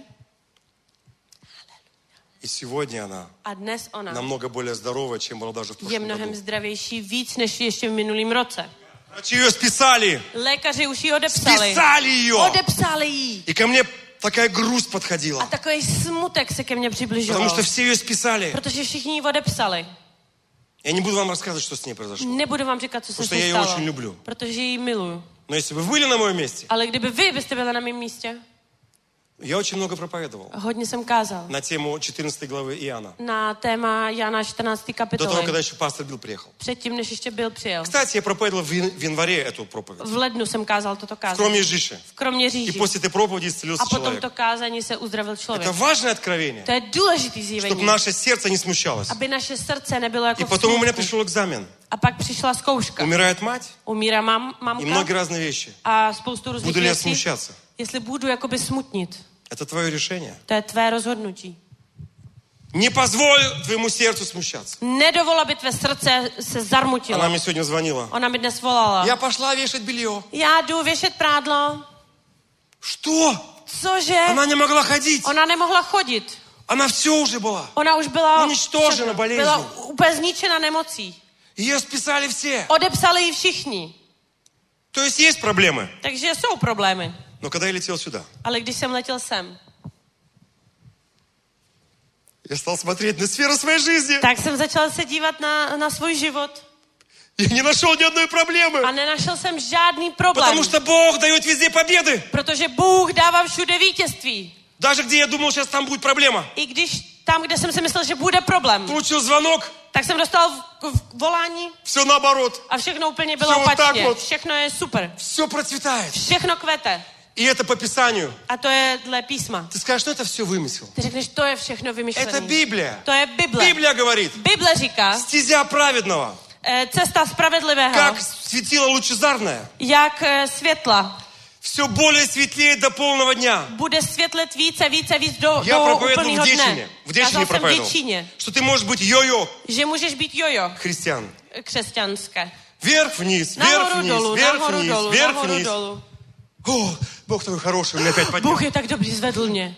[SPEAKER 3] И сегодня она
[SPEAKER 4] A dnes ona
[SPEAKER 3] намного более здоровая, чем была даже в
[SPEAKER 4] je
[SPEAKER 3] прошлом
[SPEAKER 4] mnohem
[SPEAKER 3] году.
[SPEAKER 4] zdravější víc, než ještě v minulém roce.
[SPEAKER 3] Врачи ее списали.
[SPEAKER 4] Lékaři už ji odepsali.
[SPEAKER 3] Списали ее.
[SPEAKER 4] Odepsali ji.
[SPEAKER 3] И ко мне такая грусть
[SPEAKER 4] A
[SPEAKER 3] подходила.
[SPEAKER 4] takový smutek se ke mně
[SPEAKER 3] Потому
[SPEAKER 4] přibližoval.
[SPEAKER 3] что все ее списали.
[SPEAKER 4] Protože všichni ji odepsali.
[SPEAKER 3] Я не буду вам рассказывать, что с ней произошло.
[SPEAKER 4] Nebudu vám říkat, co se
[SPEAKER 3] Потому
[SPEAKER 4] s
[SPEAKER 3] что
[SPEAKER 4] ní
[SPEAKER 3] я ее
[SPEAKER 4] stalo.
[SPEAKER 3] очень люблю.
[SPEAKER 4] Protože ji miluju.
[SPEAKER 3] Но если бы вы были на моем месте,
[SPEAKER 4] Ale kdyby vy byste byli na mém místě,
[SPEAKER 3] я очень много проповедовал
[SPEAKER 4] hodně jsem kázal.
[SPEAKER 3] на tему четырнадцатой главы Иоанна.
[SPEAKER 4] Na téma Jana čtrnácté
[SPEAKER 3] До того,
[SPEAKER 4] kapitoly.
[SPEAKER 3] когда еще пастор Билл приехал.
[SPEAKER 4] Předtím, než ještě byl přijel.
[SPEAKER 3] Кстати, я проповедовал в ян- в январе эту проповедь.
[SPEAKER 4] V lednu jsem kázal toto
[SPEAKER 3] В
[SPEAKER 4] kázání.
[SPEAKER 3] Kroměříži.
[SPEAKER 4] V Kroměříži.
[SPEAKER 3] И после этой проповеди
[SPEAKER 4] A
[SPEAKER 3] исцелился
[SPEAKER 4] potom
[SPEAKER 3] человек.
[SPEAKER 4] to kázání se uzdravil člověk.
[SPEAKER 3] Это важное откровение,
[SPEAKER 4] To je důležitý
[SPEAKER 3] чтобы
[SPEAKER 4] zjevení.
[SPEAKER 3] наше сердце не смущалось.
[SPEAKER 4] Aby naše srdce nebylo jako
[SPEAKER 3] И
[SPEAKER 4] v
[SPEAKER 3] потом у меня
[SPEAKER 4] smutku.
[SPEAKER 3] пришел экзамен.
[SPEAKER 4] A pak přišla zkouška.
[SPEAKER 3] Умирает мать
[SPEAKER 4] Umírá mam,
[SPEAKER 3] и
[SPEAKER 4] mamka
[SPEAKER 3] многие разные вещи.
[SPEAKER 4] a spoustu různých
[SPEAKER 3] Буду ли я
[SPEAKER 4] věcí.
[SPEAKER 3] смущаться?
[SPEAKER 4] Jestli budu jakoby smutnit.
[SPEAKER 3] Это твое решение.
[SPEAKER 4] To je tvé rozhodnutí.
[SPEAKER 3] Не позволь твоему сердцу смущаться.
[SPEAKER 4] Nedovol, aby tvé srdce se zarmutilo.
[SPEAKER 3] Она мне сегодня звонила.
[SPEAKER 4] Ona mi dnes volala.
[SPEAKER 3] Я пошла вешать белье.
[SPEAKER 4] Já jdu věšet prádlo.
[SPEAKER 3] Что?
[SPEAKER 4] Cože?
[SPEAKER 3] Она не могла ходить.
[SPEAKER 4] Ona nemohla chodit.
[SPEAKER 3] Она все уже была.
[SPEAKER 4] Ona už byla,
[SPEAKER 3] Uničtožena болезнью.
[SPEAKER 4] byla úplně zničena nemocí.
[SPEAKER 3] Ее списали все.
[SPEAKER 4] Odepsali ji všichni.
[SPEAKER 3] То есть есть проблемы.
[SPEAKER 4] Takže jsou problémy.
[SPEAKER 3] Но когда я летел сюда,
[SPEAKER 4] Ale když jsem letěl sem,
[SPEAKER 3] я стал смотреть на сферу своей жизни.
[SPEAKER 4] tak jsem začal se dívat na, na svůj život.
[SPEAKER 3] И не нашел ни одной
[SPEAKER 4] A
[SPEAKER 3] проблемы.
[SPEAKER 4] nenašel jsem žádný problém.
[SPEAKER 3] Потому что Бог дает везде победы.
[SPEAKER 4] Protože Bůh dává všude vítězství.
[SPEAKER 3] Даже где я думал, сейчас там будет проблема.
[SPEAKER 4] I když tam, kde jsem si myslel, že bude problém,
[SPEAKER 3] Получил звонок,
[SPEAKER 4] tak jsem dostal v, v, volání
[SPEAKER 3] все наоборот.
[SPEAKER 4] a všechno úplně bylo
[SPEAKER 3] Все вот так
[SPEAKER 4] opačně.
[SPEAKER 3] вот.
[SPEAKER 4] Všechno je super.
[SPEAKER 3] Все процветает.
[SPEAKER 4] Všechno kvete.
[SPEAKER 3] И это по Писанию.
[SPEAKER 4] A to je dle písma.
[SPEAKER 3] Ты скажешь, что это все вымысел.
[SPEAKER 4] Ty řekneš, to je všechno
[SPEAKER 3] Это
[SPEAKER 4] vymyšlené.
[SPEAKER 3] Библия.
[SPEAKER 4] To je Bible.
[SPEAKER 3] Библия говорит,
[SPEAKER 4] Bible říká,
[SPEAKER 3] стезя праведного,
[SPEAKER 4] eh, cesta spravedlivého,
[SPEAKER 3] как светило лучезарное,
[SPEAKER 4] jak eh, světla,
[SPEAKER 3] все более светлеет до полного дня.
[SPEAKER 4] bude světlet více, více, víc do,
[SPEAKER 3] Я
[SPEAKER 4] do
[SPEAKER 3] проповедовал
[SPEAKER 4] úplného
[SPEAKER 3] в
[SPEAKER 4] dne.
[SPEAKER 3] Дечине. В Дечине
[SPEAKER 4] Kázal jsem v
[SPEAKER 3] проповедовал.
[SPEAKER 4] Děčíně,
[SPEAKER 3] Что ты можешь быть йо-йо
[SPEAKER 4] že můžeš být jojo
[SPEAKER 3] христиан.
[SPEAKER 4] křesťanské.
[SPEAKER 3] Вверх-вниз,
[SPEAKER 4] Наhoru dolů,
[SPEAKER 3] вверх-вниз,
[SPEAKER 4] nahoru
[SPEAKER 3] вверх-вниз,
[SPEAKER 4] dolů, nahoru
[SPEAKER 3] вверх-вниз.
[SPEAKER 4] dolů.
[SPEAKER 3] О, Бог такой хороший, он меня опять поднял.
[SPEAKER 4] Bůh je tak dobrý, zvedl mě.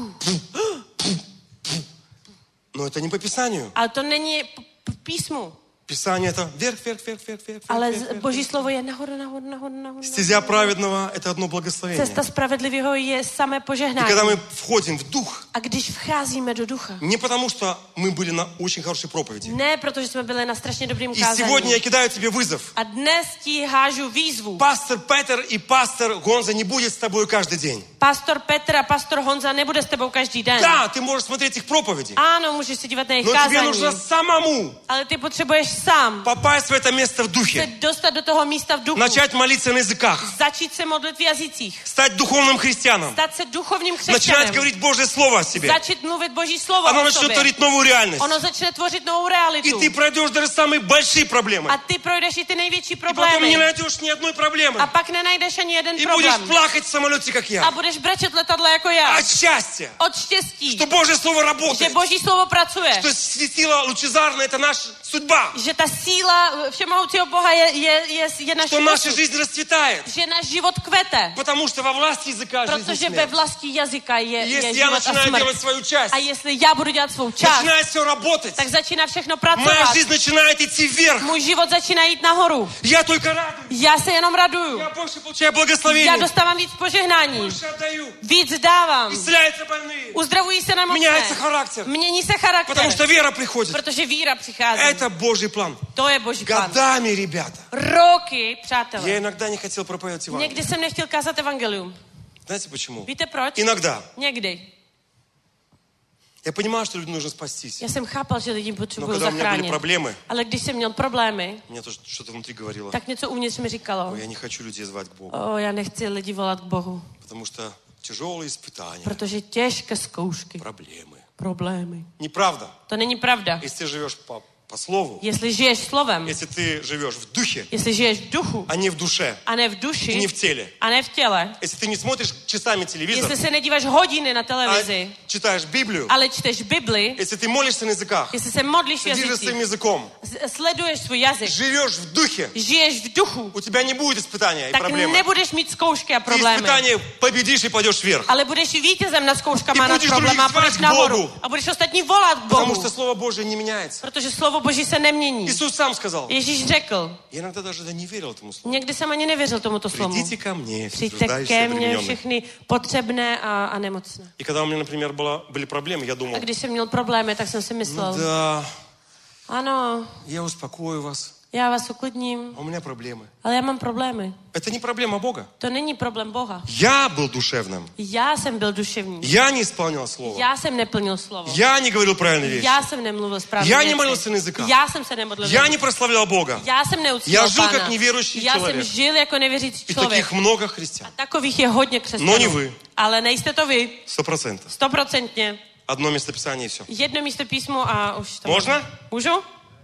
[SPEAKER 3] Но это не по Писанию.
[SPEAKER 4] Ale to není p- p- písmu.
[SPEAKER 3] Писание это вверх, вверх, вверх, вверх, вверх,
[SPEAKER 4] Ale
[SPEAKER 3] вверх,
[SPEAKER 4] z-
[SPEAKER 3] вверх.
[SPEAKER 4] Boží slovo je nahoru, nahoru, nahoru, nahoru.
[SPEAKER 3] Стезя праведного это одно благословение.
[SPEAKER 4] Cesta spravedlivého je samé
[SPEAKER 3] И
[SPEAKER 4] požehnání.
[SPEAKER 3] когда мы входим в дух,
[SPEAKER 4] A když vcházíme do ducha,
[SPEAKER 3] не потому что мы были на очень хорошей проповеди.
[SPEAKER 4] ne protože jsme byli na strašně dobrým
[SPEAKER 3] И сегодня
[SPEAKER 4] kázání.
[SPEAKER 3] я кидаю тебе вызов.
[SPEAKER 4] A dnes ti hážu výzvu.
[SPEAKER 3] Пастор Петер и пастор Гонза не будет с тобой каждый день.
[SPEAKER 4] Pastor Petr a pastor Honza nebude s tebou každý den.
[SPEAKER 3] Да, ты можешь смотреть их проповеди.
[SPEAKER 4] Ano, můžeš se dívat na jejich
[SPEAKER 3] Но тебе нужно
[SPEAKER 4] kázání.
[SPEAKER 3] самому
[SPEAKER 4] Ale ty potřebuješ sám
[SPEAKER 3] попасть в это место в
[SPEAKER 4] se
[SPEAKER 3] духе,
[SPEAKER 4] dostat do toho místa v duchu,
[SPEAKER 3] начать молиться на языках,
[SPEAKER 4] začít se modlit v jazycích,
[SPEAKER 3] стать духовным христианом,
[SPEAKER 4] stát se duchovním
[SPEAKER 3] начинать
[SPEAKER 4] křesťanem,
[SPEAKER 3] говорить Божье Слово о себе.
[SPEAKER 4] začít mluvit Boží slovo
[SPEAKER 3] Оно
[SPEAKER 4] o
[SPEAKER 3] начнет
[SPEAKER 4] sobě.
[SPEAKER 3] творить новую реальность.
[SPEAKER 4] Ono začne tvořit novou
[SPEAKER 3] И
[SPEAKER 4] realitu.
[SPEAKER 3] ты пройдешь даже самые большие проблемы.
[SPEAKER 4] A ty projdeš i ty největší
[SPEAKER 3] И потом не
[SPEAKER 4] problémy.
[SPEAKER 3] найдешь ни одной проблемы.
[SPEAKER 4] A pak nenajdeš ani jeden
[SPEAKER 3] И будешь
[SPEAKER 4] problém.
[SPEAKER 3] плакать в самолете, как
[SPEAKER 4] A
[SPEAKER 3] я.
[SPEAKER 4] budeš brečet letadle jako já.
[SPEAKER 3] От счастья,
[SPEAKER 4] Od štěstí,
[SPEAKER 3] что Божье Слово
[SPEAKER 4] že
[SPEAKER 3] работает.
[SPEAKER 4] Boží slovo pracuje.
[SPEAKER 3] Что сила лучезарная – это наша судьба.
[SPEAKER 4] Že ta síla všemohoucího Boha je, je, je, je naše
[SPEAKER 3] Что наша
[SPEAKER 4] osud.
[SPEAKER 3] жизнь расцветает.
[SPEAKER 4] Že náš život kvete.
[SPEAKER 3] Потому что во власти языка жизнь и
[SPEAKER 4] Protože ve
[SPEAKER 3] смерть.
[SPEAKER 4] vlasti jazyka je, je
[SPEAKER 3] Если я
[SPEAKER 4] život a
[SPEAKER 3] начинаю
[SPEAKER 4] smrt.
[SPEAKER 3] делать свою часть,
[SPEAKER 4] A jestli já budu dělat svou část,
[SPEAKER 3] начинает все работать,
[SPEAKER 4] tak začíná všechno
[SPEAKER 3] моя
[SPEAKER 4] pracovat.
[SPEAKER 3] жизнь начинает идти вверх.
[SPEAKER 4] Můj život začíná jít nahoru.
[SPEAKER 3] Я только радуюсь.
[SPEAKER 4] Já se jenom raduju.
[SPEAKER 3] Я больше получаю
[SPEAKER 4] Já
[SPEAKER 3] благословение.
[SPEAKER 4] dostávám víc požehnání.
[SPEAKER 3] Больше отдаю.
[SPEAKER 4] Víc dávám.
[SPEAKER 3] Исцеляются больные.
[SPEAKER 4] Uzdravují se nemocné.
[SPEAKER 3] Меняется характер.
[SPEAKER 4] Mění se charakter.
[SPEAKER 3] Потому что вера приходит.
[SPEAKER 4] Protože víra přichází.
[SPEAKER 3] Это Божий план.
[SPEAKER 4] To je Boží plán.
[SPEAKER 3] Годами, ребята.
[SPEAKER 4] Roky, přátelé.
[SPEAKER 3] Я иногда не хотел проповедовать Евангелие.
[SPEAKER 4] Někdy jsem nechtěl kázat evangelium.
[SPEAKER 3] Знаете почему?
[SPEAKER 4] Víte proč?
[SPEAKER 3] Иногда.
[SPEAKER 4] Někdy.
[SPEAKER 3] Я понимаю, что людям нужно спастись.
[SPEAKER 4] Já jsem chápal, že lidi
[SPEAKER 3] Но
[SPEAKER 4] potřebují
[SPEAKER 3] когда у меня были
[SPEAKER 4] zachránit.
[SPEAKER 3] проблемы,
[SPEAKER 4] Ale když jsem měl problémy,
[SPEAKER 3] мне тоже что-то внутри говорило.
[SPEAKER 4] tak něco uvnitř mi říkalo.
[SPEAKER 3] Ой, я не хочу людей звать к Богу.
[SPEAKER 4] O, já nechci lidi volat k Bohu.
[SPEAKER 3] Потому что тяжелые испытания,
[SPEAKER 4] Protože těžké zkoušky,
[SPEAKER 3] проблемы.
[SPEAKER 4] problémy.
[SPEAKER 3] Неправда.
[SPEAKER 4] To není pravda.
[SPEAKER 3] Если ты живешь по, по слову,
[SPEAKER 4] Jestli žiješ slovem,
[SPEAKER 3] если ты живешь в духе,
[SPEAKER 4] jestli žiješ v duchu
[SPEAKER 3] а не в душе,
[SPEAKER 4] a ne v
[SPEAKER 3] и
[SPEAKER 4] duši
[SPEAKER 3] не в теле,
[SPEAKER 4] a ne v těle,
[SPEAKER 3] если ты не смотришь часами телевизор,
[SPEAKER 4] jestli se nedíváš hodiny na televizi,
[SPEAKER 3] а читаешь Библию,
[SPEAKER 4] ale čteš Bibli,
[SPEAKER 3] если ты молишься на языках,
[SPEAKER 4] jestli se modlíš v
[SPEAKER 3] следишь за своим
[SPEAKER 4] jazycích,
[SPEAKER 3] языком,
[SPEAKER 4] s- sleduješ svůj jazyk,
[SPEAKER 3] живешь в духе,
[SPEAKER 4] žiješ v duchu,
[SPEAKER 3] у тебя не будет испытания и
[SPEAKER 4] tak
[SPEAKER 3] проблемы.
[SPEAKER 4] nebudeš mít zkoušky a
[SPEAKER 3] Ты
[SPEAKER 4] problémy.
[SPEAKER 3] испытания победишь и пойдешь вверх.
[SPEAKER 4] Ale budeš vítězem nad zkouškama,
[SPEAKER 3] Ty
[SPEAKER 4] nad
[SPEAKER 3] budeš
[SPEAKER 4] problémy a
[SPEAKER 3] druhých
[SPEAKER 4] půjdeš
[SPEAKER 3] zvát k
[SPEAKER 4] nahoru.
[SPEAKER 3] Bohu.
[SPEAKER 4] A budeš ostatní volat k
[SPEAKER 3] Потому
[SPEAKER 4] Bohu.
[SPEAKER 3] что Слово Божие не меняется.
[SPEAKER 4] Protože slovo Boží se nemění.
[SPEAKER 3] Иисус сам сказал.
[SPEAKER 4] Ježíš řekl,
[SPEAKER 3] Я иногда даже да, не veril этому слову.
[SPEAKER 4] někdy jsem ani nevěřil tomuto slovu.
[SPEAKER 3] Придите ко мне, все
[SPEAKER 4] Přijďte
[SPEAKER 3] труждающие
[SPEAKER 4] ke
[SPEAKER 3] и
[SPEAKER 4] mně
[SPEAKER 3] обремененные.
[SPEAKER 4] všechny potřebné a, a nemocné.
[SPEAKER 3] И когда у меня, например, было, были проблемы, я думал,
[SPEAKER 4] A když jsem měl problémy, tak jsem si myslel,
[SPEAKER 3] ну да,
[SPEAKER 4] ano,
[SPEAKER 3] я успокою вас,
[SPEAKER 4] já vás uklidním,
[SPEAKER 3] а у меня проблемы.
[SPEAKER 4] ale já mám problémy.
[SPEAKER 3] Это не проблема Бога.
[SPEAKER 4] To není problém Boha.
[SPEAKER 3] Я был душевным.
[SPEAKER 4] Já jsem byl duševní.
[SPEAKER 3] Я не исполнял слово.
[SPEAKER 4] Já jsem neplnil slovo.
[SPEAKER 3] Я не говорил правильные вещи.
[SPEAKER 4] Já jsem nemluvil správně
[SPEAKER 3] Já
[SPEAKER 4] věci.
[SPEAKER 3] nemolil na языках.
[SPEAKER 4] Já jsem se nemodlil.
[SPEAKER 3] Я не прославлял Бога.
[SPEAKER 4] Já jsem neuctíval
[SPEAKER 3] Já žil
[SPEAKER 4] Pána.
[SPEAKER 3] jak nevěřící
[SPEAKER 4] Já
[SPEAKER 3] člověk.
[SPEAKER 4] jsem žil jako nevěřící
[SPEAKER 3] И
[SPEAKER 4] člověk.
[SPEAKER 3] таких много христиан.
[SPEAKER 4] Takových je hodně křesťanů.
[SPEAKER 3] No, ni vy.
[SPEAKER 4] Ale nejste to vy.
[SPEAKER 3] Сто процентов.
[SPEAKER 4] Stoprocentně.
[SPEAKER 3] Одно местописание и все.
[SPEAKER 4] Jedno místo písmo a už to...
[SPEAKER 3] Можно?
[SPEAKER 4] Můžu?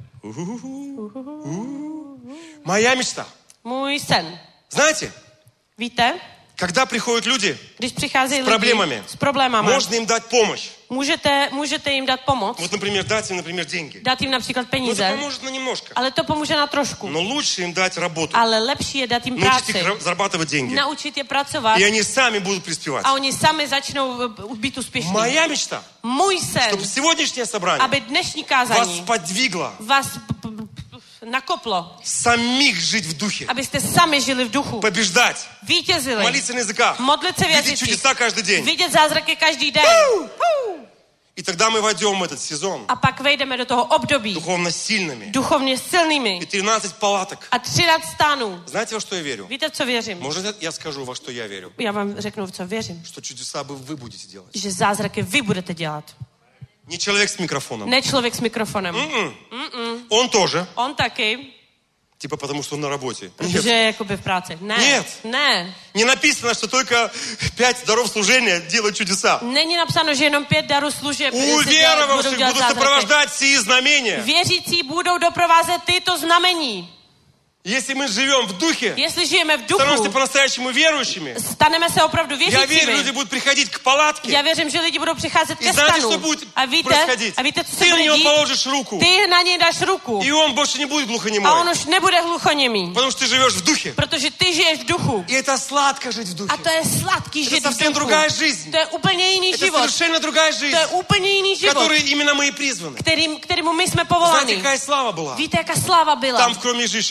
[SPEAKER 3] Моя мечта.
[SPEAKER 4] Můj sen.
[SPEAKER 3] Знаете,
[SPEAKER 4] Víte?
[SPEAKER 3] когда приходят люди,
[SPEAKER 4] Když přicházejí
[SPEAKER 3] S
[SPEAKER 4] lidi
[SPEAKER 3] problémami.
[SPEAKER 4] s problémami,
[SPEAKER 3] можно им дать помощь.
[SPEAKER 4] můžete, můžete jim dát pomoc,
[SPEAKER 3] Вот, например, дать им, например, деньги.
[SPEAKER 4] dát jim například
[SPEAKER 3] Ну, это
[SPEAKER 4] peníze,
[SPEAKER 3] поможет на немножко.
[SPEAKER 4] ale to pomůže na trošku.
[SPEAKER 3] Но лучше им дать работу.
[SPEAKER 4] Ale lepší je dát jim
[SPEAKER 3] Научить
[SPEAKER 4] práci,
[SPEAKER 3] их ра- зарабатывать деньги.
[SPEAKER 4] naučit je pracovat
[SPEAKER 3] И они сами будут преуспевать.
[SPEAKER 4] a oni sami začnou eh, být úspěšní.
[SPEAKER 3] Моя мечта,
[SPEAKER 4] Můj sen,
[SPEAKER 3] чтобы сегодняшнее собрание
[SPEAKER 4] aby dnešní
[SPEAKER 3] вас
[SPEAKER 4] kázání
[SPEAKER 3] подвигло
[SPEAKER 4] vás p- p- p- nakoplo,
[SPEAKER 3] самих жить в духе,
[SPEAKER 4] abyste sami žili v duchu,
[SPEAKER 3] побеждать,
[SPEAKER 4] vítězili,
[SPEAKER 3] молиться на языках,
[SPEAKER 4] modlit se v
[SPEAKER 3] видеть
[SPEAKER 4] jazycích,
[SPEAKER 3] чудеса каждый день.
[SPEAKER 4] vidět zázraky každý den.
[SPEAKER 3] И тогда мы войдем в этот сезон
[SPEAKER 4] A pak vejdeme do toho období
[SPEAKER 3] духовно сильными.
[SPEAKER 4] duchovně silnými
[SPEAKER 3] И тринадцать палаток.
[SPEAKER 4] a třináct stánů.
[SPEAKER 3] Знаете, во что я верю?
[SPEAKER 4] Víte, v co věřím?
[SPEAKER 3] Может, я скажу, во что я верю?
[SPEAKER 4] Já vám řeknu, v co věřím.
[SPEAKER 3] Что чудеса бы вы будете делать.
[SPEAKER 4] Že zázraky vy budete dělat.
[SPEAKER 3] Не человек с микрофоном.
[SPEAKER 4] Ne člověk s mikrofonem.
[SPEAKER 3] М-м. Он тоже.
[SPEAKER 4] On taky,
[SPEAKER 3] Типа потому, что он на работе.
[SPEAKER 4] protože
[SPEAKER 3] Нет.
[SPEAKER 4] je jakoby v práci. Ne,
[SPEAKER 3] Нет.
[SPEAKER 4] ne.
[SPEAKER 3] Не написано, что только пять даров служения делают чудеса.
[SPEAKER 4] Není napsáno, že jenom pět darů služeb se dělat- budou
[SPEAKER 3] Уверовавших
[SPEAKER 4] dělat
[SPEAKER 3] будут
[SPEAKER 4] zázraky.
[SPEAKER 3] сопровождать сии знамения.
[SPEAKER 4] Věřící budou doprovázet tyto znamení.
[SPEAKER 3] Если мы живем в духе,
[SPEAKER 4] Jestli žijeme v
[SPEAKER 3] становимся
[SPEAKER 4] duchu,
[SPEAKER 3] по-настоящему верующими,
[SPEAKER 4] staneme se opravdu
[SPEAKER 3] я верю,
[SPEAKER 4] věřícími.
[SPEAKER 3] люди будут приходить к палатке.
[SPEAKER 4] Já věřím, že lidi budou přicházet
[SPEAKER 3] И
[SPEAKER 4] ke
[SPEAKER 3] знаете, что
[SPEAKER 4] stanu.
[SPEAKER 3] будет
[SPEAKER 4] A víte,
[SPEAKER 3] происходить?
[SPEAKER 4] a víte, co se
[SPEAKER 3] Ты на
[SPEAKER 4] bude
[SPEAKER 3] него
[SPEAKER 4] dít?
[SPEAKER 3] положишь руку,
[SPEAKER 4] Ty na něj dáš ruku
[SPEAKER 3] и он больше не будет
[SPEAKER 4] a on
[SPEAKER 3] глухонемой.
[SPEAKER 4] už nebude hluchoněmý,
[SPEAKER 3] Потому что ты живешь в духе.
[SPEAKER 4] protože ty žiješ v duchu.
[SPEAKER 3] И это сладко жить в
[SPEAKER 4] A
[SPEAKER 3] духе.
[SPEAKER 4] to je sladký
[SPEAKER 3] Это
[SPEAKER 4] žít v
[SPEAKER 3] совсем
[SPEAKER 4] duchu.
[SPEAKER 3] другая жизнь.
[SPEAKER 4] To je úplně jiný
[SPEAKER 3] Это
[SPEAKER 4] život.
[SPEAKER 3] совершенно другая
[SPEAKER 4] To
[SPEAKER 3] жизнь,
[SPEAKER 4] je úplně jiný
[SPEAKER 3] к
[SPEAKER 4] život,
[SPEAKER 3] которой именно мы и призваны.
[SPEAKER 4] kterým, kterému my jsme
[SPEAKER 3] Знаете,
[SPEAKER 4] povoláni.
[SPEAKER 3] какая слава была?
[SPEAKER 4] Víte, jaká sláva byla?
[SPEAKER 3] Там, в Кромежише.
[SPEAKER 4] Tam v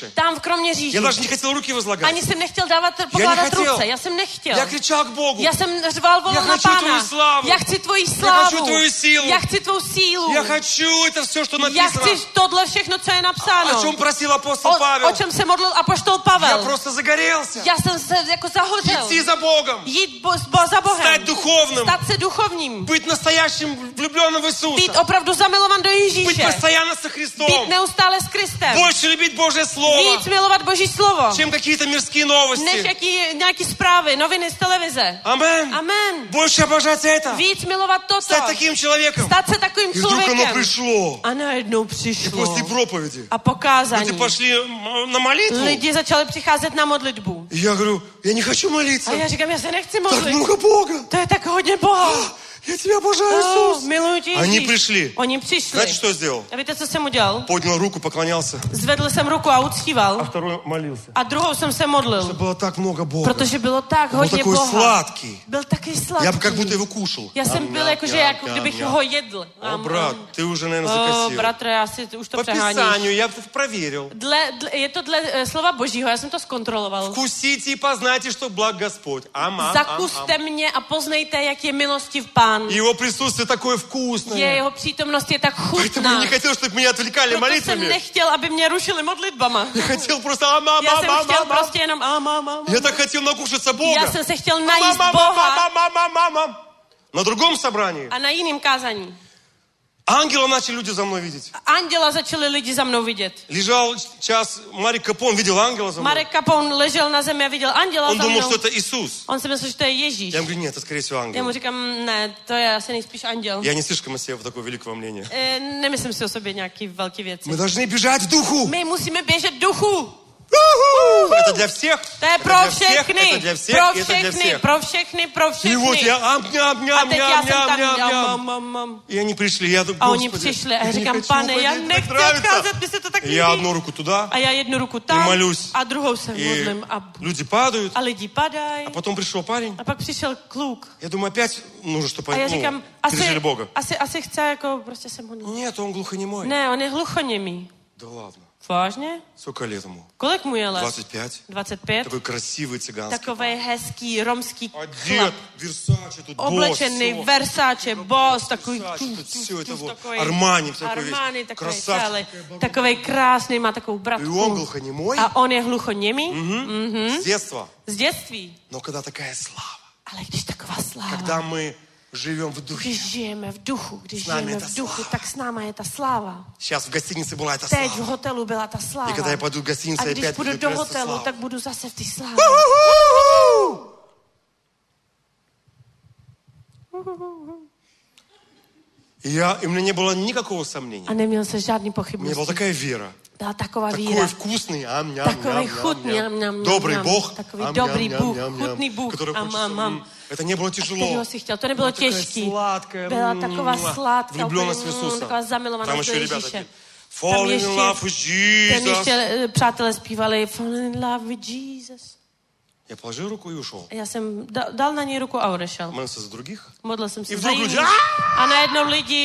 [SPEAKER 3] Я
[SPEAKER 4] Kroměříži.
[SPEAKER 3] даже не хотел руки возлагать.
[SPEAKER 4] Ani jsem nechtěl dávat, pokládat
[SPEAKER 3] nechtěl.
[SPEAKER 4] ruce. Já jsem nechtěl.
[SPEAKER 3] Я кричал к Богу.
[SPEAKER 4] Já jsem řval, volal
[SPEAKER 3] Já
[SPEAKER 4] na
[SPEAKER 3] хочу tvou
[SPEAKER 4] Pána.
[SPEAKER 3] slávu.
[SPEAKER 4] Já chci tvoji
[SPEAKER 3] Я
[SPEAKER 4] slávu.
[SPEAKER 3] хочу твою силу.
[SPEAKER 4] Já chci tvou sílu.
[SPEAKER 3] Я хочу это все, что
[SPEAKER 4] Já
[SPEAKER 3] написано.
[SPEAKER 4] chci tohle všechno, co je napsáno.
[SPEAKER 3] О чем просил апостол
[SPEAKER 4] O,
[SPEAKER 3] Павел.
[SPEAKER 4] o čem se modlil apoštol
[SPEAKER 3] Я
[SPEAKER 4] Pavel.
[SPEAKER 3] просто загорелся.
[SPEAKER 4] Já jsem se jako zahořel.
[SPEAKER 3] Идти за Богом.
[SPEAKER 4] Jít bo, bo, za Bohem.
[SPEAKER 3] Стать духовным.
[SPEAKER 4] Stát se duchovním.
[SPEAKER 3] Быть настоящим влюбленным в Иисуса.
[SPEAKER 4] Být opravdu zamilovan do
[SPEAKER 3] Быть
[SPEAKER 4] Ježíše.
[SPEAKER 3] постоянно со Христом.
[SPEAKER 4] Být neustále s Kristem.
[SPEAKER 3] Больше любить Божье Слово,
[SPEAKER 4] Víc milovat Boží slovo.
[SPEAKER 3] чем какие-то мирские
[SPEAKER 4] Než
[SPEAKER 3] новости.
[SPEAKER 4] jaký, nějaký zprávy, noviny z televize.
[SPEAKER 3] Амен.
[SPEAKER 4] Amen.
[SPEAKER 3] Больше обожать это.
[SPEAKER 4] Víc milovat toto.
[SPEAKER 3] Стать таким человеком.
[SPEAKER 4] Stát se takovým
[SPEAKER 3] И вдруг оно
[SPEAKER 4] člověkem.
[SPEAKER 3] пришло.
[SPEAKER 4] A najednou
[SPEAKER 3] И
[SPEAKER 4] přišlo.
[SPEAKER 3] после проповеди
[SPEAKER 4] A pokázání.
[SPEAKER 3] люди пошли м, на молитву.
[SPEAKER 4] Lidi začali přicházet na modlitbu.
[SPEAKER 3] И я говорю, я не хочу молиться.
[SPEAKER 4] A já říkám, já se nechci
[SPEAKER 3] Так
[SPEAKER 4] modlit.
[SPEAKER 3] много Бога.
[SPEAKER 4] To je tak hodně Boha.
[SPEAKER 3] Я тебя обожаю,
[SPEAKER 4] Oh,
[SPEAKER 3] Иисус.
[SPEAKER 4] miluji tě,
[SPEAKER 3] Они
[SPEAKER 4] Ježíš.
[SPEAKER 3] пришли.
[SPEAKER 4] Oni přišli.
[SPEAKER 3] Знаете, что я сделал?
[SPEAKER 4] A víte, co jsem udělal?
[SPEAKER 3] Поднял руку, поклонялся.
[SPEAKER 4] Zvedl jsem ruku a uctíval.
[SPEAKER 3] Второй молился.
[SPEAKER 4] A druhou jsem se modlil.
[SPEAKER 3] Было так много Бога.
[SPEAKER 4] Protože bylo tak
[SPEAKER 3] Он был
[SPEAKER 4] hodně
[SPEAKER 3] такой
[SPEAKER 4] Boha.
[SPEAKER 3] сладкий.
[SPEAKER 4] Byl taky sladký.
[SPEAKER 3] Я бы как будто его кушал.
[SPEAKER 4] Já jsem byl jako, že jako kdybych ho jedl.
[SPEAKER 3] О, брат, ты уже, наверное,
[SPEAKER 4] O,
[SPEAKER 3] закосил.
[SPEAKER 4] bratře, asi už to
[SPEAKER 3] По
[SPEAKER 4] přeháníš.
[SPEAKER 3] Писанию я это проверил.
[SPEAKER 4] Dle, dle, je to dle eh, slova Božího, já jsem to zkontroloval.
[SPEAKER 3] Вкусите и познайте, что благ Господь. Ам, ам, ам,
[SPEAKER 4] Zakuste
[SPEAKER 3] ам.
[SPEAKER 4] mě a poznejte, jak je milostiv Pán.
[SPEAKER 3] Его присутствие такое
[SPEAKER 4] Je,
[SPEAKER 3] вкусное.
[SPEAKER 4] jeho přítomnost je tak
[SPEAKER 3] Поэтому я
[SPEAKER 4] chutná.
[SPEAKER 3] не хотел, чтобы меня отвлекали
[SPEAKER 4] Proto jsem
[SPEAKER 3] молитвами.
[SPEAKER 4] nechtěl, aby mě rušili modlitbama.
[SPEAKER 3] Я хотел просто ам, ам,
[SPEAKER 4] Já
[SPEAKER 3] ам,
[SPEAKER 4] jsem
[SPEAKER 3] ам,
[SPEAKER 4] chtěl
[SPEAKER 3] ам, ам.
[SPEAKER 4] prostě jenom am, am, am.
[SPEAKER 3] Я так хотел накушаться Бога.
[SPEAKER 4] Já jsem se chtěl
[SPEAKER 3] Ам,
[SPEAKER 4] najíst
[SPEAKER 3] ам, ам,
[SPEAKER 4] Boha
[SPEAKER 3] ам, ам, ам, ам, ам. На другом собрании
[SPEAKER 4] a na jiným kázání.
[SPEAKER 3] ангела начали люди за мной видеть.
[SPEAKER 4] Anděla začali lidi za mnou vidět.
[SPEAKER 3] Лежал час, Марик Капон видел ангела за мной.
[SPEAKER 4] Marek Kapon ležel na zemi a viděl anděla
[SPEAKER 3] Он
[SPEAKER 4] za
[SPEAKER 3] думал,
[SPEAKER 4] mnou.
[SPEAKER 3] что это Иисус.
[SPEAKER 4] On si myslel, že to je Ježíš.
[SPEAKER 3] Я ему говорю, нет, это скорее всего
[SPEAKER 4] Já mu
[SPEAKER 3] ангел.
[SPEAKER 4] říkám, ne, to je asi nejspíš anděl.
[SPEAKER 3] Я не слишком о себе такого великого мнения.
[SPEAKER 4] E, nemyslím si o sobě nějaký velký věci.
[SPEAKER 3] Мы должны бежать в духу.
[SPEAKER 4] My musíme běžet v duchu.
[SPEAKER 3] Это для всех.
[SPEAKER 4] To je
[SPEAKER 3] Это
[SPEAKER 4] pro
[SPEAKER 3] для всех,
[SPEAKER 4] všechny.
[SPEAKER 3] это для всех,
[SPEAKER 4] Pro
[SPEAKER 3] и это для
[SPEAKER 4] všechny,
[SPEAKER 3] всех.
[SPEAKER 4] pro všechny, pro
[SPEAKER 3] И вот
[SPEAKER 4] všechny.
[SPEAKER 3] я ам, ням,
[SPEAKER 4] A
[SPEAKER 3] ням,
[SPEAKER 4] teď já
[SPEAKER 3] ням,
[SPEAKER 4] jsem
[SPEAKER 3] ням,
[SPEAKER 4] tam
[SPEAKER 3] ням,
[SPEAKER 4] dělal,
[SPEAKER 3] ням.
[SPEAKER 4] mam, mam, mam.
[SPEAKER 3] И они пришли, я думаю,
[SPEAKER 4] A oni
[SPEAKER 3] Господи,
[SPEAKER 4] přišli a já
[SPEAKER 3] я не
[SPEAKER 4] říkám,
[SPEAKER 3] хочу
[SPEAKER 4] pane, já
[SPEAKER 3] уходить, мне
[SPEAKER 4] nechci
[SPEAKER 3] нравится.
[SPEAKER 4] odcházet, mi se to tak
[SPEAKER 3] И я
[SPEAKER 4] líbí.
[SPEAKER 3] одну руку туда,
[SPEAKER 4] A já jednu ruku
[SPEAKER 3] и
[SPEAKER 4] tam
[SPEAKER 3] молюсь.
[SPEAKER 4] a druhou se
[SPEAKER 3] И
[SPEAKER 4] modlím a,
[SPEAKER 3] люди падают.
[SPEAKER 4] a lidi padají.
[SPEAKER 3] А потом пришел парень.
[SPEAKER 4] A pak přišel kluk.
[SPEAKER 3] Я думаю, опять нужно, чтобы
[SPEAKER 4] A já
[SPEAKER 3] они
[SPEAKER 4] říkám,
[SPEAKER 3] ну,
[SPEAKER 4] asi,
[SPEAKER 3] пережили Бога.
[SPEAKER 4] asi, asi chce jako prostě se modlit.
[SPEAKER 3] Нет, он глухонемой.
[SPEAKER 4] Ne, on je hluchoněmý.
[SPEAKER 3] Да ладно.
[SPEAKER 4] Vážně?
[SPEAKER 3] Сколько лет ему?
[SPEAKER 4] Kolik mu je let?
[SPEAKER 3] двадцать пять.
[SPEAKER 4] dvacet pět.
[SPEAKER 3] Такой красивый цыганский.
[SPEAKER 4] Takovej hezký romský
[SPEAKER 3] Одет,
[SPEAKER 4] chlap.
[SPEAKER 3] Versace, тут
[SPEAKER 4] Oblečený,
[SPEAKER 3] босс,
[SPEAKER 4] Versace, boss, takový,
[SPEAKER 3] Versace,
[SPEAKER 4] tuf,
[SPEAKER 3] тут
[SPEAKER 4] tuf,
[SPEAKER 3] всё это
[SPEAKER 4] tuf,
[SPEAKER 3] вот.
[SPEAKER 4] takový
[SPEAKER 3] Армани, такой весь.
[SPEAKER 4] Armani, takový
[SPEAKER 3] Красавчик.
[SPEAKER 4] celý, takový krásný, má takovou
[SPEAKER 3] И он
[SPEAKER 4] bratku.
[SPEAKER 3] глухонемой
[SPEAKER 4] A on je hluchoněmý
[SPEAKER 3] с детства.
[SPEAKER 4] z dětství.
[SPEAKER 3] Но когда такая слава,
[SPEAKER 4] Ale když taková sláva,
[SPEAKER 3] когда мы живем в духе.
[SPEAKER 4] když žijeme v duchu, když
[SPEAKER 3] S námi
[SPEAKER 4] žijeme
[SPEAKER 3] je ta
[SPEAKER 4] v duchu,
[SPEAKER 3] sláva.
[SPEAKER 4] tak s náma je ta sláva.
[SPEAKER 3] Сейчас в гостинице была эта
[SPEAKER 4] Teď v
[SPEAKER 3] слава.
[SPEAKER 4] hotelu byla ta sláva.
[SPEAKER 3] И когда я пойду в гостиницу,
[SPEAKER 4] A když
[SPEAKER 3] опять
[SPEAKER 4] půjdu
[SPEAKER 3] будет
[SPEAKER 4] do
[SPEAKER 3] просто
[SPEAKER 4] hotelu,
[SPEAKER 3] слава.
[SPEAKER 4] tak budu zase v té slávě.
[SPEAKER 3] И, я, и у меня не было никакого сомнения.
[SPEAKER 4] A neměl se žádný
[SPEAKER 3] У меня была
[SPEAKER 4] pochybnosti.
[SPEAKER 3] такая вера.
[SPEAKER 4] Byla taková
[SPEAKER 3] Такой
[SPEAKER 4] víra.
[SPEAKER 3] вкусный, ам, ням,
[SPEAKER 4] Takový
[SPEAKER 3] ням,
[SPEAKER 4] chutný,
[SPEAKER 3] ням,
[SPEAKER 4] am,
[SPEAKER 3] ням.
[SPEAKER 4] am,
[SPEAKER 3] Добрый
[SPEAKER 4] am,
[SPEAKER 3] Бог,
[SPEAKER 4] takový
[SPEAKER 3] ам,
[SPEAKER 4] dobrý
[SPEAKER 3] ням,
[SPEAKER 4] Bůh,
[SPEAKER 3] ням, ням,
[SPEAKER 4] chutný Bůh,
[SPEAKER 3] который
[SPEAKER 4] am,
[SPEAKER 3] хочется,
[SPEAKER 4] am, am.
[SPEAKER 3] м, это не было тяжело.
[SPEAKER 4] Kterýho si chtěl. To nebylo
[SPEAKER 3] Byla taková
[SPEAKER 4] těžký.
[SPEAKER 3] sladká,
[SPEAKER 4] Byla
[SPEAKER 3] mm,
[SPEAKER 4] taková
[SPEAKER 3] mm,
[SPEAKER 4] sladká,
[SPEAKER 3] влюбленность в
[SPEAKER 4] úplně, mm,
[SPEAKER 3] Иисуса.
[SPEAKER 4] taková
[SPEAKER 3] Там
[SPEAKER 4] zamilovanost do
[SPEAKER 3] еще rебята
[SPEAKER 4] Ježíše.
[SPEAKER 3] такие, fall in
[SPEAKER 4] ještě-
[SPEAKER 3] love with
[SPEAKER 4] Tam ještě
[SPEAKER 3] Jesus.
[SPEAKER 4] eh, přátelé zpívali Fall in love with Jesus.
[SPEAKER 3] Я положил руку и ушел.
[SPEAKER 4] A já jsem da, dal na něj ruku a odešel.
[SPEAKER 3] Молился за других.
[SPEAKER 4] Modlil jsem se
[SPEAKER 3] I
[SPEAKER 4] za
[SPEAKER 3] vdruh
[SPEAKER 4] jiný.
[SPEAKER 3] lidi,
[SPEAKER 4] A najednou lidi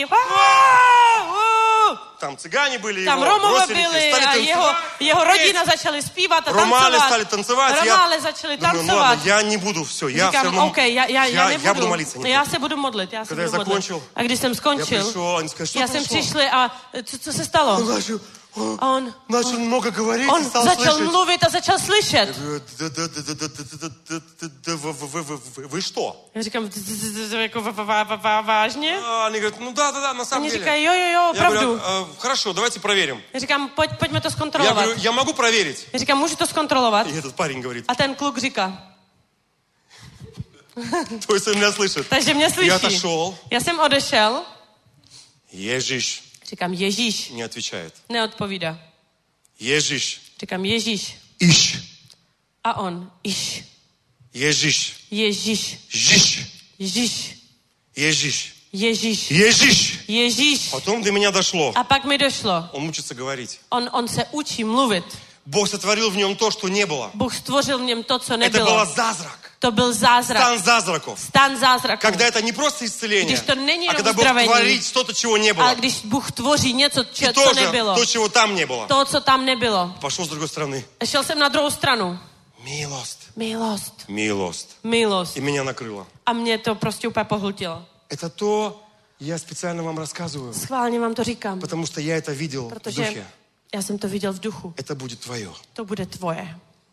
[SPEAKER 3] Там цыгане были,
[SPEAKER 4] tam
[SPEAKER 3] его
[SPEAKER 4] Romové
[SPEAKER 3] бросили,
[SPEAKER 4] byli
[SPEAKER 3] стали
[SPEAKER 4] a
[SPEAKER 3] танцевать.
[SPEAKER 4] jeho, jeho rodina začali zpívat a
[SPEAKER 3] Ромали
[SPEAKER 4] tancovat.
[SPEAKER 3] стали танцевать.
[SPEAKER 4] Romále
[SPEAKER 3] Я
[SPEAKER 4] začali
[SPEAKER 3] думаю, ну
[SPEAKER 4] tancovat.
[SPEAKER 3] ладно, я не буду, все, я все
[SPEAKER 4] Říkám,
[SPEAKER 3] равно,
[SPEAKER 4] OK, já, já, já,
[SPEAKER 3] я,
[SPEAKER 4] nebudu.
[SPEAKER 3] я буду молиться. не
[SPEAKER 4] Já
[SPEAKER 3] буду.
[SPEAKER 4] se budu modlit, já se
[SPEAKER 3] Когда я
[SPEAKER 4] budu modlit.
[SPEAKER 3] закончил,
[SPEAKER 4] A když jsem
[SPEAKER 3] Я
[SPEAKER 4] skončil,
[SPEAKER 3] пришел, они сказали, что
[SPEAKER 4] já jsem
[SPEAKER 3] произошло?
[SPEAKER 4] přišli a co, co se stalo?
[SPEAKER 3] Он начал, он
[SPEAKER 4] A on,
[SPEAKER 3] начал много говорить,
[SPEAKER 4] on
[SPEAKER 3] и stал
[SPEAKER 4] začal
[SPEAKER 3] слышать.
[SPEAKER 4] mluvit a začal slyšet.
[SPEAKER 3] Да, да, да, да, да, да, да, да, да, да, вы, вы, вы, вы, вы что?
[SPEAKER 4] Já říkám, "Z- z- z- z- jako va- va- va- va- vážně?
[SPEAKER 3] А, Они говорят, ну да, да, да, на самом
[SPEAKER 4] Oni
[SPEAKER 3] деле.
[SPEAKER 4] říkají, jo, jo, jo,
[SPEAKER 3] Я
[SPEAKER 4] opravdu.
[SPEAKER 3] говорю, «А, хорошо, давайте проверим.
[SPEAKER 4] Já říkám, pojď, pojďme to
[SPEAKER 3] Я
[SPEAKER 4] zkontrolovat.
[SPEAKER 3] говорю, я могу проверить?
[SPEAKER 4] Já říkám, můžu to zkontrolovat?
[SPEAKER 3] И этот парень говорит,
[SPEAKER 4] A ten kluk říká,
[SPEAKER 3] то есть он меня слышит.
[SPEAKER 4] takže mě
[SPEAKER 3] Я
[SPEAKER 4] slyší.
[SPEAKER 3] отошел,
[SPEAKER 4] Já jsem odešel,
[SPEAKER 3] Ježíš
[SPEAKER 4] říkám, Ježíš,
[SPEAKER 3] не отвечает.
[SPEAKER 4] neodpovídá.
[SPEAKER 3] Ježíš,
[SPEAKER 4] Říkám, Ježíš.
[SPEAKER 3] ищ,
[SPEAKER 4] A on, iš,
[SPEAKER 3] Ježíš,
[SPEAKER 4] Ježíš,
[SPEAKER 3] Жиш,
[SPEAKER 4] Ježíš,
[SPEAKER 3] Ježíš,
[SPEAKER 4] Ježíš,
[SPEAKER 3] Ježíš.
[SPEAKER 4] Ježíš.
[SPEAKER 3] Потом до меня дошло.
[SPEAKER 4] A pak mi došlo,
[SPEAKER 3] Он учится говорить.
[SPEAKER 4] on, on se učí mluvit.
[SPEAKER 3] Бог сотворил в нем то, что не было.
[SPEAKER 4] Bůh stvořil v něm to, co
[SPEAKER 3] Это
[SPEAKER 4] nebylo.
[SPEAKER 3] было зазрак.
[SPEAKER 4] To byl zázrak.
[SPEAKER 3] Стан зазраков.
[SPEAKER 4] Stan zázraku.
[SPEAKER 3] Когда это не просто исцеление,
[SPEAKER 4] Když to není
[SPEAKER 3] а когда Бог
[SPEAKER 4] uzdravení,
[SPEAKER 3] творит что-то, чего не
[SPEAKER 4] ale
[SPEAKER 3] было.
[SPEAKER 4] když Bůh tvoří něco,
[SPEAKER 3] И
[SPEAKER 4] če, co
[SPEAKER 3] тоже
[SPEAKER 4] nebylo.
[SPEAKER 3] то, чего там не было.
[SPEAKER 4] To, co tam nebylo.
[SPEAKER 3] Пошел с другой стороны.
[SPEAKER 4] Šel jsem na druhou stranu.
[SPEAKER 3] Милость.
[SPEAKER 4] Milost.
[SPEAKER 3] Милость.
[SPEAKER 4] Milost.
[SPEAKER 3] И меня накрыло.
[SPEAKER 4] A mě to prostě úplně pohltilo.
[SPEAKER 3] Это то, я специально вам рассказываю,
[SPEAKER 4] Schválně vám to říkám,
[SPEAKER 3] потому что я это видел в
[SPEAKER 4] protože
[SPEAKER 3] духе.
[SPEAKER 4] já jsem to viděl v duchu.
[SPEAKER 3] Это будет твое.
[SPEAKER 4] To bude tvoje.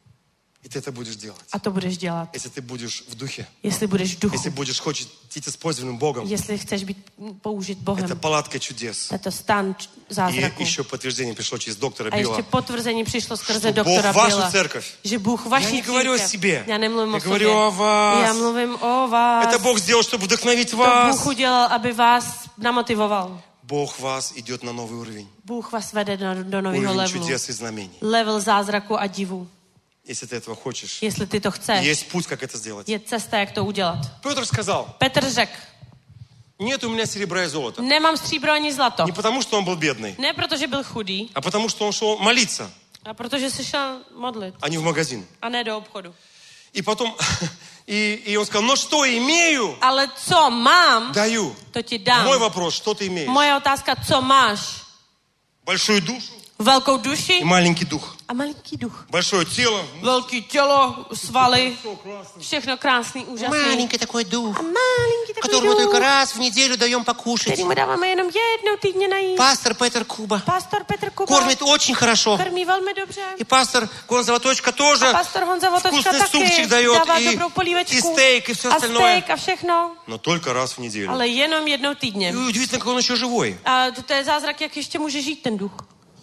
[SPEAKER 3] И ты это будешь делать.
[SPEAKER 4] A to budeš dělat.
[SPEAKER 3] Если ты будешь в духе.
[SPEAKER 4] Jestli budeš v duchu.
[SPEAKER 3] Если будешь хочешь быть использованным Богом.
[SPEAKER 4] Jestli chceš být použit Bohem.
[SPEAKER 3] Это палатка чудес.
[SPEAKER 4] Je to stan zázraku.
[SPEAKER 3] И еще подтверждение пришло через доктора
[SPEAKER 4] A ještě
[SPEAKER 3] Билла.
[SPEAKER 4] potvrzení přišlo skrze
[SPEAKER 3] Что Бог
[SPEAKER 4] doktora
[SPEAKER 3] вашу
[SPEAKER 4] Billa,
[SPEAKER 3] церковь.
[SPEAKER 4] že Bůh
[SPEAKER 3] Я
[SPEAKER 4] vaší
[SPEAKER 3] не говорю о
[SPEAKER 4] církev.
[SPEAKER 3] себе.
[SPEAKER 4] Já nemluvím
[SPEAKER 3] Я
[SPEAKER 4] o
[SPEAKER 3] говорю
[SPEAKER 4] sobě.
[SPEAKER 3] о вас.
[SPEAKER 4] Já mluvím o vás.
[SPEAKER 3] Это Бог сделал, чтобы вдохновить
[SPEAKER 4] To
[SPEAKER 3] вас.
[SPEAKER 4] Bůh udělal, aby vás namotivoval.
[SPEAKER 3] Бог вас идет на новый уровень.
[SPEAKER 4] Bůh vás vede do, do nového
[SPEAKER 3] Уровень
[SPEAKER 4] levelu.
[SPEAKER 3] чудес и знамений.
[SPEAKER 4] Level zázraku a divu.
[SPEAKER 3] Если ты этого хочешь.
[SPEAKER 4] Jestli ty to chceš,
[SPEAKER 3] Есть путь, как это сделать.
[SPEAKER 4] je cesta, jak to udělat.
[SPEAKER 3] Петр сказал,
[SPEAKER 4] Petr řekl,
[SPEAKER 3] нет у меня серебра и золота.
[SPEAKER 4] nemám stříbro ani zlato.
[SPEAKER 3] Не потому, что он был бедный,
[SPEAKER 4] Ne protože byl chudý,
[SPEAKER 3] а потому, что он шел молиться,
[SPEAKER 4] a protože se šel modlit
[SPEAKER 3] а не в магазин.
[SPEAKER 4] a ne do obchodu.
[SPEAKER 3] И потом, и, и он сказал, ну что имею,
[SPEAKER 4] Ale co mám,
[SPEAKER 3] даю.
[SPEAKER 4] to ti dám.
[SPEAKER 3] Мой вопрос, что ты имеешь?
[SPEAKER 4] Moje otázka, co máš?
[SPEAKER 3] Большую душу
[SPEAKER 4] Velkou duši
[SPEAKER 3] и маленький дух.
[SPEAKER 4] a malinký duch.
[SPEAKER 3] Большое тело.
[SPEAKER 4] Velký tělo, svaly, všechno krásný, úžasný.
[SPEAKER 5] Маленький такой дух,
[SPEAKER 4] A malinký takový
[SPEAKER 5] которому только
[SPEAKER 4] duch,
[SPEAKER 5] раз в неделю даем покушать.
[SPEAKER 4] který mu dáváme jenom jednou týdně najít.
[SPEAKER 5] Пастор Петр Куба
[SPEAKER 4] Pastor Petr Kuba
[SPEAKER 5] кормит очень хорошо.
[SPEAKER 4] krmí velmi dobře.
[SPEAKER 5] И пастор Гон Золоточка тоже
[SPEAKER 4] A pastor Honza Votočka
[SPEAKER 5] вкусный
[SPEAKER 4] taky
[SPEAKER 5] супчик дает,
[SPEAKER 4] dává
[SPEAKER 5] и,
[SPEAKER 4] dobrou polívečku.
[SPEAKER 5] и стейк, и все
[SPEAKER 4] a
[SPEAKER 5] остальное.
[SPEAKER 4] steak a všechno,
[SPEAKER 3] Но только раз в неделю.
[SPEAKER 4] ale jenom jednou týdně.
[SPEAKER 3] И удивительно, как он еще живой.
[SPEAKER 4] A to, to je zázrak, jak ještě může žít ten duch.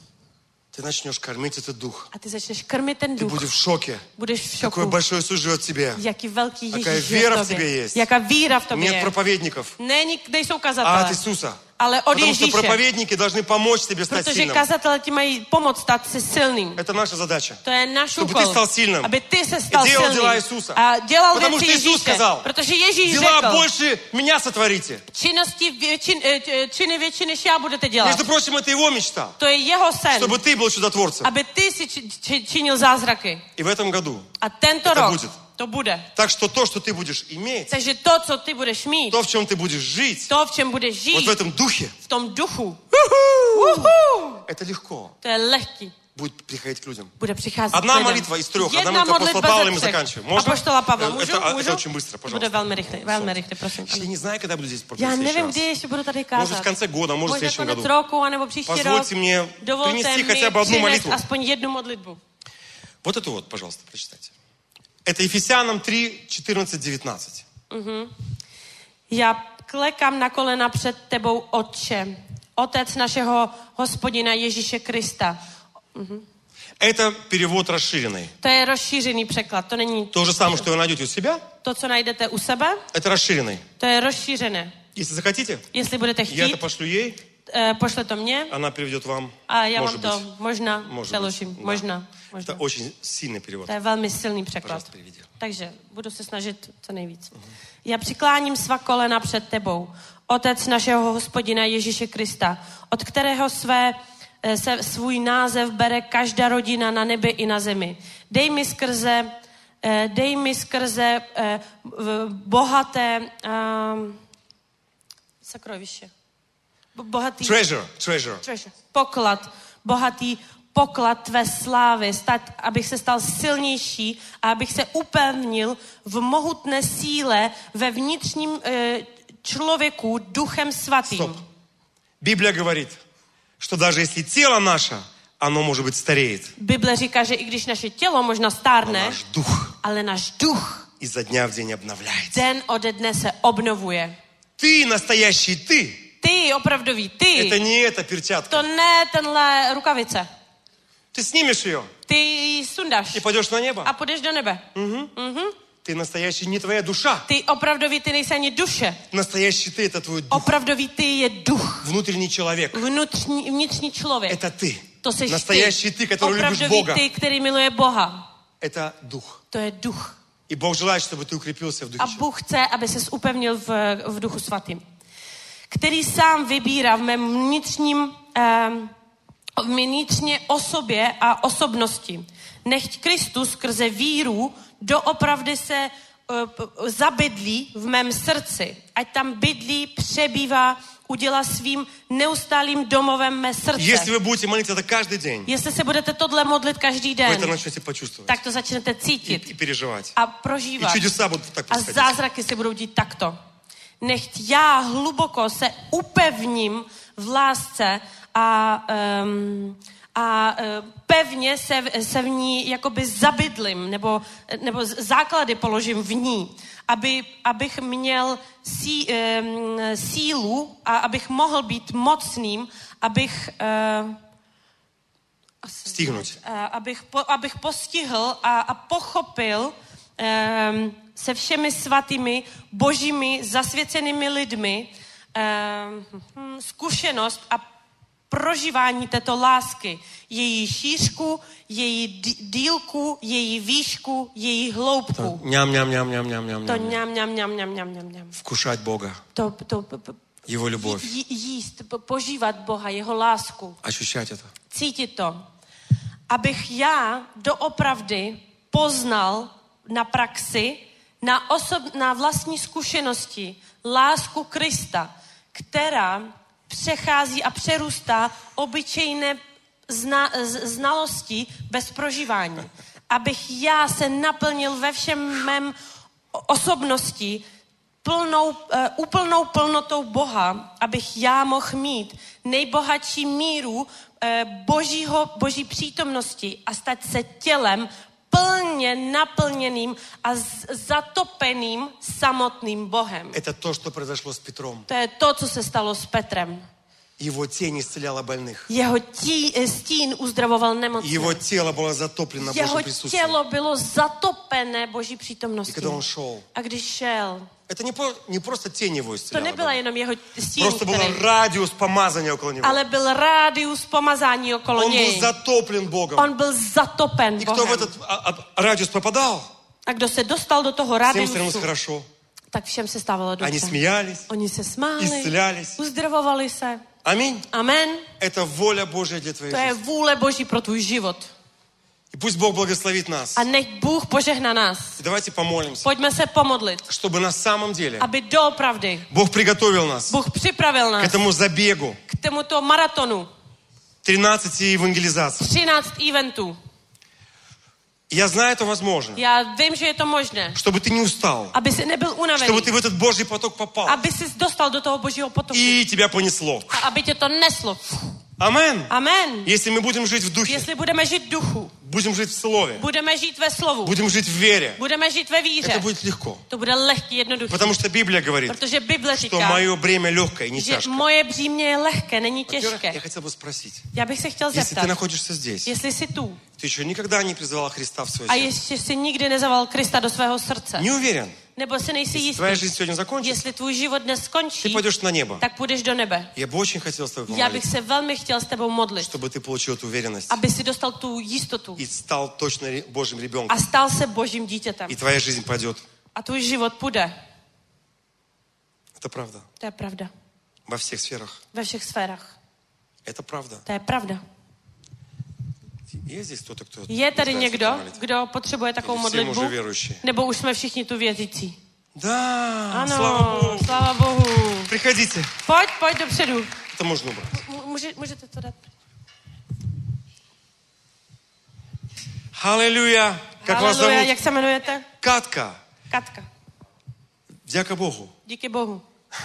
[SPEAKER 3] Ты начнешь кормить этот дух.
[SPEAKER 4] A ty začneš krmit ten
[SPEAKER 3] Ты
[SPEAKER 4] duch.
[SPEAKER 3] будешь в шоке.
[SPEAKER 4] Budeš v
[SPEAKER 3] Какой
[SPEAKER 4] šoku.
[SPEAKER 3] большой Иисус живет в тебе.
[SPEAKER 4] Jaký velký
[SPEAKER 3] Jaká
[SPEAKER 4] Ježíš je
[SPEAKER 3] víra
[SPEAKER 4] v
[SPEAKER 3] v tobě
[SPEAKER 4] tobě.
[SPEAKER 3] jest.
[SPEAKER 4] Jaká víra v tobě
[SPEAKER 3] Нет
[SPEAKER 4] je.
[SPEAKER 3] проповедников,
[SPEAKER 4] Není, nejsou
[SPEAKER 3] а от
[SPEAKER 4] kazatelé,
[SPEAKER 3] Иисуса.
[SPEAKER 4] ale od
[SPEAKER 3] Потому что
[SPEAKER 4] Ježíše.
[SPEAKER 3] проповедники должны помочь тебе стать
[SPEAKER 4] Protože
[SPEAKER 3] сильным.
[SPEAKER 4] kazatelé ti mají pomoct stát si silným.
[SPEAKER 3] Это наша задача.
[SPEAKER 4] To je náš
[SPEAKER 3] Чтобы
[SPEAKER 4] úkol.
[SPEAKER 3] ты стал сильным.
[SPEAKER 4] Aby ty se stal
[SPEAKER 3] И делал
[SPEAKER 4] silným.
[SPEAKER 3] дела Иисуса.
[SPEAKER 4] A dělal
[SPEAKER 3] Потому
[SPEAKER 4] věci
[SPEAKER 3] что Иисус
[SPEAKER 4] Ježíše.
[SPEAKER 3] сказал,
[SPEAKER 4] Protože Ježíš
[SPEAKER 3] Дела
[SPEAKER 4] řekl,
[SPEAKER 3] больше меня сотворите.
[SPEAKER 4] činnosti většin, eh, činy větší, než já budete dělat.
[SPEAKER 3] Между прочим, это его мечта.
[SPEAKER 4] To je jeho sen.
[SPEAKER 3] Чтобы ты был čудотворцем.
[SPEAKER 4] Aby ty si či, či, činil zázraky.
[SPEAKER 3] И в этом году.
[SPEAKER 4] A tento
[SPEAKER 3] To
[SPEAKER 4] rok
[SPEAKER 3] bude.
[SPEAKER 4] to bude.
[SPEAKER 3] Так что то, что ты будешь иметь,
[SPEAKER 4] Takže to, co ty budeš mít,
[SPEAKER 3] то, в чем ты будешь жить,
[SPEAKER 4] to, v čem budeš žít,
[SPEAKER 3] вот в этом духе,
[SPEAKER 4] v tom duchu, Uhu!
[SPEAKER 3] это легко
[SPEAKER 4] To je lehký.
[SPEAKER 3] будет приходить к людям.
[SPEAKER 4] Bude přicházet
[SPEAKER 3] Одна
[SPEAKER 4] k lidem.
[SPEAKER 3] молитва из трех. Одна
[SPEAKER 4] Jedna
[SPEAKER 3] молитва апостола
[SPEAKER 4] modlitba
[SPEAKER 3] Павла,
[SPEAKER 4] ze
[SPEAKER 3] и мы
[SPEAKER 4] třech.
[SPEAKER 3] заканчиваем. Можно?
[SPEAKER 4] Apoštola Pavla,
[SPEAKER 3] Это-
[SPEAKER 4] můžu?
[SPEAKER 3] это-
[SPEAKER 4] můžu?
[SPEAKER 3] это очень быстро,
[SPEAKER 4] Bude
[SPEAKER 3] пожалуйста.
[SPEAKER 4] velmi rychle, velmi rychle, prosím.
[SPEAKER 3] Я не знаю, когда буду здесь
[SPEAKER 4] Já
[SPEAKER 3] проповедовать в
[SPEAKER 4] nevím,
[SPEAKER 3] следующий
[SPEAKER 4] kdy
[SPEAKER 3] раз.
[SPEAKER 4] ještě budu tady
[SPEAKER 3] Может,
[SPEAKER 4] kázat.
[SPEAKER 3] в конце года, может, в
[SPEAKER 4] Možná
[SPEAKER 3] следующем
[SPEAKER 4] konec
[SPEAKER 3] году.
[SPEAKER 4] roku, anebo příští rok.
[SPEAKER 3] Позвольте мне
[SPEAKER 4] Dovolte
[SPEAKER 3] принести
[SPEAKER 4] mi
[SPEAKER 3] хотя бы одну
[SPEAKER 4] přinést
[SPEAKER 3] молитву.
[SPEAKER 4] aspoň jednu modlitbu.
[SPEAKER 3] Вот эту вот, пожалуйста, прочитайте. Это Ефесянам три, четырнадцать, девятнадцать.
[SPEAKER 4] Já klekám na kolena před tebou, Otče, Otec našeho Hospodina Ježíše Krista.
[SPEAKER 3] Это перевод расширенный.
[SPEAKER 4] To je rozšířený překlad, to není
[SPEAKER 3] То же самое, что вы найдете у себя,
[SPEAKER 4] to, co najdete u sebe,
[SPEAKER 3] это расширенный.
[SPEAKER 4] to je rozšířené.
[SPEAKER 3] Если захотите,
[SPEAKER 4] Jestli budete
[SPEAKER 3] я это
[SPEAKER 4] chtít,
[SPEAKER 3] пошлю ей,
[SPEAKER 4] eh, pošle to mně
[SPEAKER 3] она приведет vám.
[SPEAKER 4] a já
[SPEAKER 3] Может
[SPEAKER 4] vám to
[SPEAKER 3] быть.
[SPEAKER 4] možná
[SPEAKER 3] Может
[SPEAKER 4] přeložím.
[SPEAKER 3] быть. Да.
[SPEAKER 4] Možná.
[SPEAKER 3] Это
[SPEAKER 4] možná.
[SPEAKER 3] очень сильный перевод.
[SPEAKER 4] To je velmi silný překlad.
[SPEAKER 3] Пожалуйста, приведи.
[SPEAKER 4] Takže budu se snažit co nejvíc. Já přikláním svá kolena před tebou, Otec našeho Hospodina Ježíše Krista, od kterého své, eh, se svůj název bere každá rodina na nebi i na zemi. Dej mi skrze, eh, dej mi skrze eh, v- bohaté um, sakroviště. Bo- Bohatý
[SPEAKER 3] Treasure, treasure.
[SPEAKER 4] treasure. Poklad, bohatý poklad tvé slávy, stát, abych se stal silnější a abych se upevnil v mohutné síle ve vnitřním e, člověku duchem svatým.
[SPEAKER 3] Стоп. Библия говорит, что даже если тело наше, оно, может быть, стареет,
[SPEAKER 4] Bible říká, že i když naše tělo možná
[SPEAKER 3] но
[SPEAKER 4] stárne,
[SPEAKER 3] наш дух
[SPEAKER 4] ale náš duch
[SPEAKER 3] изо дня в день обновляется.
[SPEAKER 4] den ode dne se obnovuje.
[SPEAKER 3] Ты настоящий ты.
[SPEAKER 4] Ty, opravdový, ty,
[SPEAKER 3] Это не эта перчатка.
[SPEAKER 4] to ne tenhle rukavice.
[SPEAKER 3] Ты снимешь ее
[SPEAKER 4] Ty ji sundáš
[SPEAKER 3] и пойдешь на небо.
[SPEAKER 4] a půjdeš do nebe.
[SPEAKER 3] Ты настоящий не твоя душа.
[SPEAKER 4] Ty opravdový, ty nejsi ani duše.
[SPEAKER 3] Настоящий ты это твой дух.
[SPEAKER 4] Opravdový ty je duch.
[SPEAKER 3] Внутренний человек.
[SPEAKER 4] Vnitřní, vnitřní člověk.
[SPEAKER 3] Это ты.
[SPEAKER 4] To seš
[SPEAKER 3] Настоящий
[SPEAKER 4] ty.
[SPEAKER 3] ты, который любишь
[SPEAKER 4] Opravdový
[SPEAKER 3] Бога.
[SPEAKER 4] ty, který miluje Boha.
[SPEAKER 3] Это дух.
[SPEAKER 4] To je duch.
[SPEAKER 3] И Бог желает, чтобы ты укрепился в
[SPEAKER 4] A
[SPEAKER 3] духе.
[SPEAKER 4] Bůh chce, aby ses upevnil v, v duchu svatým. Který sám vybírá v mém vnitřním, um, vnitřně osobě a osobnosti. Nechť Kristus skrze víru doopravdy se uh, zabydlí v mém srdci. Ať tam bydlí, přebývá, udělá svým neustálým domovem mé srdce.
[SPEAKER 3] Если вы будете молиться это каждый день,
[SPEAKER 4] Jestli se budete tohle modlit každý
[SPEAKER 3] вы
[SPEAKER 4] den,
[SPEAKER 3] это начнете почувствовать
[SPEAKER 4] tak to začnete
[SPEAKER 3] и,
[SPEAKER 4] cítit
[SPEAKER 3] и переживать.
[SPEAKER 4] a
[SPEAKER 3] И
[SPEAKER 4] prožívat.
[SPEAKER 3] чудеса будут так
[SPEAKER 4] A
[SPEAKER 3] происходить.
[SPEAKER 4] zázraky se budou dít takto. Nechť já hluboko se upevním v lásce a, um, a uh, pevně se, se v ní jakoby zabydlím, nebo, nebo základy položím v ní, aby, abych měl sí, um, sílu a abych mohl být mocným, abych... Uh,
[SPEAKER 3] Stihnout.
[SPEAKER 4] uh, abych, po, abych postihl a, a pochopil um, se všemi svatými, božími, zasvěcenými lidmi um, zkušenost a prožívání této lásky. Její šířku, její dílku, její výšku, její hloubku.
[SPEAKER 3] Ням, ням, ням, ням, ням, ням,
[SPEAKER 4] To
[SPEAKER 3] ням.
[SPEAKER 4] ňam, ňam, ňam, ňam, ňam, ňam, ňam.
[SPEAKER 3] Вкушать Бога,
[SPEAKER 4] To, to p- p-
[SPEAKER 3] Его любовь,
[SPEAKER 4] jí, jíst, po- požívat Boha, jeho lásku.
[SPEAKER 3] ощущать это.
[SPEAKER 4] Cítit to. Abych já doopravdy poznal na praxi, na, osob, na vlastní zkušenosti lásku Krista, která přechází a přerůstá obyčejné zna, z, znalosti bez prožívání. Abych já se naplnil ve všem mém osobnosti plnou, uh, úplnou plnotou Boha, abych já mohl mít nejbohatší míru uh, božího, boží přítomnosti a stát se tělem plně naplněným a z- zatopeným samotným Bohem.
[SPEAKER 3] Это то, что произошло с Петром.
[SPEAKER 4] To je to, co se stalo s Petrem.
[SPEAKER 3] Его тень исцеляла больных.
[SPEAKER 4] Jeho tí, stín uzdravoval nemocné.
[SPEAKER 3] Его тело было затоплено
[SPEAKER 4] Jeho
[SPEAKER 3] Божьим присутствием.
[SPEAKER 4] tělo bylo zatopené boží
[SPEAKER 3] И
[SPEAKER 4] přítomností.
[SPEAKER 3] когда он шел,
[SPEAKER 4] A když šel,
[SPEAKER 3] это не, по- не просто tень его
[SPEAKER 4] to
[SPEAKER 3] исцеляла,
[SPEAKER 4] nebyla jenom jeho stín,
[SPEAKER 3] просто был
[SPEAKER 4] který,
[SPEAKER 3] радиус помазания около него.
[SPEAKER 4] ale byl rádius pomazání okolo
[SPEAKER 3] Он был
[SPEAKER 4] něj.
[SPEAKER 3] затоплен Богом.
[SPEAKER 4] On byl zatopen
[SPEAKER 3] И кто в
[SPEAKER 4] Bohem.
[SPEAKER 3] этот а, а, радиус попадал,
[SPEAKER 4] A kdo se dostal do toho
[SPEAKER 3] всем становилось
[SPEAKER 4] rádiusu,
[SPEAKER 3] хорошо.
[SPEAKER 4] tak všem se stávalo
[SPEAKER 3] Они
[SPEAKER 4] dobře.
[SPEAKER 3] смеялись,
[SPEAKER 4] Oni se smáli,
[SPEAKER 3] исцелялись.
[SPEAKER 4] uzdravovali se.
[SPEAKER 3] Аминь.
[SPEAKER 4] Amen.
[SPEAKER 3] Это воля Божья для твоей
[SPEAKER 4] To je
[SPEAKER 3] жизни.
[SPEAKER 4] vůle Boží pro tvůj život.
[SPEAKER 3] И пусть Бог благословит нас.
[SPEAKER 4] A nech Bůh požehná nás.
[SPEAKER 3] И давайте помолимся,
[SPEAKER 4] Pojďme se pomodlit,
[SPEAKER 3] чтобы на самом деле
[SPEAKER 4] aby doopravdy
[SPEAKER 3] Бог приготовил нас
[SPEAKER 4] Bůh připravil
[SPEAKER 3] к
[SPEAKER 4] nás
[SPEAKER 3] этому забегу
[SPEAKER 4] k tomuto maratonu
[SPEAKER 3] тринадцати евангелизаций.
[SPEAKER 4] třináct eventů.
[SPEAKER 3] Я знаю, это возможно.
[SPEAKER 4] Já vím, že je to možné.
[SPEAKER 3] Чтобы ты не устал.
[SPEAKER 4] Aby si nebyl unavený.
[SPEAKER 3] Чтобы ты в этот Божий поток попал.
[SPEAKER 4] Aby si dostal do toho Božího potoku.
[SPEAKER 3] И тебя понесло.
[SPEAKER 4] A aby tě to neslo.
[SPEAKER 3] Амен.
[SPEAKER 4] Amen.
[SPEAKER 3] Если мы будем жить в духе,
[SPEAKER 4] Jestli budeme žít v duchu,
[SPEAKER 3] будем жить в слове,
[SPEAKER 4] budeme žít ve slovu,
[SPEAKER 3] будем жить в вере,
[SPEAKER 4] budeme žít ve
[SPEAKER 3] это
[SPEAKER 4] víře,
[SPEAKER 3] будет lehко.
[SPEAKER 4] to bude lehký, jednoduchý.
[SPEAKER 3] Потому что Библия говорит,
[SPEAKER 4] Protože Bible
[SPEAKER 3] что
[SPEAKER 4] říká,
[SPEAKER 3] мое бремя легкое, не
[SPEAKER 4] že
[SPEAKER 3] тяжкое.
[SPEAKER 4] moje břímě je lehké, není
[SPEAKER 3] Во-первых, я
[SPEAKER 4] těžké.
[SPEAKER 3] хотел бы спросить,
[SPEAKER 4] Já bych se chtěl
[SPEAKER 3] если ты
[SPEAKER 4] zeptat,
[SPEAKER 3] находишься здесь,
[SPEAKER 4] jestli jsi tu
[SPEAKER 3] ты еще никогда не призывал Христа в свое
[SPEAKER 4] a
[SPEAKER 3] сердце,
[SPEAKER 4] ještě si nikdy nezaval Krista do svého srdce,
[SPEAKER 3] не уверен,
[SPEAKER 4] nebo si nejsi
[SPEAKER 3] если
[SPEAKER 4] jistý,
[SPEAKER 3] твоя жизнь сегодня закончится,
[SPEAKER 4] jestli tvůj život dnes
[SPEAKER 3] ты
[SPEAKER 4] skončí,
[SPEAKER 3] пойдешь на небо.
[SPEAKER 4] tak půjdeš do nebe.
[SPEAKER 3] Я бы очень хотел с тобой
[SPEAKER 4] Já bych
[SPEAKER 3] помолиться,
[SPEAKER 4] se velmi chtěl s tebou modlit,
[SPEAKER 3] чтобы ты получил эту уверенность
[SPEAKER 4] aby si dostal tu jistotu
[SPEAKER 3] и стал точно ре- Божьим ребенком.
[SPEAKER 4] a stal se Božím dítětem.
[SPEAKER 3] И твоя жизнь пойдет.
[SPEAKER 4] A tvůj život půjde.
[SPEAKER 3] Это правда.
[SPEAKER 4] To je pravda.
[SPEAKER 3] Во всех сферах.
[SPEAKER 4] Ve všech sférách.
[SPEAKER 3] Это правда.
[SPEAKER 4] To je pravda.
[SPEAKER 3] Есть здесь кто-то, кто
[SPEAKER 4] Je tady
[SPEAKER 3] нуждается в
[SPEAKER 4] někdo,
[SPEAKER 3] этой молитве?
[SPEAKER 4] kdo potřebuje takovou
[SPEAKER 3] Или все мы
[SPEAKER 4] modlitbu?
[SPEAKER 3] уже верующие?
[SPEAKER 4] Nebo už jsme všichni tu věřící?
[SPEAKER 3] Да,
[SPEAKER 4] Ano,
[SPEAKER 3] слава Богу.
[SPEAKER 4] sláva Bohu.
[SPEAKER 3] Приходите.
[SPEAKER 4] Pojď, pojď dopředu.
[SPEAKER 3] Это можно убрать.
[SPEAKER 4] M- Může, můžete to dát?
[SPEAKER 3] Аллилуйя. Как вас
[SPEAKER 4] Haleluja,
[SPEAKER 3] зовут?
[SPEAKER 4] jak se jmenujete?
[SPEAKER 3] Катка.
[SPEAKER 4] Katka.
[SPEAKER 3] Дяка Богу.
[SPEAKER 4] Díky Bohu.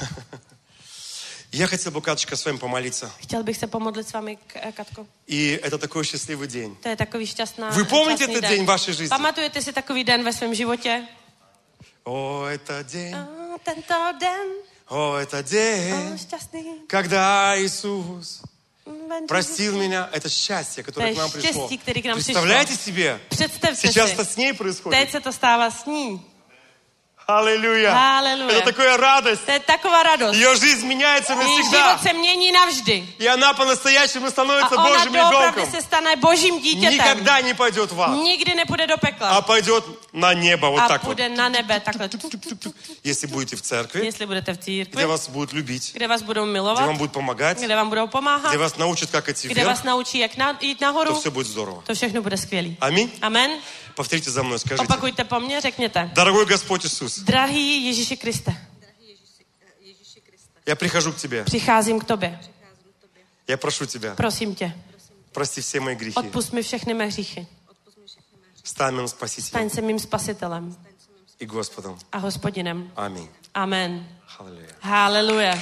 [SPEAKER 3] Я хотел бы, Каточка, с вами помолиться.
[SPEAKER 4] Chtěl bych se pomodlit s vámi, K- eh, Katko.
[SPEAKER 3] И это такой счастливый день.
[SPEAKER 4] To je takový šťastná,
[SPEAKER 3] Вы помните
[SPEAKER 4] šťastný
[SPEAKER 3] этот
[SPEAKER 4] den.
[SPEAKER 3] день в вашей жизни?
[SPEAKER 4] Pamatujete si takový den ve svém životě?
[SPEAKER 3] О, это день,
[SPEAKER 4] A tento den,
[SPEAKER 3] о, это
[SPEAKER 4] o,
[SPEAKER 3] день,
[SPEAKER 4] šťastný.
[SPEAKER 3] когда Иисус
[SPEAKER 4] den,
[SPEAKER 3] простил меня. Это счастье, которое
[SPEAKER 4] To
[SPEAKER 3] к нам
[SPEAKER 4] je
[SPEAKER 3] пришло.
[SPEAKER 4] štěstí, který k nám
[SPEAKER 3] Представляете себе?
[SPEAKER 4] Představte
[SPEAKER 3] Сейчас
[SPEAKER 4] si,
[SPEAKER 3] это с ней
[SPEAKER 4] teď
[SPEAKER 3] происходит.
[SPEAKER 4] se to stává s ní.
[SPEAKER 3] Аллилуйя.
[SPEAKER 4] Аллилуйя.
[SPEAKER 3] Это такая радость.
[SPEAKER 4] To je taková radost.
[SPEAKER 3] Ее жизнь меняется
[SPEAKER 4] Její
[SPEAKER 3] навсегда.
[SPEAKER 4] život se mění navždy.
[SPEAKER 3] И она по-настоящему
[SPEAKER 4] A
[SPEAKER 3] становится
[SPEAKER 4] ona
[SPEAKER 3] Божьим
[SPEAKER 4] doopravdy
[SPEAKER 3] ребенком.
[SPEAKER 4] se stane božím dítětem.
[SPEAKER 3] Никогда не пойдет в ад,
[SPEAKER 4] Nikdy nepůjde do
[SPEAKER 3] а
[SPEAKER 4] pekla.
[SPEAKER 3] пойдет на небо. Вот
[SPEAKER 4] A
[SPEAKER 3] так вот.
[SPEAKER 4] půjde na nebe takhle.
[SPEAKER 3] Если будете в церкви,
[SPEAKER 4] Jestli budete v církvi,
[SPEAKER 3] где вас будут любить,
[SPEAKER 4] kde vás budou
[SPEAKER 3] где
[SPEAKER 4] milovat,
[SPEAKER 3] вам будут помогать,
[SPEAKER 4] kde vám budou pomáhat,
[SPEAKER 3] где вас научат, как идти
[SPEAKER 4] kde vás
[SPEAKER 3] вверх,
[SPEAKER 4] naučí, jak na, jít nahoru,
[SPEAKER 3] то все будет здорово.
[SPEAKER 4] to všechno bude skvělý.
[SPEAKER 3] Аминь.
[SPEAKER 4] Amen.
[SPEAKER 3] Повторите за мной, скажите.
[SPEAKER 4] Opakujte po mně, řekněte.
[SPEAKER 3] Дорогой Господь Иисус,
[SPEAKER 4] Drahý Ježíši Kriste,
[SPEAKER 3] я прихожу к Тебе.
[SPEAKER 4] přicházím k tobě.
[SPEAKER 3] Я прошу Тебя,
[SPEAKER 4] Prosím tě,
[SPEAKER 3] прости все мои грехи.
[SPEAKER 4] odpusť mi všechny mé hříchy.
[SPEAKER 3] Стань моим Спасителем
[SPEAKER 4] Staň se mým spasitelem
[SPEAKER 3] и Господом.
[SPEAKER 4] a hospodinem.
[SPEAKER 3] Аминь.
[SPEAKER 4] Amen.
[SPEAKER 3] Аллилуйя.
[SPEAKER 4] Haleluja.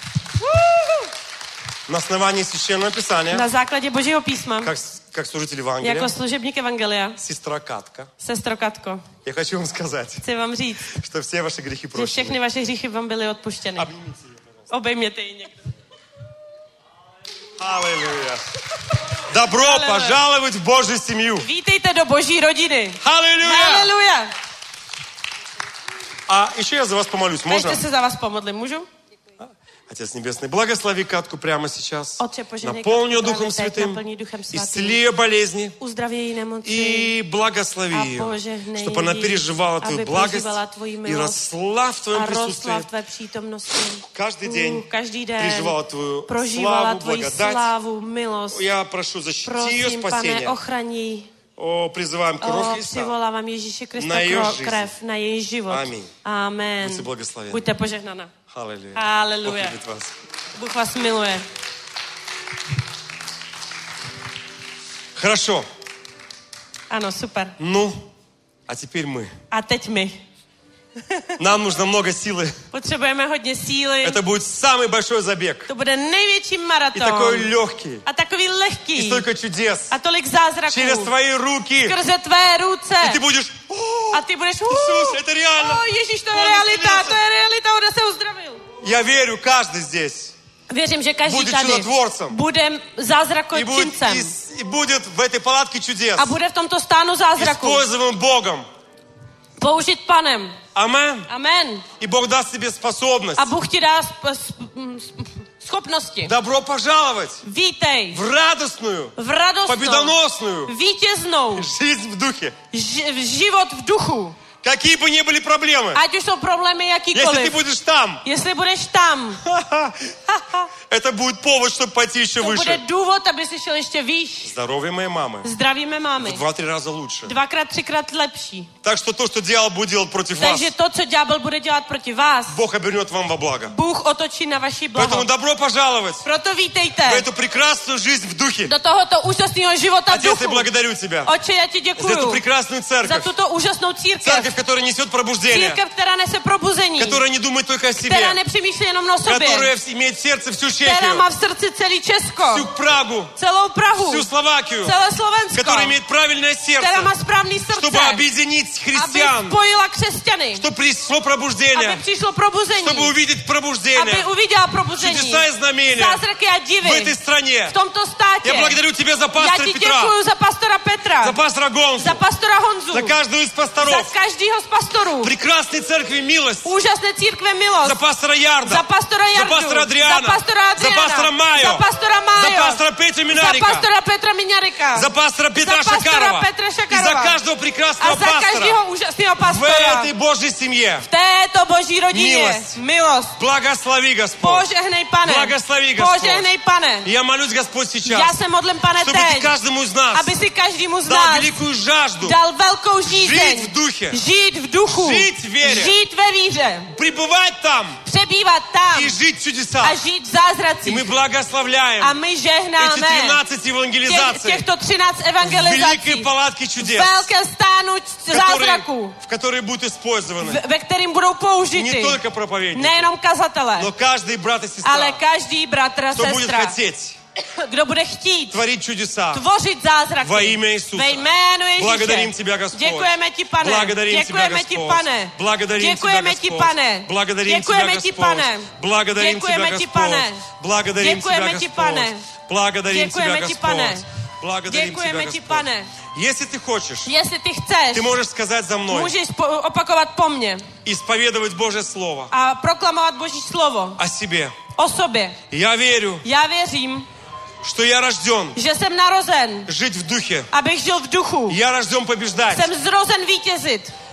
[SPEAKER 3] На основании Священного Писания,
[SPEAKER 4] Na základě Božího písma,
[SPEAKER 3] как, как служитель Евангелия,
[SPEAKER 4] jako služebník Evangelia,
[SPEAKER 3] сестра Катка,
[SPEAKER 4] sestro Katko,
[SPEAKER 3] я хочу вам сказать,
[SPEAKER 4] chci vám říct,
[SPEAKER 3] что все ваши грехи
[SPEAKER 4] že všechny
[SPEAKER 3] прощены.
[SPEAKER 4] vaše hříchy vám byly odpuštěny.
[SPEAKER 3] Обнимите ее, пожалуйста.
[SPEAKER 4] Obejměte ji někdo.
[SPEAKER 3] Аллилуйя. Добро
[SPEAKER 4] Аллилуйя.
[SPEAKER 3] пожаловать в Божью семью.
[SPEAKER 4] Vítejte do Boží rodiny.
[SPEAKER 3] Аллилуйя.
[SPEAKER 4] Haleluja.
[SPEAKER 3] А еще я за вас помолюсь,
[SPEAKER 4] A
[SPEAKER 3] можно?
[SPEAKER 4] ještě se za vás pomodlím, můžu?
[SPEAKER 3] Отец Небесный, благослови Катку прямо сейчас.
[SPEAKER 4] Отче, пожалей
[SPEAKER 3] Наполни ее
[SPEAKER 4] Катку
[SPEAKER 3] Духом
[SPEAKER 4] právě teď,
[SPEAKER 3] Святым.
[SPEAKER 4] naplní Duchem Svatým.
[SPEAKER 3] Исцели ее болезни.
[SPEAKER 4] Uzdraví její nemoci.
[SPEAKER 3] И благослови
[SPEAKER 4] A
[SPEAKER 3] ее,
[SPEAKER 4] požehnej
[SPEAKER 3] чтобы она
[SPEAKER 4] jí,
[SPEAKER 3] переживала Твою
[SPEAKER 4] aby
[SPEAKER 3] благость
[SPEAKER 4] prožívala tvoji
[SPEAKER 3] и
[SPEAKER 4] milost
[SPEAKER 3] росла в Твоем
[SPEAKER 4] a rostla
[SPEAKER 3] присутствии.
[SPEAKER 4] v tvé přítomnosti.
[SPEAKER 3] Каждый
[SPEAKER 4] Uh,
[SPEAKER 3] день
[SPEAKER 4] každý den
[SPEAKER 3] переживала Твою
[SPEAKER 4] prožívala
[SPEAKER 3] славу,
[SPEAKER 4] tvoji
[SPEAKER 3] благодать.
[SPEAKER 4] slávu, milost.
[SPEAKER 3] Я прошу, защити ее
[SPEAKER 4] Prosím, pane,
[SPEAKER 3] спасение.
[SPEAKER 4] ochraň.
[SPEAKER 3] О, призываем кровь
[SPEAKER 4] O,
[SPEAKER 3] Христа.
[SPEAKER 4] přivolávám Ježíše Krista
[SPEAKER 3] Na její
[SPEAKER 4] kro-
[SPEAKER 3] жизнь.
[SPEAKER 4] krev na její život.
[SPEAKER 3] Amen.
[SPEAKER 4] Amen.
[SPEAKER 3] Buďte благословенны.
[SPEAKER 4] Buďte požehnaná.
[SPEAKER 3] Аллилуйя.
[SPEAKER 4] Haleluja.
[SPEAKER 3] Бог любит вас.
[SPEAKER 4] Bůh vás miluje.
[SPEAKER 3] Хорошо.
[SPEAKER 4] Ano, super.
[SPEAKER 3] Ну, а теперь мы.
[SPEAKER 4] A teď my.
[SPEAKER 3] Нам нужно много силы.
[SPEAKER 4] Potřebujeme hodně síly.
[SPEAKER 3] Это будет самый большой забег.
[SPEAKER 4] To bude největší
[SPEAKER 3] И
[SPEAKER 4] maraton.
[SPEAKER 3] такой легкý.
[SPEAKER 4] A takový
[SPEAKER 3] И
[SPEAKER 4] lehký.
[SPEAKER 3] столько чудес.
[SPEAKER 4] A tolik zázraků.
[SPEAKER 3] Через твои руки.
[SPEAKER 4] Skrze tvé ruce.
[SPEAKER 3] И ты будешь... «О,
[SPEAKER 4] A ty budeš...
[SPEAKER 3] Иисус, это реально.
[SPEAKER 4] O, Ježíš, to je
[SPEAKER 3] Он
[SPEAKER 4] realita.
[SPEAKER 3] исцелился».
[SPEAKER 4] To je realita. On se uzdravil.
[SPEAKER 3] Я верю, каждый здесь.
[SPEAKER 4] Věřím, že každý
[SPEAKER 3] Bude
[SPEAKER 4] tady
[SPEAKER 3] čudotvorcem.
[SPEAKER 4] bude
[SPEAKER 3] И будет,
[SPEAKER 4] zázrakočincem.
[SPEAKER 3] и, и будет в этой палатке чудес.
[SPEAKER 4] A bude v tomto stánu zázraku.
[SPEAKER 3] Используемым Богом.
[SPEAKER 4] Použit Panem.
[SPEAKER 3] Амен.
[SPEAKER 4] Amen.
[SPEAKER 3] И Бог даст тебе способность.
[SPEAKER 4] A Bůh ti dá sp- sp- m- sp- schopnosti.
[SPEAKER 3] Добро пожаловать
[SPEAKER 4] Vítej
[SPEAKER 3] в радостную,
[SPEAKER 4] v radostnou,
[SPEAKER 3] победоносную
[SPEAKER 4] vítěznou,
[SPEAKER 3] жизнь в духе.
[SPEAKER 4] ži- v život v duchu.
[SPEAKER 3] Какие бы ни были проблемы.
[SPEAKER 4] Ať už jsou problémy
[SPEAKER 3] Если ты
[SPEAKER 4] jakýkoliv.
[SPEAKER 3] будешь там,
[SPEAKER 4] Jestli budeš tam,
[SPEAKER 3] это будет повод, чтобы пойти еще
[SPEAKER 4] to bude
[SPEAKER 3] выше.
[SPEAKER 4] důvod, aby jsi šel ještě výš.
[SPEAKER 3] Здоровье моей мамы
[SPEAKER 4] Zdravíme
[SPEAKER 3] в
[SPEAKER 4] mámy.
[SPEAKER 3] два-три раза лучше.
[SPEAKER 4] Dvakrát, třikrát lepší.
[SPEAKER 3] Так что то, что дьявол будет делать против вас,
[SPEAKER 4] Takže to, co ďábel bude dělat proti vás,
[SPEAKER 3] Бог обернет вам во благо.
[SPEAKER 4] Bůh otočí na vaši blaho.
[SPEAKER 3] Поэтому добро пожаловать
[SPEAKER 4] Proto
[SPEAKER 3] в
[SPEAKER 4] vítejte
[SPEAKER 3] эту прекрасную жизнь в духе.
[SPEAKER 4] do tohoto úžasného života v
[SPEAKER 3] Отец, я
[SPEAKER 4] duchu.
[SPEAKER 3] благодарю Тебя
[SPEAKER 4] Oče, já ti
[SPEAKER 3] за эту
[SPEAKER 4] děkuju
[SPEAKER 3] прекрасную
[SPEAKER 4] za
[SPEAKER 3] церковь.
[SPEAKER 4] tuto úžasnou církev.
[SPEAKER 3] Церковь, которая несет пробуждение,
[SPEAKER 4] Církev, která nese probuzení,
[SPEAKER 3] которая не думает только о
[SPEAKER 4] která
[SPEAKER 3] себе,
[SPEAKER 4] nepřemýšlí jenom o sobě,
[SPEAKER 3] которая имеет в сердце всю
[SPEAKER 4] která
[SPEAKER 3] Чехию,
[SPEAKER 4] má v srdci celý Česko,
[SPEAKER 3] всю Прагу,
[SPEAKER 4] celou Prahu,
[SPEAKER 3] всю Словакию,
[SPEAKER 4] celé Slovensko,
[SPEAKER 3] которая имеет правильное
[SPEAKER 4] která má
[SPEAKER 3] сердце,
[SPEAKER 4] správný srdce,
[SPEAKER 3] чтобы объединить
[SPEAKER 4] aby
[SPEAKER 3] христиан,
[SPEAKER 4] spojila křesťany,
[SPEAKER 3] чтобы пришло
[SPEAKER 4] aby
[SPEAKER 3] пробуждение,
[SPEAKER 4] přišlo probuzení,
[SPEAKER 3] чтобы увидеть
[SPEAKER 4] aby
[SPEAKER 3] пробуждение,
[SPEAKER 4] uviděla probuzení,
[SPEAKER 3] чудеса и знамения
[SPEAKER 4] zázraky a
[SPEAKER 3] в
[SPEAKER 4] divy
[SPEAKER 3] этой стране.
[SPEAKER 4] v tomto státě.
[SPEAKER 3] Я благодарю Тебя за
[SPEAKER 4] Já
[SPEAKER 3] пастора
[SPEAKER 4] ti
[SPEAKER 3] Петра,
[SPEAKER 4] děkuju za pastora Petra,
[SPEAKER 3] за пастора Гонзу,
[SPEAKER 4] za pastora Honzu,
[SPEAKER 3] за каждого из
[SPEAKER 4] za
[SPEAKER 3] пасторов,
[SPEAKER 4] každýho z pastorů,
[SPEAKER 3] прекрасной церкви «Милость»,
[SPEAKER 4] úžasné církve Milost,
[SPEAKER 3] за пастора Ярда,
[SPEAKER 4] za pastora
[SPEAKER 3] за
[SPEAKER 4] Jardu,
[SPEAKER 3] пастора Адриана,
[SPEAKER 4] za pastora
[SPEAKER 3] за
[SPEAKER 4] Adriana,
[SPEAKER 3] пастора Майо,
[SPEAKER 4] za pastora
[SPEAKER 3] за
[SPEAKER 4] Májo,
[SPEAKER 3] пастора Петра
[SPEAKER 4] za
[SPEAKER 3] Минарика,
[SPEAKER 4] pastora Petra Miňarika,
[SPEAKER 3] за пастора Петра
[SPEAKER 4] за пастора
[SPEAKER 3] Шакарова
[SPEAKER 4] Petra
[SPEAKER 3] и за
[SPEAKER 4] Šakarova
[SPEAKER 3] каждого
[SPEAKER 4] a
[SPEAKER 3] прекрасного
[SPEAKER 4] za
[SPEAKER 3] пастора
[SPEAKER 4] každého úžasného
[SPEAKER 3] в
[SPEAKER 4] pastora
[SPEAKER 3] этой Божьей семье.
[SPEAKER 4] v této boží rodině.
[SPEAKER 3] Milost.
[SPEAKER 4] Milost.
[SPEAKER 3] Благослови, Господь.
[SPEAKER 4] Požehnej, pane.
[SPEAKER 3] Благослови, Господь.
[SPEAKER 4] Požehnej, pane.
[SPEAKER 3] Я молюсь, Господь,
[SPEAKER 4] Já
[SPEAKER 3] сейчас,
[SPEAKER 4] se modlím, pane,
[SPEAKER 3] чтобы Ты
[SPEAKER 4] teď,
[SPEAKER 3] каждому из нас
[SPEAKER 4] aby si každému z
[SPEAKER 3] дал
[SPEAKER 4] nás
[SPEAKER 3] великую žажду
[SPEAKER 4] dal velkou
[SPEAKER 3] жить
[SPEAKER 4] žízeň.
[SPEAKER 3] в духе,
[SPEAKER 4] Žít v duchu.
[SPEAKER 3] Žít v věře.
[SPEAKER 4] Žít ve víře.
[SPEAKER 3] пребывать там
[SPEAKER 4] Přebývat tam.
[SPEAKER 3] и жить в чудесах.
[SPEAKER 4] A žít v
[SPEAKER 3] И
[SPEAKER 4] zázracích.
[SPEAKER 3] мы благословляем
[SPEAKER 4] A my
[SPEAKER 3] эти
[SPEAKER 4] žehnáme
[SPEAKER 3] тринадцать
[SPEAKER 4] těch,
[SPEAKER 3] евангелизаций
[SPEAKER 4] těchto třináct
[SPEAKER 3] в великой
[SPEAKER 4] evangelizací.
[SPEAKER 3] палатке чудес,
[SPEAKER 4] Velké stánu
[SPEAKER 3] которые,
[SPEAKER 4] zázraků,
[SPEAKER 3] в которые будут использованы
[SPEAKER 4] v- ve kterým budou
[SPEAKER 3] не
[SPEAKER 4] použity
[SPEAKER 3] только проповедники,
[SPEAKER 4] nejenom kazatele,
[SPEAKER 3] но каждый брат и
[SPEAKER 4] ale
[SPEAKER 3] сестра,
[SPEAKER 4] každý bratr a
[SPEAKER 3] кто будет
[SPEAKER 4] sestra,
[SPEAKER 3] хотеть
[SPEAKER 4] kdo bude chtít
[SPEAKER 3] творить чудеса.
[SPEAKER 4] tvořit zázraky.
[SPEAKER 3] Во имя Иисуса.
[SPEAKER 4] Ve jménu Ježíše.
[SPEAKER 3] Благодарим Тебя, Господь.
[SPEAKER 4] Děkujeme ti, pane.
[SPEAKER 3] Благодарим Тебя,
[SPEAKER 4] Děkujeme ti,
[SPEAKER 3] Господь.
[SPEAKER 4] pane.
[SPEAKER 3] Благодарим Тебя,
[SPEAKER 4] Děkujeme ti,
[SPEAKER 3] Господь.
[SPEAKER 4] pane.
[SPEAKER 3] Благодарим Тебя,
[SPEAKER 4] Děkujeme ti,
[SPEAKER 3] Господь.
[SPEAKER 4] pane.
[SPEAKER 3] Благодарим Тебя,
[SPEAKER 4] Děkujeme ti,
[SPEAKER 3] Господь.
[SPEAKER 4] pane.
[SPEAKER 3] Благодарим Тебя,
[SPEAKER 4] Děkujeme ti, pane.
[SPEAKER 3] Господь. Благодарим Тебя,
[SPEAKER 4] Děkujeme ti, pane.
[SPEAKER 3] Господь. Благодарим Тебя,
[SPEAKER 4] Děkujeme ti,
[SPEAKER 3] Господь.
[SPEAKER 4] pane.
[SPEAKER 3] Если ты хочешь,
[SPEAKER 4] Jestli ty chceš,
[SPEAKER 3] ты можешь сказать за мной,
[SPEAKER 4] můžeš po, opakovat po mně
[SPEAKER 3] исповедовать Божье Слово
[SPEAKER 4] a proklamovat Boží slovo
[SPEAKER 3] о себе.
[SPEAKER 4] o sobě.
[SPEAKER 3] Я верю,
[SPEAKER 4] Já věřím,
[SPEAKER 3] что я рожден
[SPEAKER 4] že jsem narozen,
[SPEAKER 3] жить в духе.
[SPEAKER 4] abych žil v duchu.
[SPEAKER 3] Я рожден побеждать.
[SPEAKER 4] Jsem zrozen vítězit.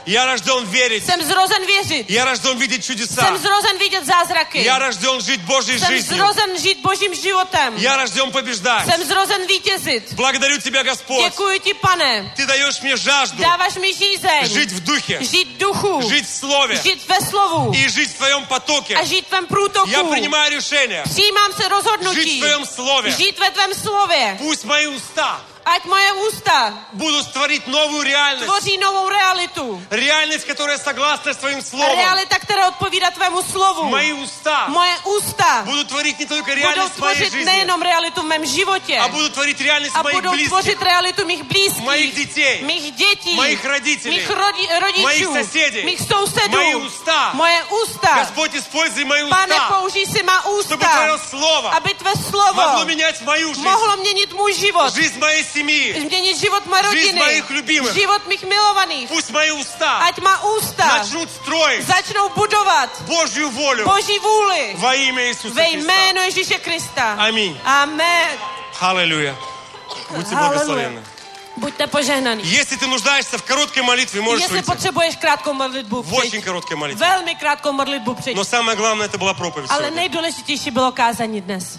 [SPEAKER 3] Я рожден верить.
[SPEAKER 4] Jsem zrozen věřit.
[SPEAKER 3] Я рожден видеть чудеса.
[SPEAKER 4] Jsem zrozen vidět zázraky.
[SPEAKER 3] Я рожден жить Божьей
[SPEAKER 4] Jsem
[SPEAKER 3] жизнью.
[SPEAKER 4] zrozen žít Božím životem.
[SPEAKER 3] Я рожден побеждать.
[SPEAKER 4] Jsem zrozen vítězit.
[SPEAKER 3] Благодарю Тебя, Господь.
[SPEAKER 4] Děkuji ti, Pane.
[SPEAKER 3] Ты даешь мне жажду
[SPEAKER 4] Dáváš mi žízeň.
[SPEAKER 3] жить в духе,
[SPEAKER 4] Žít v duchu.
[SPEAKER 3] жить в слове
[SPEAKER 4] Žít ve slovu.
[SPEAKER 3] и жить в Твоем потоке.
[SPEAKER 4] A žít v tvém průtoku.
[SPEAKER 3] Я принимаю решение
[SPEAKER 4] Přijímám se
[SPEAKER 3] жить
[SPEAKER 4] rozhodnutí.
[SPEAKER 3] в Твоем слове.
[SPEAKER 4] Žít ve tvém slově.
[SPEAKER 3] Пусть мои уста
[SPEAKER 4] Ať moje ústa
[SPEAKER 3] будут творить новую реальность.
[SPEAKER 4] tvoří novou realitu.
[SPEAKER 3] Реальность, которая согласна с Твоим словом.
[SPEAKER 4] Realita, která odpovídá tvému slovu.
[SPEAKER 3] Мои уста
[SPEAKER 4] Moje ústa
[SPEAKER 3] будут творить не только
[SPEAKER 4] budou
[SPEAKER 3] реальность моей
[SPEAKER 4] tvořit
[SPEAKER 3] жизни,
[SPEAKER 4] nejenom realitu v mém životě,
[SPEAKER 3] а будут творить реальность
[SPEAKER 4] a
[SPEAKER 3] моих
[SPEAKER 4] budou
[SPEAKER 3] близких,
[SPEAKER 4] tvořit realitu mých blízkých,
[SPEAKER 3] моих детей,
[SPEAKER 4] mých dětí,
[SPEAKER 3] моих родителей,
[SPEAKER 4] mých rodi, rodičů,
[SPEAKER 3] моих соседей,
[SPEAKER 4] mých sousedů,
[SPEAKER 3] мои уста.
[SPEAKER 4] moje ústa.
[SPEAKER 3] Господь, используй мои
[SPEAKER 4] Pane,
[SPEAKER 3] уста,
[SPEAKER 4] použij si má
[SPEAKER 3] чтобы
[SPEAKER 4] ústa,
[SPEAKER 3] Твое Слово
[SPEAKER 4] aby tvé slovo
[SPEAKER 3] могло менять мою жизнь,
[SPEAKER 4] mohlo měnit můj život,
[SPEAKER 3] жизнь моей семьи.
[SPEAKER 4] změnit život mé
[SPEAKER 3] Жизнь
[SPEAKER 4] rodiny,
[SPEAKER 3] моих любимых.
[SPEAKER 4] život mých milovaných.
[SPEAKER 3] Пусть мои уста
[SPEAKER 4] Ať má ústa
[SPEAKER 3] начнут строить
[SPEAKER 4] začnou budovat
[SPEAKER 3] Божью волю
[SPEAKER 4] Boží vůli
[SPEAKER 3] во имя Иисуса
[SPEAKER 4] ve
[SPEAKER 3] Христа.
[SPEAKER 4] jménu Ježíše Krista.
[SPEAKER 3] Аминь.
[SPEAKER 4] Amen.
[SPEAKER 3] Аллилуйя. Будьте
[SPEAKER 4] Halleluja.
[SPEAKER 3] благословенны.
[SPEAKER 4] Buďte požehnaný.
[SPEAKER 3] Если ты нуждаешься в короткой молитве, можешь
[SPEAKER 4] Jestli
[SPEAKER 3] выйти.
[SPEAKER 4] potřebuješ krátkou modlitbu,
[SPEAKER 3] В очень
[SPEAKER 4] přijď.
[SPEAKER 3] короткой молитве.
[SPEAKER 4] Velmi krátkou modlitbu přijď.
[SPEAKER 3] Но самое главное, это была проповедь
[SPEAKER 4] Ale
[SPEAKER 3] сегодня.
[SPEAKER 4] nejdůležitější bylo kázání dnes.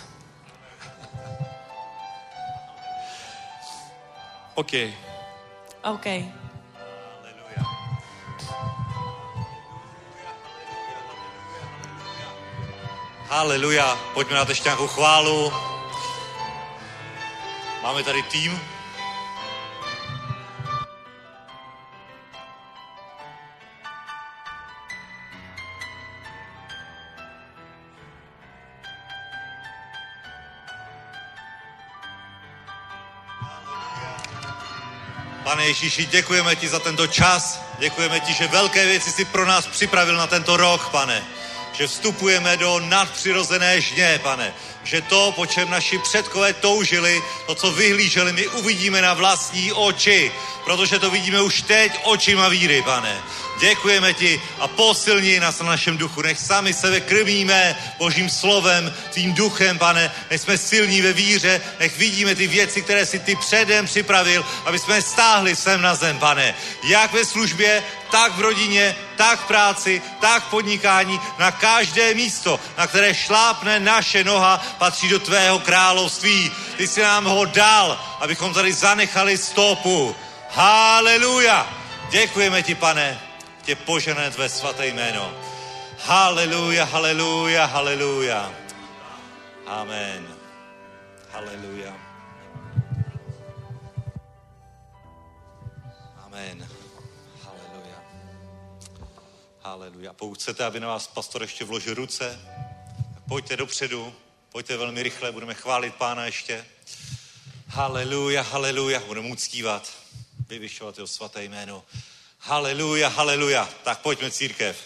[SPEAKER 3] Окей.
[SPEAKER 4] OK.
[SPEAKER 2] Haleluja. Pojďme na to ještě nějakou chválu. Máme tady tým. Pane Ježíši, děkujeme ti za tento čas. Děkujeme ti, že velké věci si pro nás připravil na tento rok, pane. Že vstupujeme do nadpřirozené žně, pane. Že to, po čem naši předkové toužili, to, co vyhlíželi, my uvidíme na vlastní oči. Protože to vidíme už teď očima víry, pane. Děkujeme ti a posilni nás na našem duchu. Nech sami sebe krmíme Božím slovem, tvým duchem, pane. Nech jsme silní ve víře, nech vidíme ty věci, které si ty předem připravil, aby jsme stáhli sem na zem, pane. Jak ve službě, tak v rodině, tak v práci, tak v podnikání, na každé místo, na které šlápne naše noha, patří do tvého království. Ty jsi nám ho dal, abychom tady zanechali stopu. Haleluja! Děkujeme ti, pane, tě požené tvé svaté jméno. Haleluja, haleluja, haleluja. Amen. Haleluja. Amen. Haleluja. Haleluja. Pokud chcete, aby na vás pastor ještě vložil ruce, tak pojďte dopředu, pojďte velmi rychle, budeme chválit Pána ještě. Haleluja, haleluja, budeme uctívat, vyvyšovat jeho svaté jméno. Haleluja, haleluja. Tak pojďme, církev.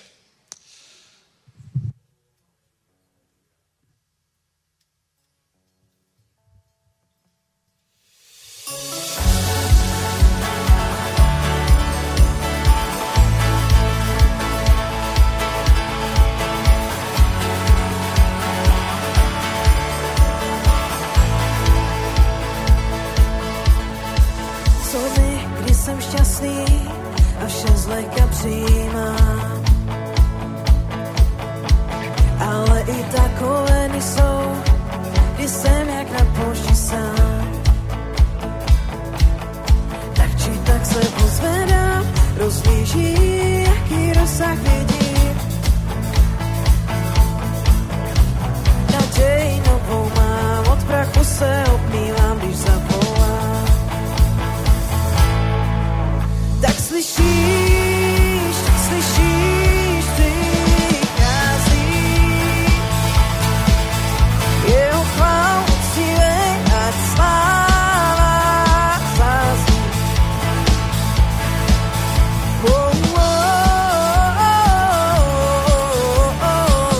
[SPEAKER 1] Co mi, když jsem šťastný a vše zlehka přijímám. Ale i takové dny jsou, kdy jsem jak na poušti sám. Tak či tak se pozvedám, rozlížím, jaký rozsah vidím. Naději novou mám, od prachu se obmývám, když zavolám. Tak slyšíš, slyšíš, přichází jeho chvál, cílej a sláva zází. Oh, oh, oh, oh, oh.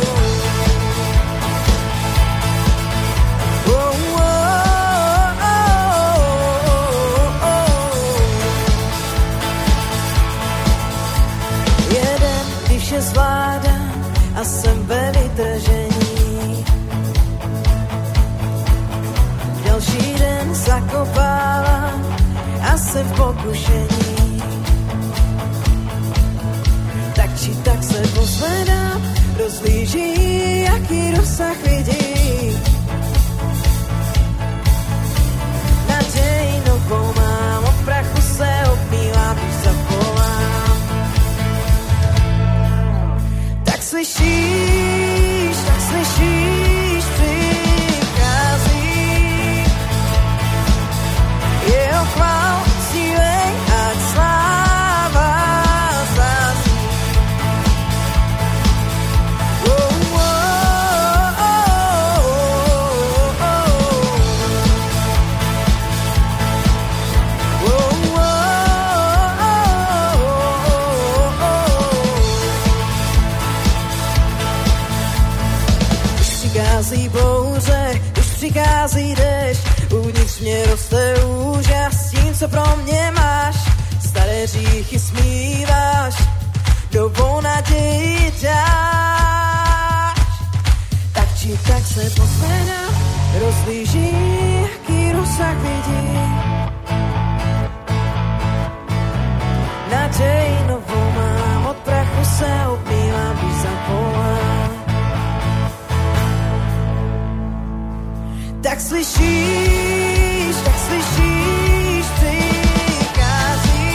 [SPEAKER 1] Oh, oh, oh, oh. Jeden, když je zvládám a jsem ve vytržení. Další den zakopávám a jsem v pokušení. rozsah vidí. Naděj novou mám, od prachu se obmývám, když zavolám. Tak slyšíš, tak slyšíš, přichází. Jeho chvál, sílej, ať sláva zazní. Oh, oh, oh, oh, oh, oh, oh. Když přichází bouře, když přichází déšť, uvnitř mě roste úžas tím, co pro mě máš. Staré hříchy smíváš, novou naději dáš. Tak či tak se pozvedá, rozlíží, jaký rozsah vidí. Naději novou mám, od prachu se obmývám, když zavolám. Tak slyšíš, tak slyšíš, přichází.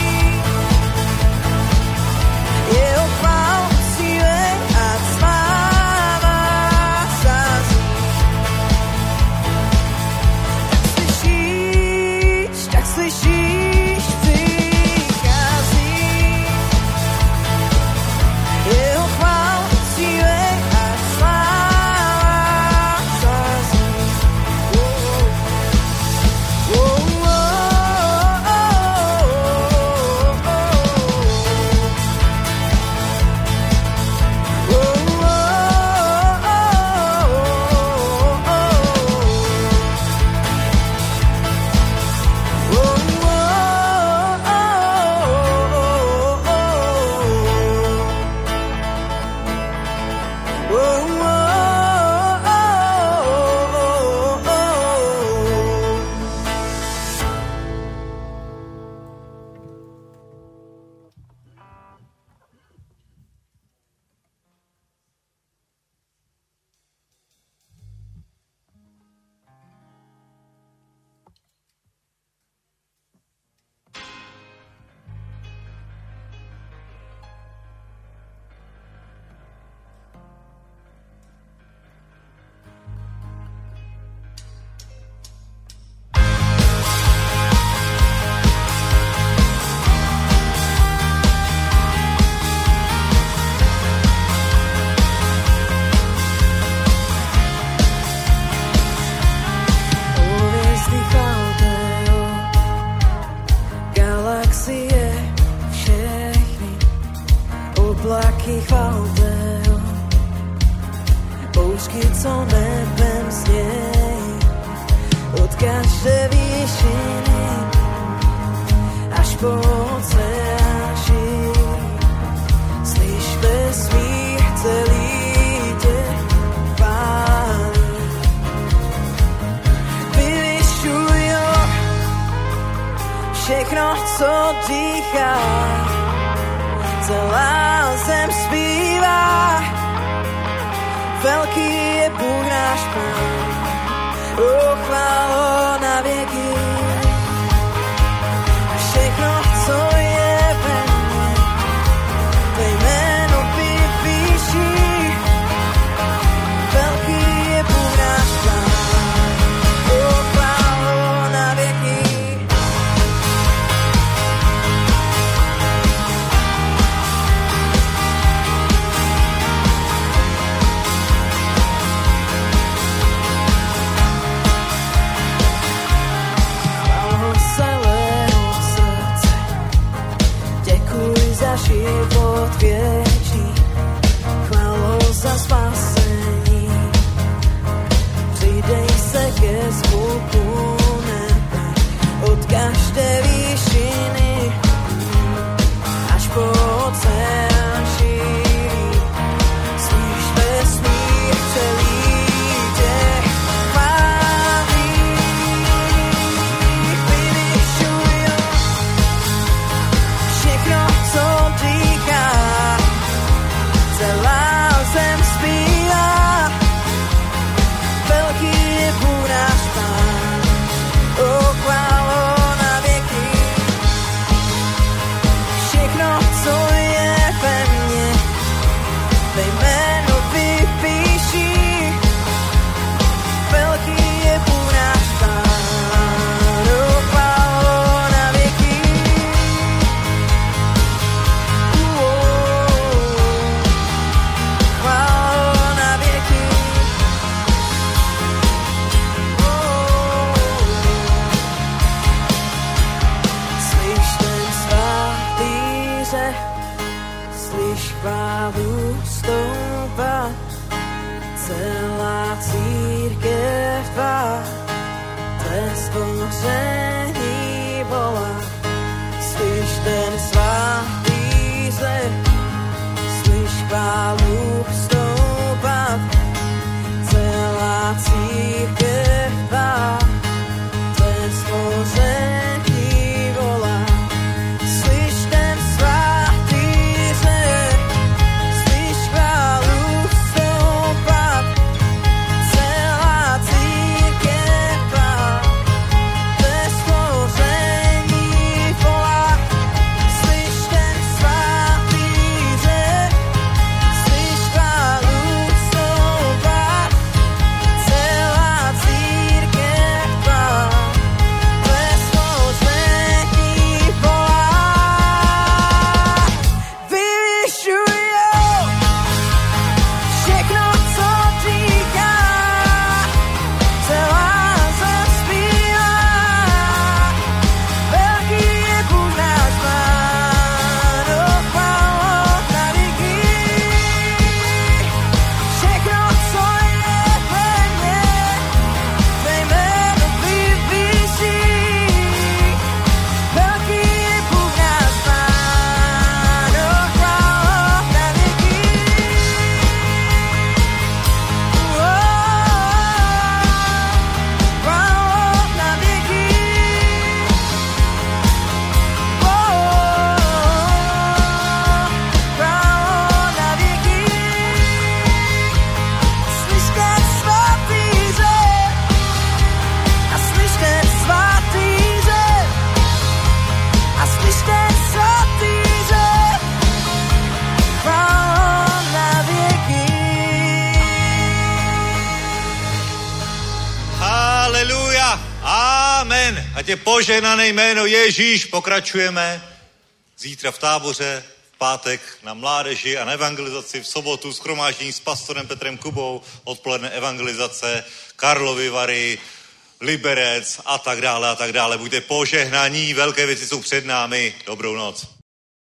[SPEAKER 1] Jeho chvál, síle a sláva zazní. Tak slyšíš, tak slyšíš, přichází. Jeho chvál, síle a sláva zazní. Oblaky chváltého, bouřky, co nebem snějí, od každé výšiny až po oceán šíří. Slyš vesmír celý tě chválí. Vyvyšuj ho, všechno, co dýchá, celá zem zpívá, velký je Bůh náš Pán, o chválo na věky. A všechno, co je ve mně, tvé jméno vyvýší, velký je Bůh náš Pán, o chválo na věky. Život věčný, chválou za spasení. Přidej se ke zvuku nebe, od každé výšiny až po oceán šíří. Slyš vesmír celý tě chválí. Vyvyšuj ho, všechno, co dýchá, celá zem zpívá, svatýře, slyš chválu stoupat, celá církev tvá, tvé stvoření volá. Slyš ten svatýře, slyš chválu stoupat, celá církev tvá, tvé stvoření volá. Slyš ten svatýře, slyš chválu stoupat, celá církev tvá, tvé stvoření volá. Slyš ten svatýře, slyš chválu stoupat, celá církev tvá, tvé stvoření volá. Vyvyšujou všechno, co říká, celá zem zpívá. Velký je Bůh náš Pán, dochválou na věky. Všechno, co je ve mně, tvé jméno vyvyší. Velký je Bůh náš Pán, dochválou na věky. Chválou na věky. Chválou na věky. Slyš ten svatýře, a slyš ten svatýře, a slyš ten svatýře, chválou na věky.
[SPEAKER 2] Haleluja. Amen. Ať je požehnané jméno Ježíš. Pokračujeme zítra v táboře, v pátek na mládeži a na evangelizaci, v sobotu shromáždění s pastorem Petrem Kubou, odpoledne evangelizace, Karlovy Vary, Liberec a tak dále a tak dále. Buďte požehnaní, velké věci jsou před námi. Dobrou noc.